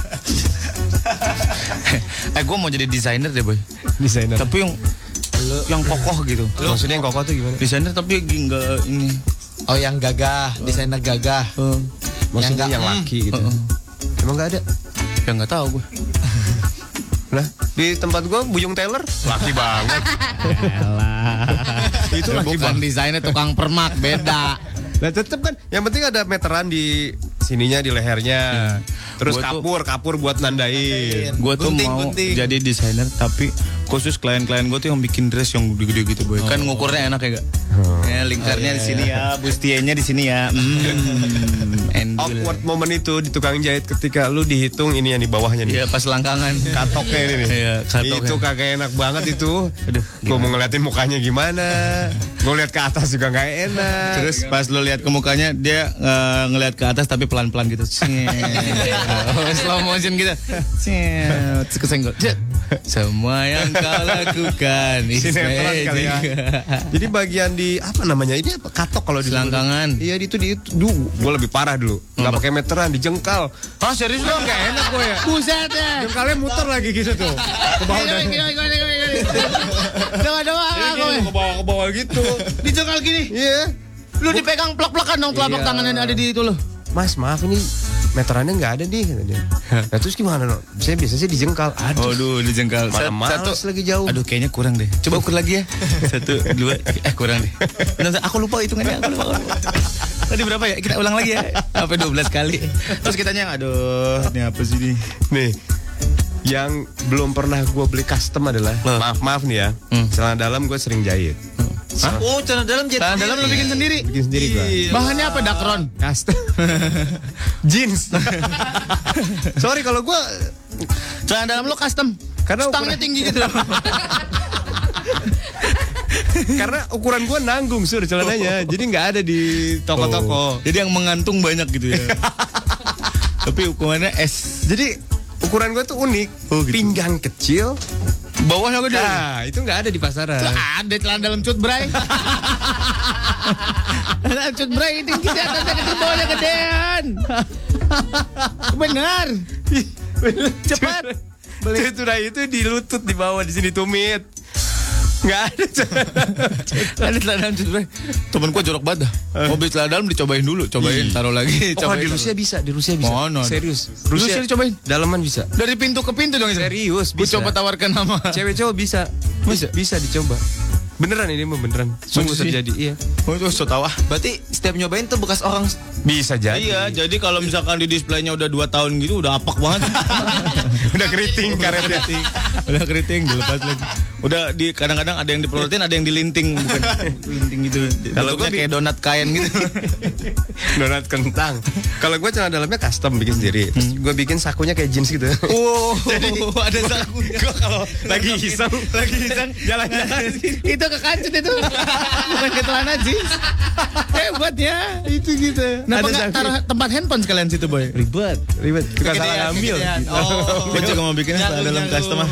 Gue mau jadi desainer deh boy. Desainer. Tapi yang kokoh gitu. Maksudnya yang kokoh tuh gimana? Desainer tapi enggak ini. Oh, yang gagah, desainer gagah. Maksudnya yang laki gitu. Emang nggak ada? Ya nggak tahu gue. Nah, di tempat gue Buyung Taylor laki banget. Itu laki bukan desainer, tukang permak, beda. Nah tetep kan, yang penting ada meteran di sininya, di lehernya. Terus kapur buat nandain. Gue tuh mau jadi desainer tapi khusus klien-klien gue tuh yang bikin dress yang gede-gede gitu boy. Kan ngukurnya enak ya gak? Ya lingkarnya di sini ya, bustianya di sini ya. Awkward momen itu di tukang jahit ketika lu dihitung ini yang di bawahnya nih. Iya pas langkangan. Katoknya ini nih. Iya, katoknya. Itu kagak enak banget itu. Aduh, gue mau ngeliatin mukanya gimana. Gue lihat ke atas juga nggak enak. Terus pas lu lihat ke mukanya dia ngelihat ke atas tapi pelan-pelan gitu. Slow motion gitu. Terus kesenggol. Semua yang kau lakukan sinetron kali ya. Jadi bagian di apa namanya ini apa katok kalau di selangkangan. Iya itu gue lebih parah dulu. Nggak pakai meteran, dijengkal. Ah serius dong? Nggak enak gue ya. Buset ya. Jengkalnya muter lagi gitu tuh. Ke bawah dan ke bawah gitu. Dijengkal gini. Iya. Lu dipegang plak-plakan dong telapak tangan yang ada di itu lo. Mas maaf ini meterannya nggak ada nih kata dia. Nah terus gimana no? Saya biasanya dijengkal. Aduh dijengkal. Satu lagi jauh. Aduh kayaknya kurang deh. Coba ukur lagi ya. 1, 2 kurang deh. Aku lupa hitungannya. Aku lupa. Tadi berapa ya? Kita ulang lagi ya. Sampai 12 kali. Terus kitanya aduh ini apa sih ini? Nih yang belum pernah gue beli custom adalah maaf nih ya. Celana dalam gue sering jahit. Hah? Oh, celana dalam jahit. Celana dalam lu bikin sendiri? Bikin sendiri gue. Bahannya apa? Dakron? Custom. Jeans. Sorry kalau gue celana dalam lu custom. Karena stangnya tinggi gitu. Karena ukuran gue nanggung sur celananya. Jadi nggak ada di toko-toko. Jadi yang mengantung banyak gitu ya. Tapi ukurannya S. Jadi ukuran gue tuh unik. Gitu. Pinggang kecil. Bawahnya gede. Nah, itu nggak ada di pasaran. Ada celana dalam cut bray. Celana cut bray tinggi di atasnya kecil, bawahnya gedean. Benar. Cepat. Beli itu di lutut di bawah di sini tumit. Nggak ada ada celana dalam cut bray. Temen gua jorok banget dah. Mau beli celana dalam dicobain dulu, taruh lagi. Oh di Rusia bisa, Mana? Serius. Rusia dicobain. Dalaman bisa. Dari pintu ke pintu dong. Serius bisa. Gua coba tawarkan nama. Cewek cowok bisa dicoba. Beneran ini mah beneran. Sungguh terjadi. Iya. Oh itu so tau ah. Berarti setiap nyobain tuh bekas orang. Bisa jadi. Iya, jadi kalau misalkan di displaynya udah 2 tahun gitu udah apak banget. Udah keriting karetnya. Udah keriting dilepas lagi. Udah di kadang-kadang ada yang dipelotin, ada yang dilinting, bukan linting gitu. Kalau gue kayak donat kain gitu. Donat kentang. Kalau gue celana dalamnya custom bikin sendiri. Terus gue bikin sakunya kayak jeans gitu. Oh, jadi ada sakunya. Gue kalau lagi iseng jalan-jalan itu kekancut itu. Bukan ke celana jeans. Hebat ya. Itu gitu. Kenapa nggak taruh tempat handphone sekalian situ boy? Ribet. Kita salah ngambil. Gue juga mau bikinnya dalam custom.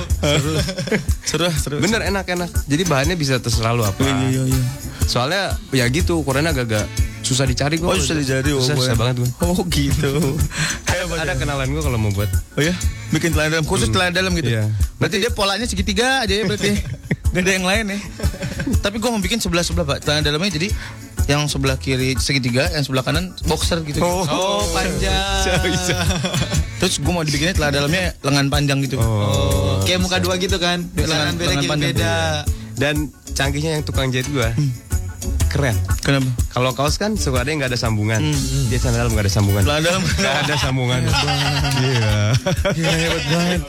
Seru. Bener enak. Jadi bahannya bisa terserah lu apa. Iya. Soalnya ya gitu ukurannya agak susah dicari gue. Oh susah dicari. Susah banget gue. Oh gitu. Ada kenalan gue kalau mau buat. Oh ya? Bikin celana dalam khusus celana dalam gitu. Iya. Berarti dia polanya segitiga aja ya berarti. Gak ada yang lain ya. Tapi gue mau bikin sebelah Pak. Celana dalamnya jadi yang sebelah kiri segitiga, yang sebelah kanan boxer gitu. Oh panjang. Bisa. Terus gue mau dibikinnya celana dalamnya lengan panjang gitu. Kayak muka dua gitu kan. Lengan beda. Dan canggihnya yang tukang jahit gue keren. Kenapa? Kalau kaos kan suka ada yang nggak ada sambungan. Dia celana dalam nggak ada sambungan. Celana dalam nggak ada sambungan. Iya. Hebat banget.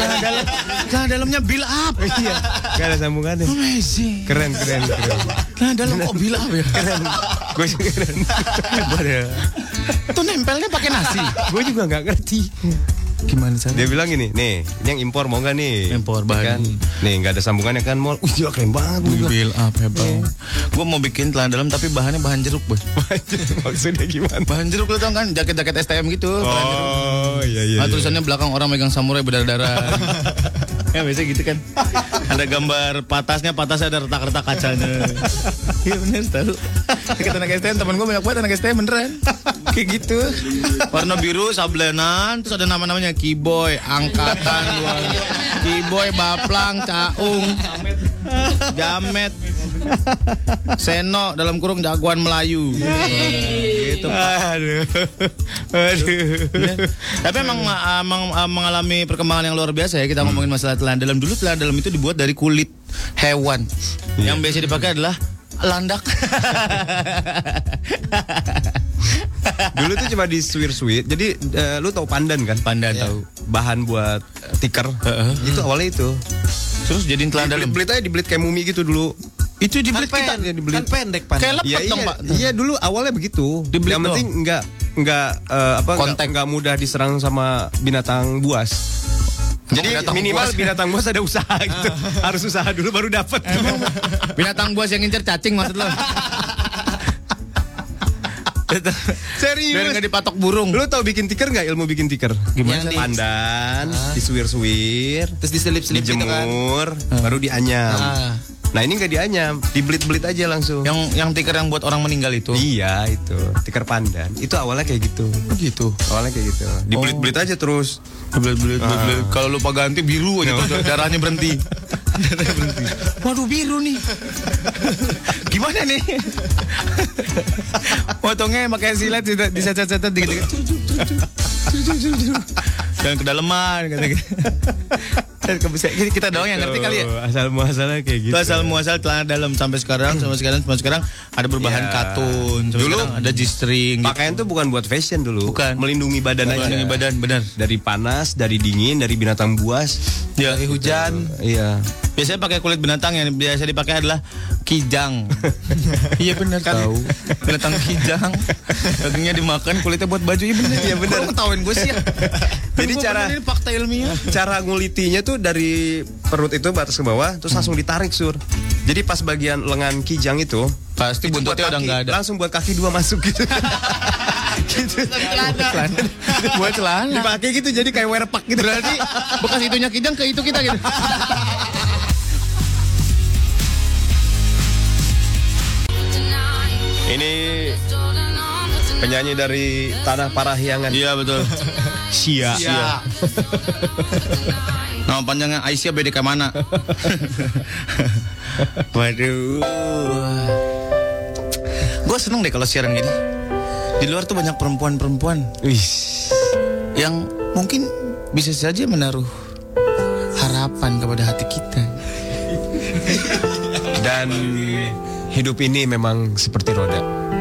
Celana dalamnya build up. Iya. Nggak ada sambungannya. Amazing. Keren. Celana dalam kok build up ya? Keren. Gue juga keren. Hebat ya. Itu nempelnya pakai nasi. Gue juga nggak ngerti. Gimana caranya? Dia bilang gini, nih, ini yang impor mau nggak nih? Impor bahan. Kan? Nih, nggak ada sambungannya kan, mall. Wih, gila keren banget. Mobil apa bang? Gue mau bikin celana dalam tapi bahannya bahan jeruk bos. Maksudnya gimana? Bahan jeruk lo tau kan? Jaket-jaket STM gitu. Oh, iya. Nah, tulisannya belakang orang megang samurai berdarah-darah. Ya biasa gitu kan. Ada gambar patasnya ada retak-retak kacanya. Iya bener tahu. Kita anak STM, teman gue banyak banget anak STM beneran. Kayak gitu. Warna biru sablenan, terus ada nama-namanya Kiboy, Angkatan 2, Kiboy, Baplang, Caung, Jamet, Seno dalam kurung jagoan Melayu. Gitu. Aduh. Tapi emang mengalami perkembangan yang luar biasa ya. Kita ngomongin masalah celana dalam. Dulu celana dalam itu dibuat dari kulit hewan. Yang biasa dipakai adalah landak. Dulu tuh cuma di suwir-suwir. Jadi lu tahu pandan kan? Pandan tahu. Bahan buat tikar. Itu awalnya itu. Terus jadiin celana dalam. Dibelit kayak mumi gitu dulu. Itu dibelit kita. Kan pendek pan. Kayak lepet dong, Pak. Iya dulu awalnya begitu. Dibelit yang penting enggak nggak mudah diserang sama binatang buas. Jadi minimal binatang buas ada usaha gitu. Harus usaha dulu baru dapat. Binatang buas yang ngincer cacing maksud lo? Serius? Biar nggak dipatok burung. Lu tahu bikin tikar nggak? Ilmu bikin tikar? Gimana? Pandan, disuwir-suwir, Terus diselip-selip gitu kan. dijemur, baru dianyam. Nah ini nggak dianyam, dibelit-belit aja langsung. Yang tikar yang buat orang meninggal itu? Iya itu, tikar pandan. Itu awalnya kayak gitu. Gitu. Awalnya kayak gitu. Dibelit-belit aja terus. Belit. Kalau lupa ganti biru aja tuh, darahnya berhenti. Waduh biru nih. Gimana nih? Potongnya pakai silet diset-set dikit-dikit. Jangan kedalaman kata gitu. Kita doang yang ngerti kali ya. Asal muasalnya kayak gitu. Itu asal muasal celana dalam sampai sekarang ada berbahan katun. Dulu ada G-string. Pakaian tuh bukan buat fashion dulu. Bukan. Melindungi badan aja. Melindungi badan, benar. Dari panas, dari dingin, dari binatang buas, dari hujan. Iya. Biasanya pakai kulit binatang yang biasa dipakai adalah kijang. Iya benar kan. Tahu. Binatang kijang. Dagingnya dimakan, kulitnya buat baju. Iya benar. Iya benar. Ketahuin gue sih ya. Jadi ini fakta ilmiah. Cara ngulitinya tuh dari perut itu batas ke bawah, terus langsung ditarik sur. Jadi pas bagian lengan kijang itu pasti buntutnya udah nggak ada. Langsung buat kaki dua masuk gitu. Gitu. Buat celana. Dipakai gitu jadi kayak werpak gitu. Berarti bekas itunya kijang ke itu kita gitu. Ini penyanyi dari Tanah Parahyangan. Iya betul. Sia. Nama panjangnya Aisyah BDK mana? Waduh. Gue seneng deh kalau siaran gini. Di luar tuh banyak perempuan-perempuan yang mungkin bisa saja menaruh harapan kepada hati kita. Dan hidup ini memang seperti roda.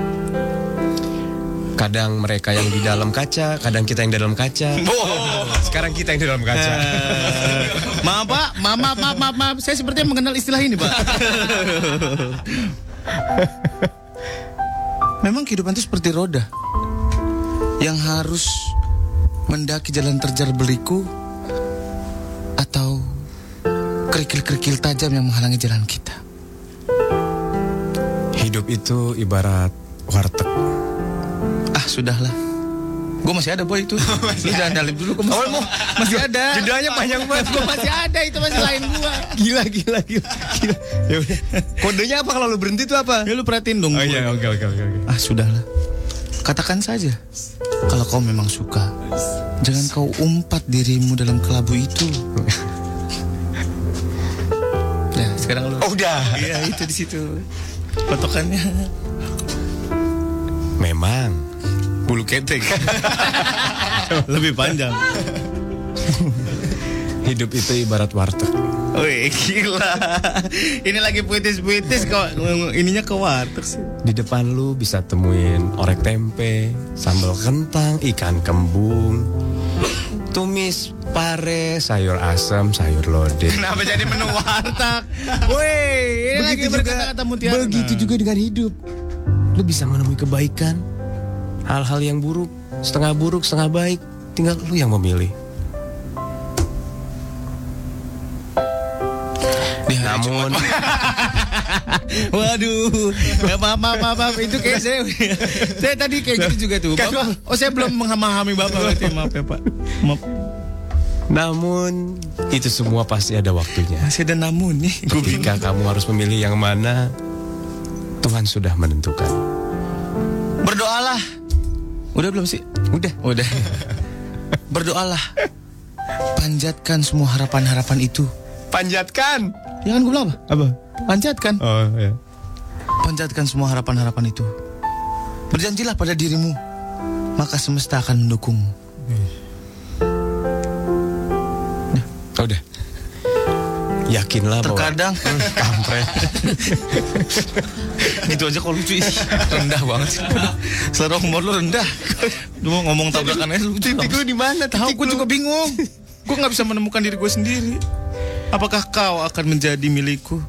Kadang mereka yang di dalam kaca, kadang kita yang di dalam kaca. Sekarang kita yang di dalam kaca. Maaf Pak, maaf. Saya sepertinya mengenal istilah ini Pak. Memang kehidupan itu seperti roda yang harus mendaki jalan terjal berliku atau kerikil-kerikil tajam yang menghalangi jalan kita. Hidup itu ibarat warteg. Ah sudahlah, gue masih ada boy itu. Lu jangan nyalip dulu, gue masih ada. Judulnya panjang banget. Gue masih ada, itu masih lain gue. Gila. Ya udah. Kodenya apa kalau lu berhenti itu apa? Ya lu perhatiin dong. Oh iya, oke. Ah sudahlah, katakan saja kalau kau memang suka. Jangan kau umpat dirimu dalam kelabu itu. Ya sekarang lu. Oh udah. Iya itu di situ potokannya. Memang bulu ketek lebih panjang. Hidup itu ibarat warteg. Wih gila. Ini lagi puitis kok. Ininya ke warteg sih. Di depan lu bisa temuin orek tempe, sambal kentang, ikan kembung, tumis pare, sayur asam, sayur lodeh. Kenapa jadi menu warteg? Woi, ini lagi berkata-kata mutiara. Begitu juga dengan hidup. Lu bisa menemui kebaikan, hal-hal yang buruk, setengah baik, tinggal lu yang memilih. Namun Waduh, maaf, itu kayak saya tadi kayak gitu juga tuh. Bapak, saya belum memahami Bapak, berarti maaf ya Pak. Maaf. Namun itu semua pasti ada waktunya. Masih ada namun nih. Ketika kamu harus memilih yang mana, Tuhan sudah menentukan. Berdoalah. Udah belum sih? Udah. Berdoalah. Panjatkan semua harapan-harapan itu. Panjatkan. Ya kan gue bilang apa? Panjatkan. Oh ya. Panjatkan semua harapan-harapan itu. Berjanjilah pada dirimu, maka semesta akan mendukungmu. Udah. Yakinlah terkadang kampret. Gitu aja kok lucu sih. Rendah banget sih. Selera humor lu rendah. Lu ngomong tabrakan aja lucu. Titik lu di mana? Tahu gue juga bingung. Gue nggak bisa menemukan diri gue sendiri. Apakah kau akan menjadi milikku?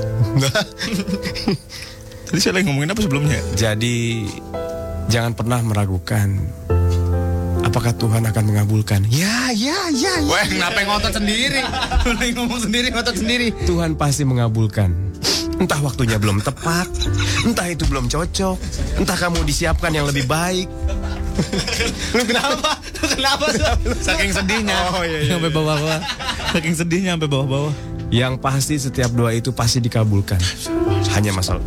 Tadi saya lagi ngomongin apa sebelumnya? Jadi jangan pernah meragukan apakah Tuhan akan mengabulkan. Ya. Weh, kenapa ngotot sendiri? Lu lagi ngomong sendiri, ngotot sendiri. Tuhan pasti mengabulkan. Entah waktunya belum tepat, entah itu belum cocok, entah kamu disiapkan yang lebih baik. Lu kenapa? Saking sedihnya. Oh iya. Sampai bawah-bawah. Saking sedihnya sampai bawah-bawah. Yang pasti setiap doa itu pasti dikabulkan. Hanya masalah.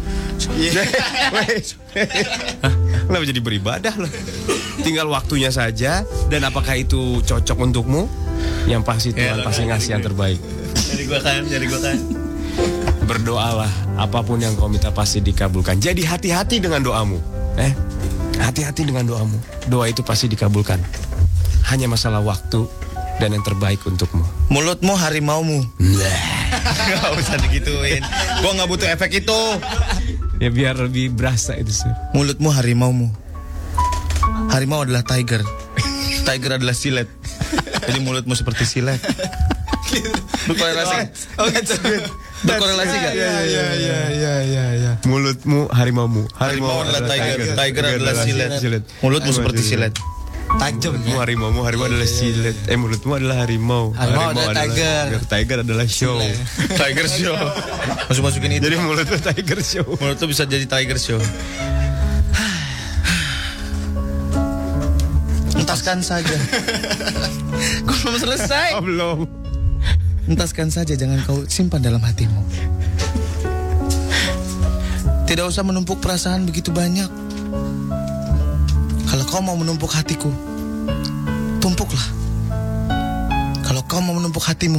Kenapa jadi beribadah loh? Tinggal waktunya saja. Dan apakah itu cocok untukmu? Yang pasti Tuhan pasti ngasih yang terbaik. Jadi gua kan. Berdoalah, apapun yang kau minta pasti dikabulkan. Jadi hati-hati dengan doamu. Hati-hati dengan doamu. Doa itu pasti dikabulkan. Hanya masalah waktu dan yang terbaik untukmu. Mulutmu harimaumu. Gak usah digituin. Gua gak butuh efek itu. Ya biar lebih berasa itu sih. Mulutmu harimaumu. Harimau adalah tiger. Tiger adalah silet. Jadi mulutmu seperti silet. Berkorelasi. Berkorelasi gak? Ya. Mulutmu harimaumu. Harimau adalah tiger. Tiger adalah silet. Mulutmu seperti silet. Tajam ya. Harimau adalah silet. Mulutmu adalah harimau. Harimau adalah tiger. Tiger adalah show. Tiger show. Masukin itu. Jadi mulutmu tiger show. Mulutmu bisa jadi tiger show. Entaskan saja. Gue belum selesai. Oh, belum. Entaskan saja, jangan kau simpan dalam hatimu. Tidak usah menumpuk perasaan begitu banyak. Kalau kau mau menumpuk hatiku, tumpuklah. Kalau kau mau menumpuk hatimu,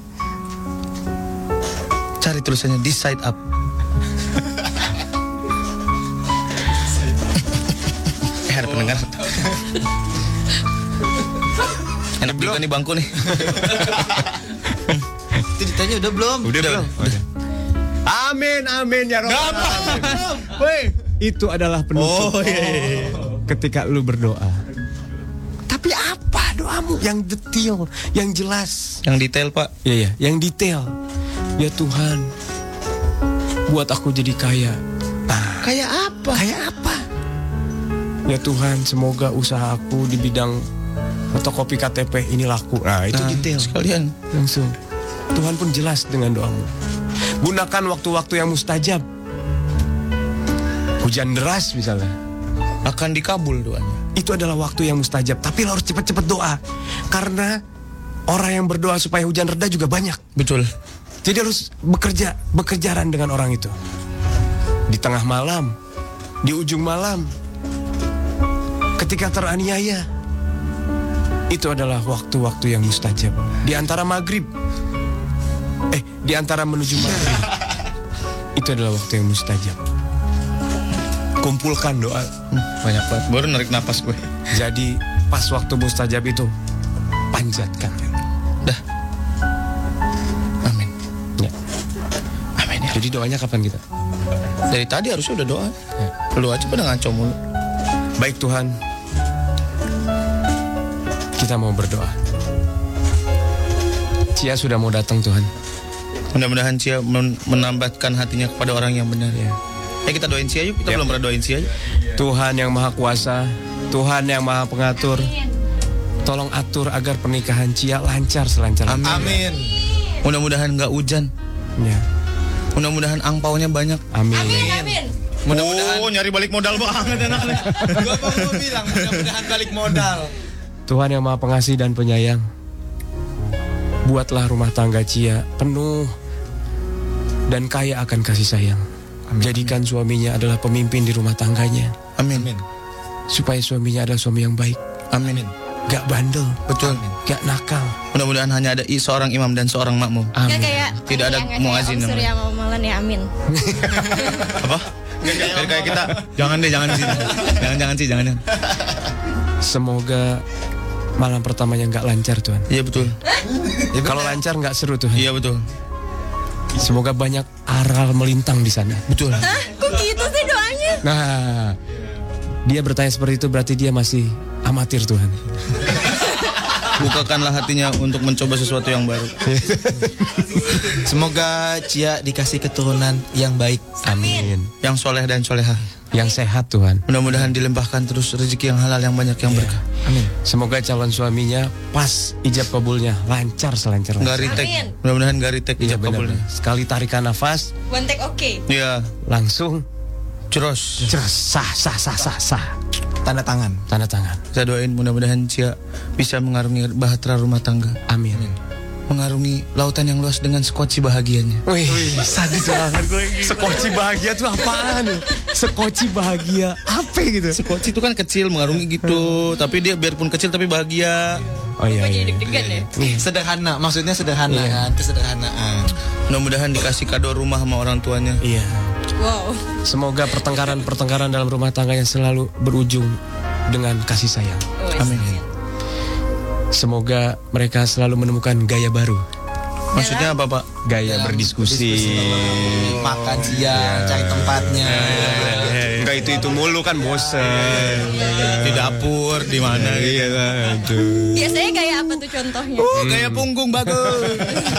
cari tulisannya this side up. Ada pendengar. Enak juga nih bangku nih. Itu ditanya udah belum? Udah. Amin ya Rabbal. Itu adalah penutup. Ketika lu berdoa. Tapi apa doamu? Yang detail, yang jelas. Yang detail Pak. Iya, yang detail. Ya Tuhan, buat aku jadi kaya. Kayak apa? Ya Tuhan, semoga usaha aku di bidang fotokopi KTP ini laku. Nah, itu detail. Sekalian. Langsung. Tuhan pun jelas dengan doamu. Gunakan waktu-waktu yang mustajab. Hujan deras misalnya. Akan dikabul doanya. Itu adalah waktu yang mustajab. Tapi lo harus cepat-cepat doa. Karena orang yang berdoa supaya hujan reda juga banyak. Betul. Jadi harus bekerjaan dengan orang itu. Di tengah malam, di ujung malam, ketika teraniaya. Itu adalah waktu-waktu yang mustajab. Di antara maghrib, di antara menuju maghrib, itu adalah waktu yang mustajab. Kumpulkan doa. Banyak banget. Baru narik napas gue. Jadi pas waktu mustajab itu panjatkan. Dah. Amin. Ya. Amin ya. Jadi doanya kapan kita? Dari tadi harusnya udah doa. Ya. Lu aja pada ngaco mulu. Baik Tuhan, kita mau berdoa. Cia sudah mau datang Tuhan. Mudah-mudahan Cia menambahkan hatinya kepada orang yang benar ya. Kita doain Cia yuk. Kita belum pernah doain Cia yuk. Tuhan yang maha kuasa, Tuhan yang maha pengatur, tolong atur agar pernikahan Cia lancar selancar. Amin. Mudah-mudahan gak hujan. Ya. Mudah-mudahan angpaunya banyak. Amin. Amin. Mudah-mudahan nyari balik modal banget enaknya. Gua mau bilang mudah-mudahan balik modal. Tuhan yang Maha Pengasih dan Penyayang, buatlah rumah tangga Cia penuh dan kaya akan kasih sayang. Jadikan suaminya adalah pemimpin di rumah tangganya. Amin. Supaya suaminya adalah suami yang baik. Amin. Gak bandel. Betul. Gak nakal. Mudah-mudahan hanya ada seorang imam dan seorang makmum. Amin. Tidak ada muazin Om Surya namanya. mau Molan ya, amin. Apa? Kayak kita. Jangan deh, jangan di sini. Jangan. Semoga malam pertamanya gak lancar Tuhan. Iya betul. Kalau lancar gak seru Tuhan. Iya betul. Semoga banyak aral melintang di sana. Betul. Kok gitu sih doanya? Nah, dia bertanya seperti itu berarti dia masih amatir Tuhan. Bukakanlah hatinya untuk mencoba sesuatu yang baru. Semoga Cia dikasih keturunan yang baik. Amin. Yang soleh dan soleha. Yang sehat Tuhan. Mudah-mudahan dilimpahkan terus rezeki yang halal yang banyak yang berkah. Amin. Semoga calon suaminya pas ijab kabulnya lancar selancar. Gak retek. Amin. Mudah-mudahan gak retek Iya ijab kabulnya. benar. Sekali tarikan nafas One take oke. Iya. langsung Ceros. sah. Tanda tangan. Tanda tangan. Saya doain mudah-mudahan Cia bisa mengarungi bahtera rumah tangga. Amin. Mengarungi lautan yang luas dengan skoci bahagianya. Wih, sadis banget gue. Sekoci bahagia tuh apaan? Sekoci bahagia apa gitu? Skoci itu kan kecil mengarungi gitu, tapi dia biarpun kecil tapi bahagia. Oh iya. Jadi iya. deg-degan ya. Sederhana, maksudnya sederhana Iya. kan, kesederhanaan. Mudah-mudahan dikasih kado rumah sama orang tuanya. Iya. Wow. Semoga pertengkaran dalam rumah tangganya selalu berujung dengan kasih sayang. Amin. Semoga mereka selalu menemukan gaya baru. Maksudnya apa, Pak? Gaya berdiskusi. Makan siang, cari tempatnya. Enggak itu mulu kan bosen. Di dapur, di mana gitu. Biasanya kayak apa tuh contohnya? Gaya punggung bagus.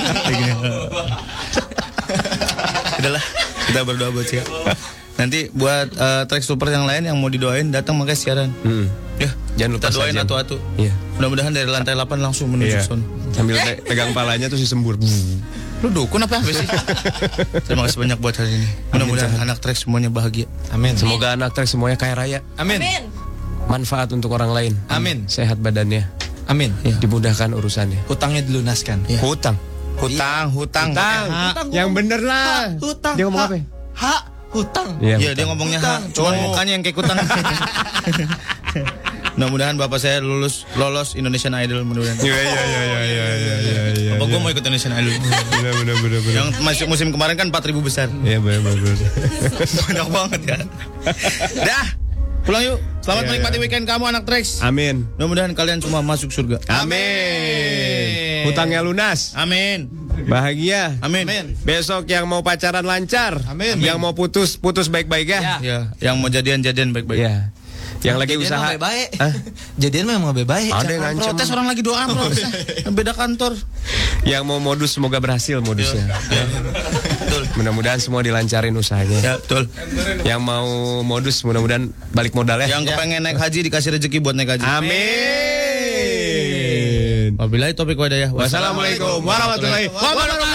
Udahlah, kita berdoa buat Cia. Nanti buat track super yang lain yang mau didoain datang makanya siaran. Ya, Jangan lupa kita doain sajian. atu-atu. Iya. Mudah-mudahan dari lantai 8 langsung menuju sono. Sambil pegang palanya tuh si sembur. Lu dukun apa sih? Terima kasih banyak buat hari ini. Mudah-mudahan anak track semuanya bahagia. Amin. Semoga anak trek semuanya kaya raya. Amin. Amin. Manfaat untuk orang lain. Amin. Sehat badannya. Amin. Dimudahkan urusannya. Hutangnya dilunaskan. Hutang. Hutang. Yang bener lah. Hutang. Dia ngomong apa? Hak hutang. Iya, dia ngomongnya cuman mukanya yang kayak kutang. Mudah-mudahan bapak saya lolos Indonesian Idol mudah-mudahan. Iya. Bapak gue mau ikut Indonesian Idol. Bener. Yang masuk musim kemarin kan 4.000 besar. Iya bener. Banyak banget ya. Dah, pulang yuk. Selamat menikmati weekend kamu anak Trax. Amin. Mudah-mudahan kalian semua masuk surga. Amin. Hutangnya lunas. Amin. Bahagia. Amin. Besok yang mau pacaran lancar. Amin. Yang mau putus baik-baik ya. Ya, yang mau jadian baik-baik. Ya. Yang lagi Jadian usaha. mah baik. Jadian memang baik. Ada yang ngancem. Protes orang lagi doa protes. Beda kantor. Yang mau modus semoga berhasil modusnya. Betul. Mudah-mudahan semua dilancarin usahanya. Ya, betul. Yang mau modus mudah-mudahan balik modal ya. Yang kepengen naik haji dikasih rezeki buat naik haji. Amin. Wabillahi taufiq wa hidayah. Wassalamualaikum warahmatullahi wabarakatuh.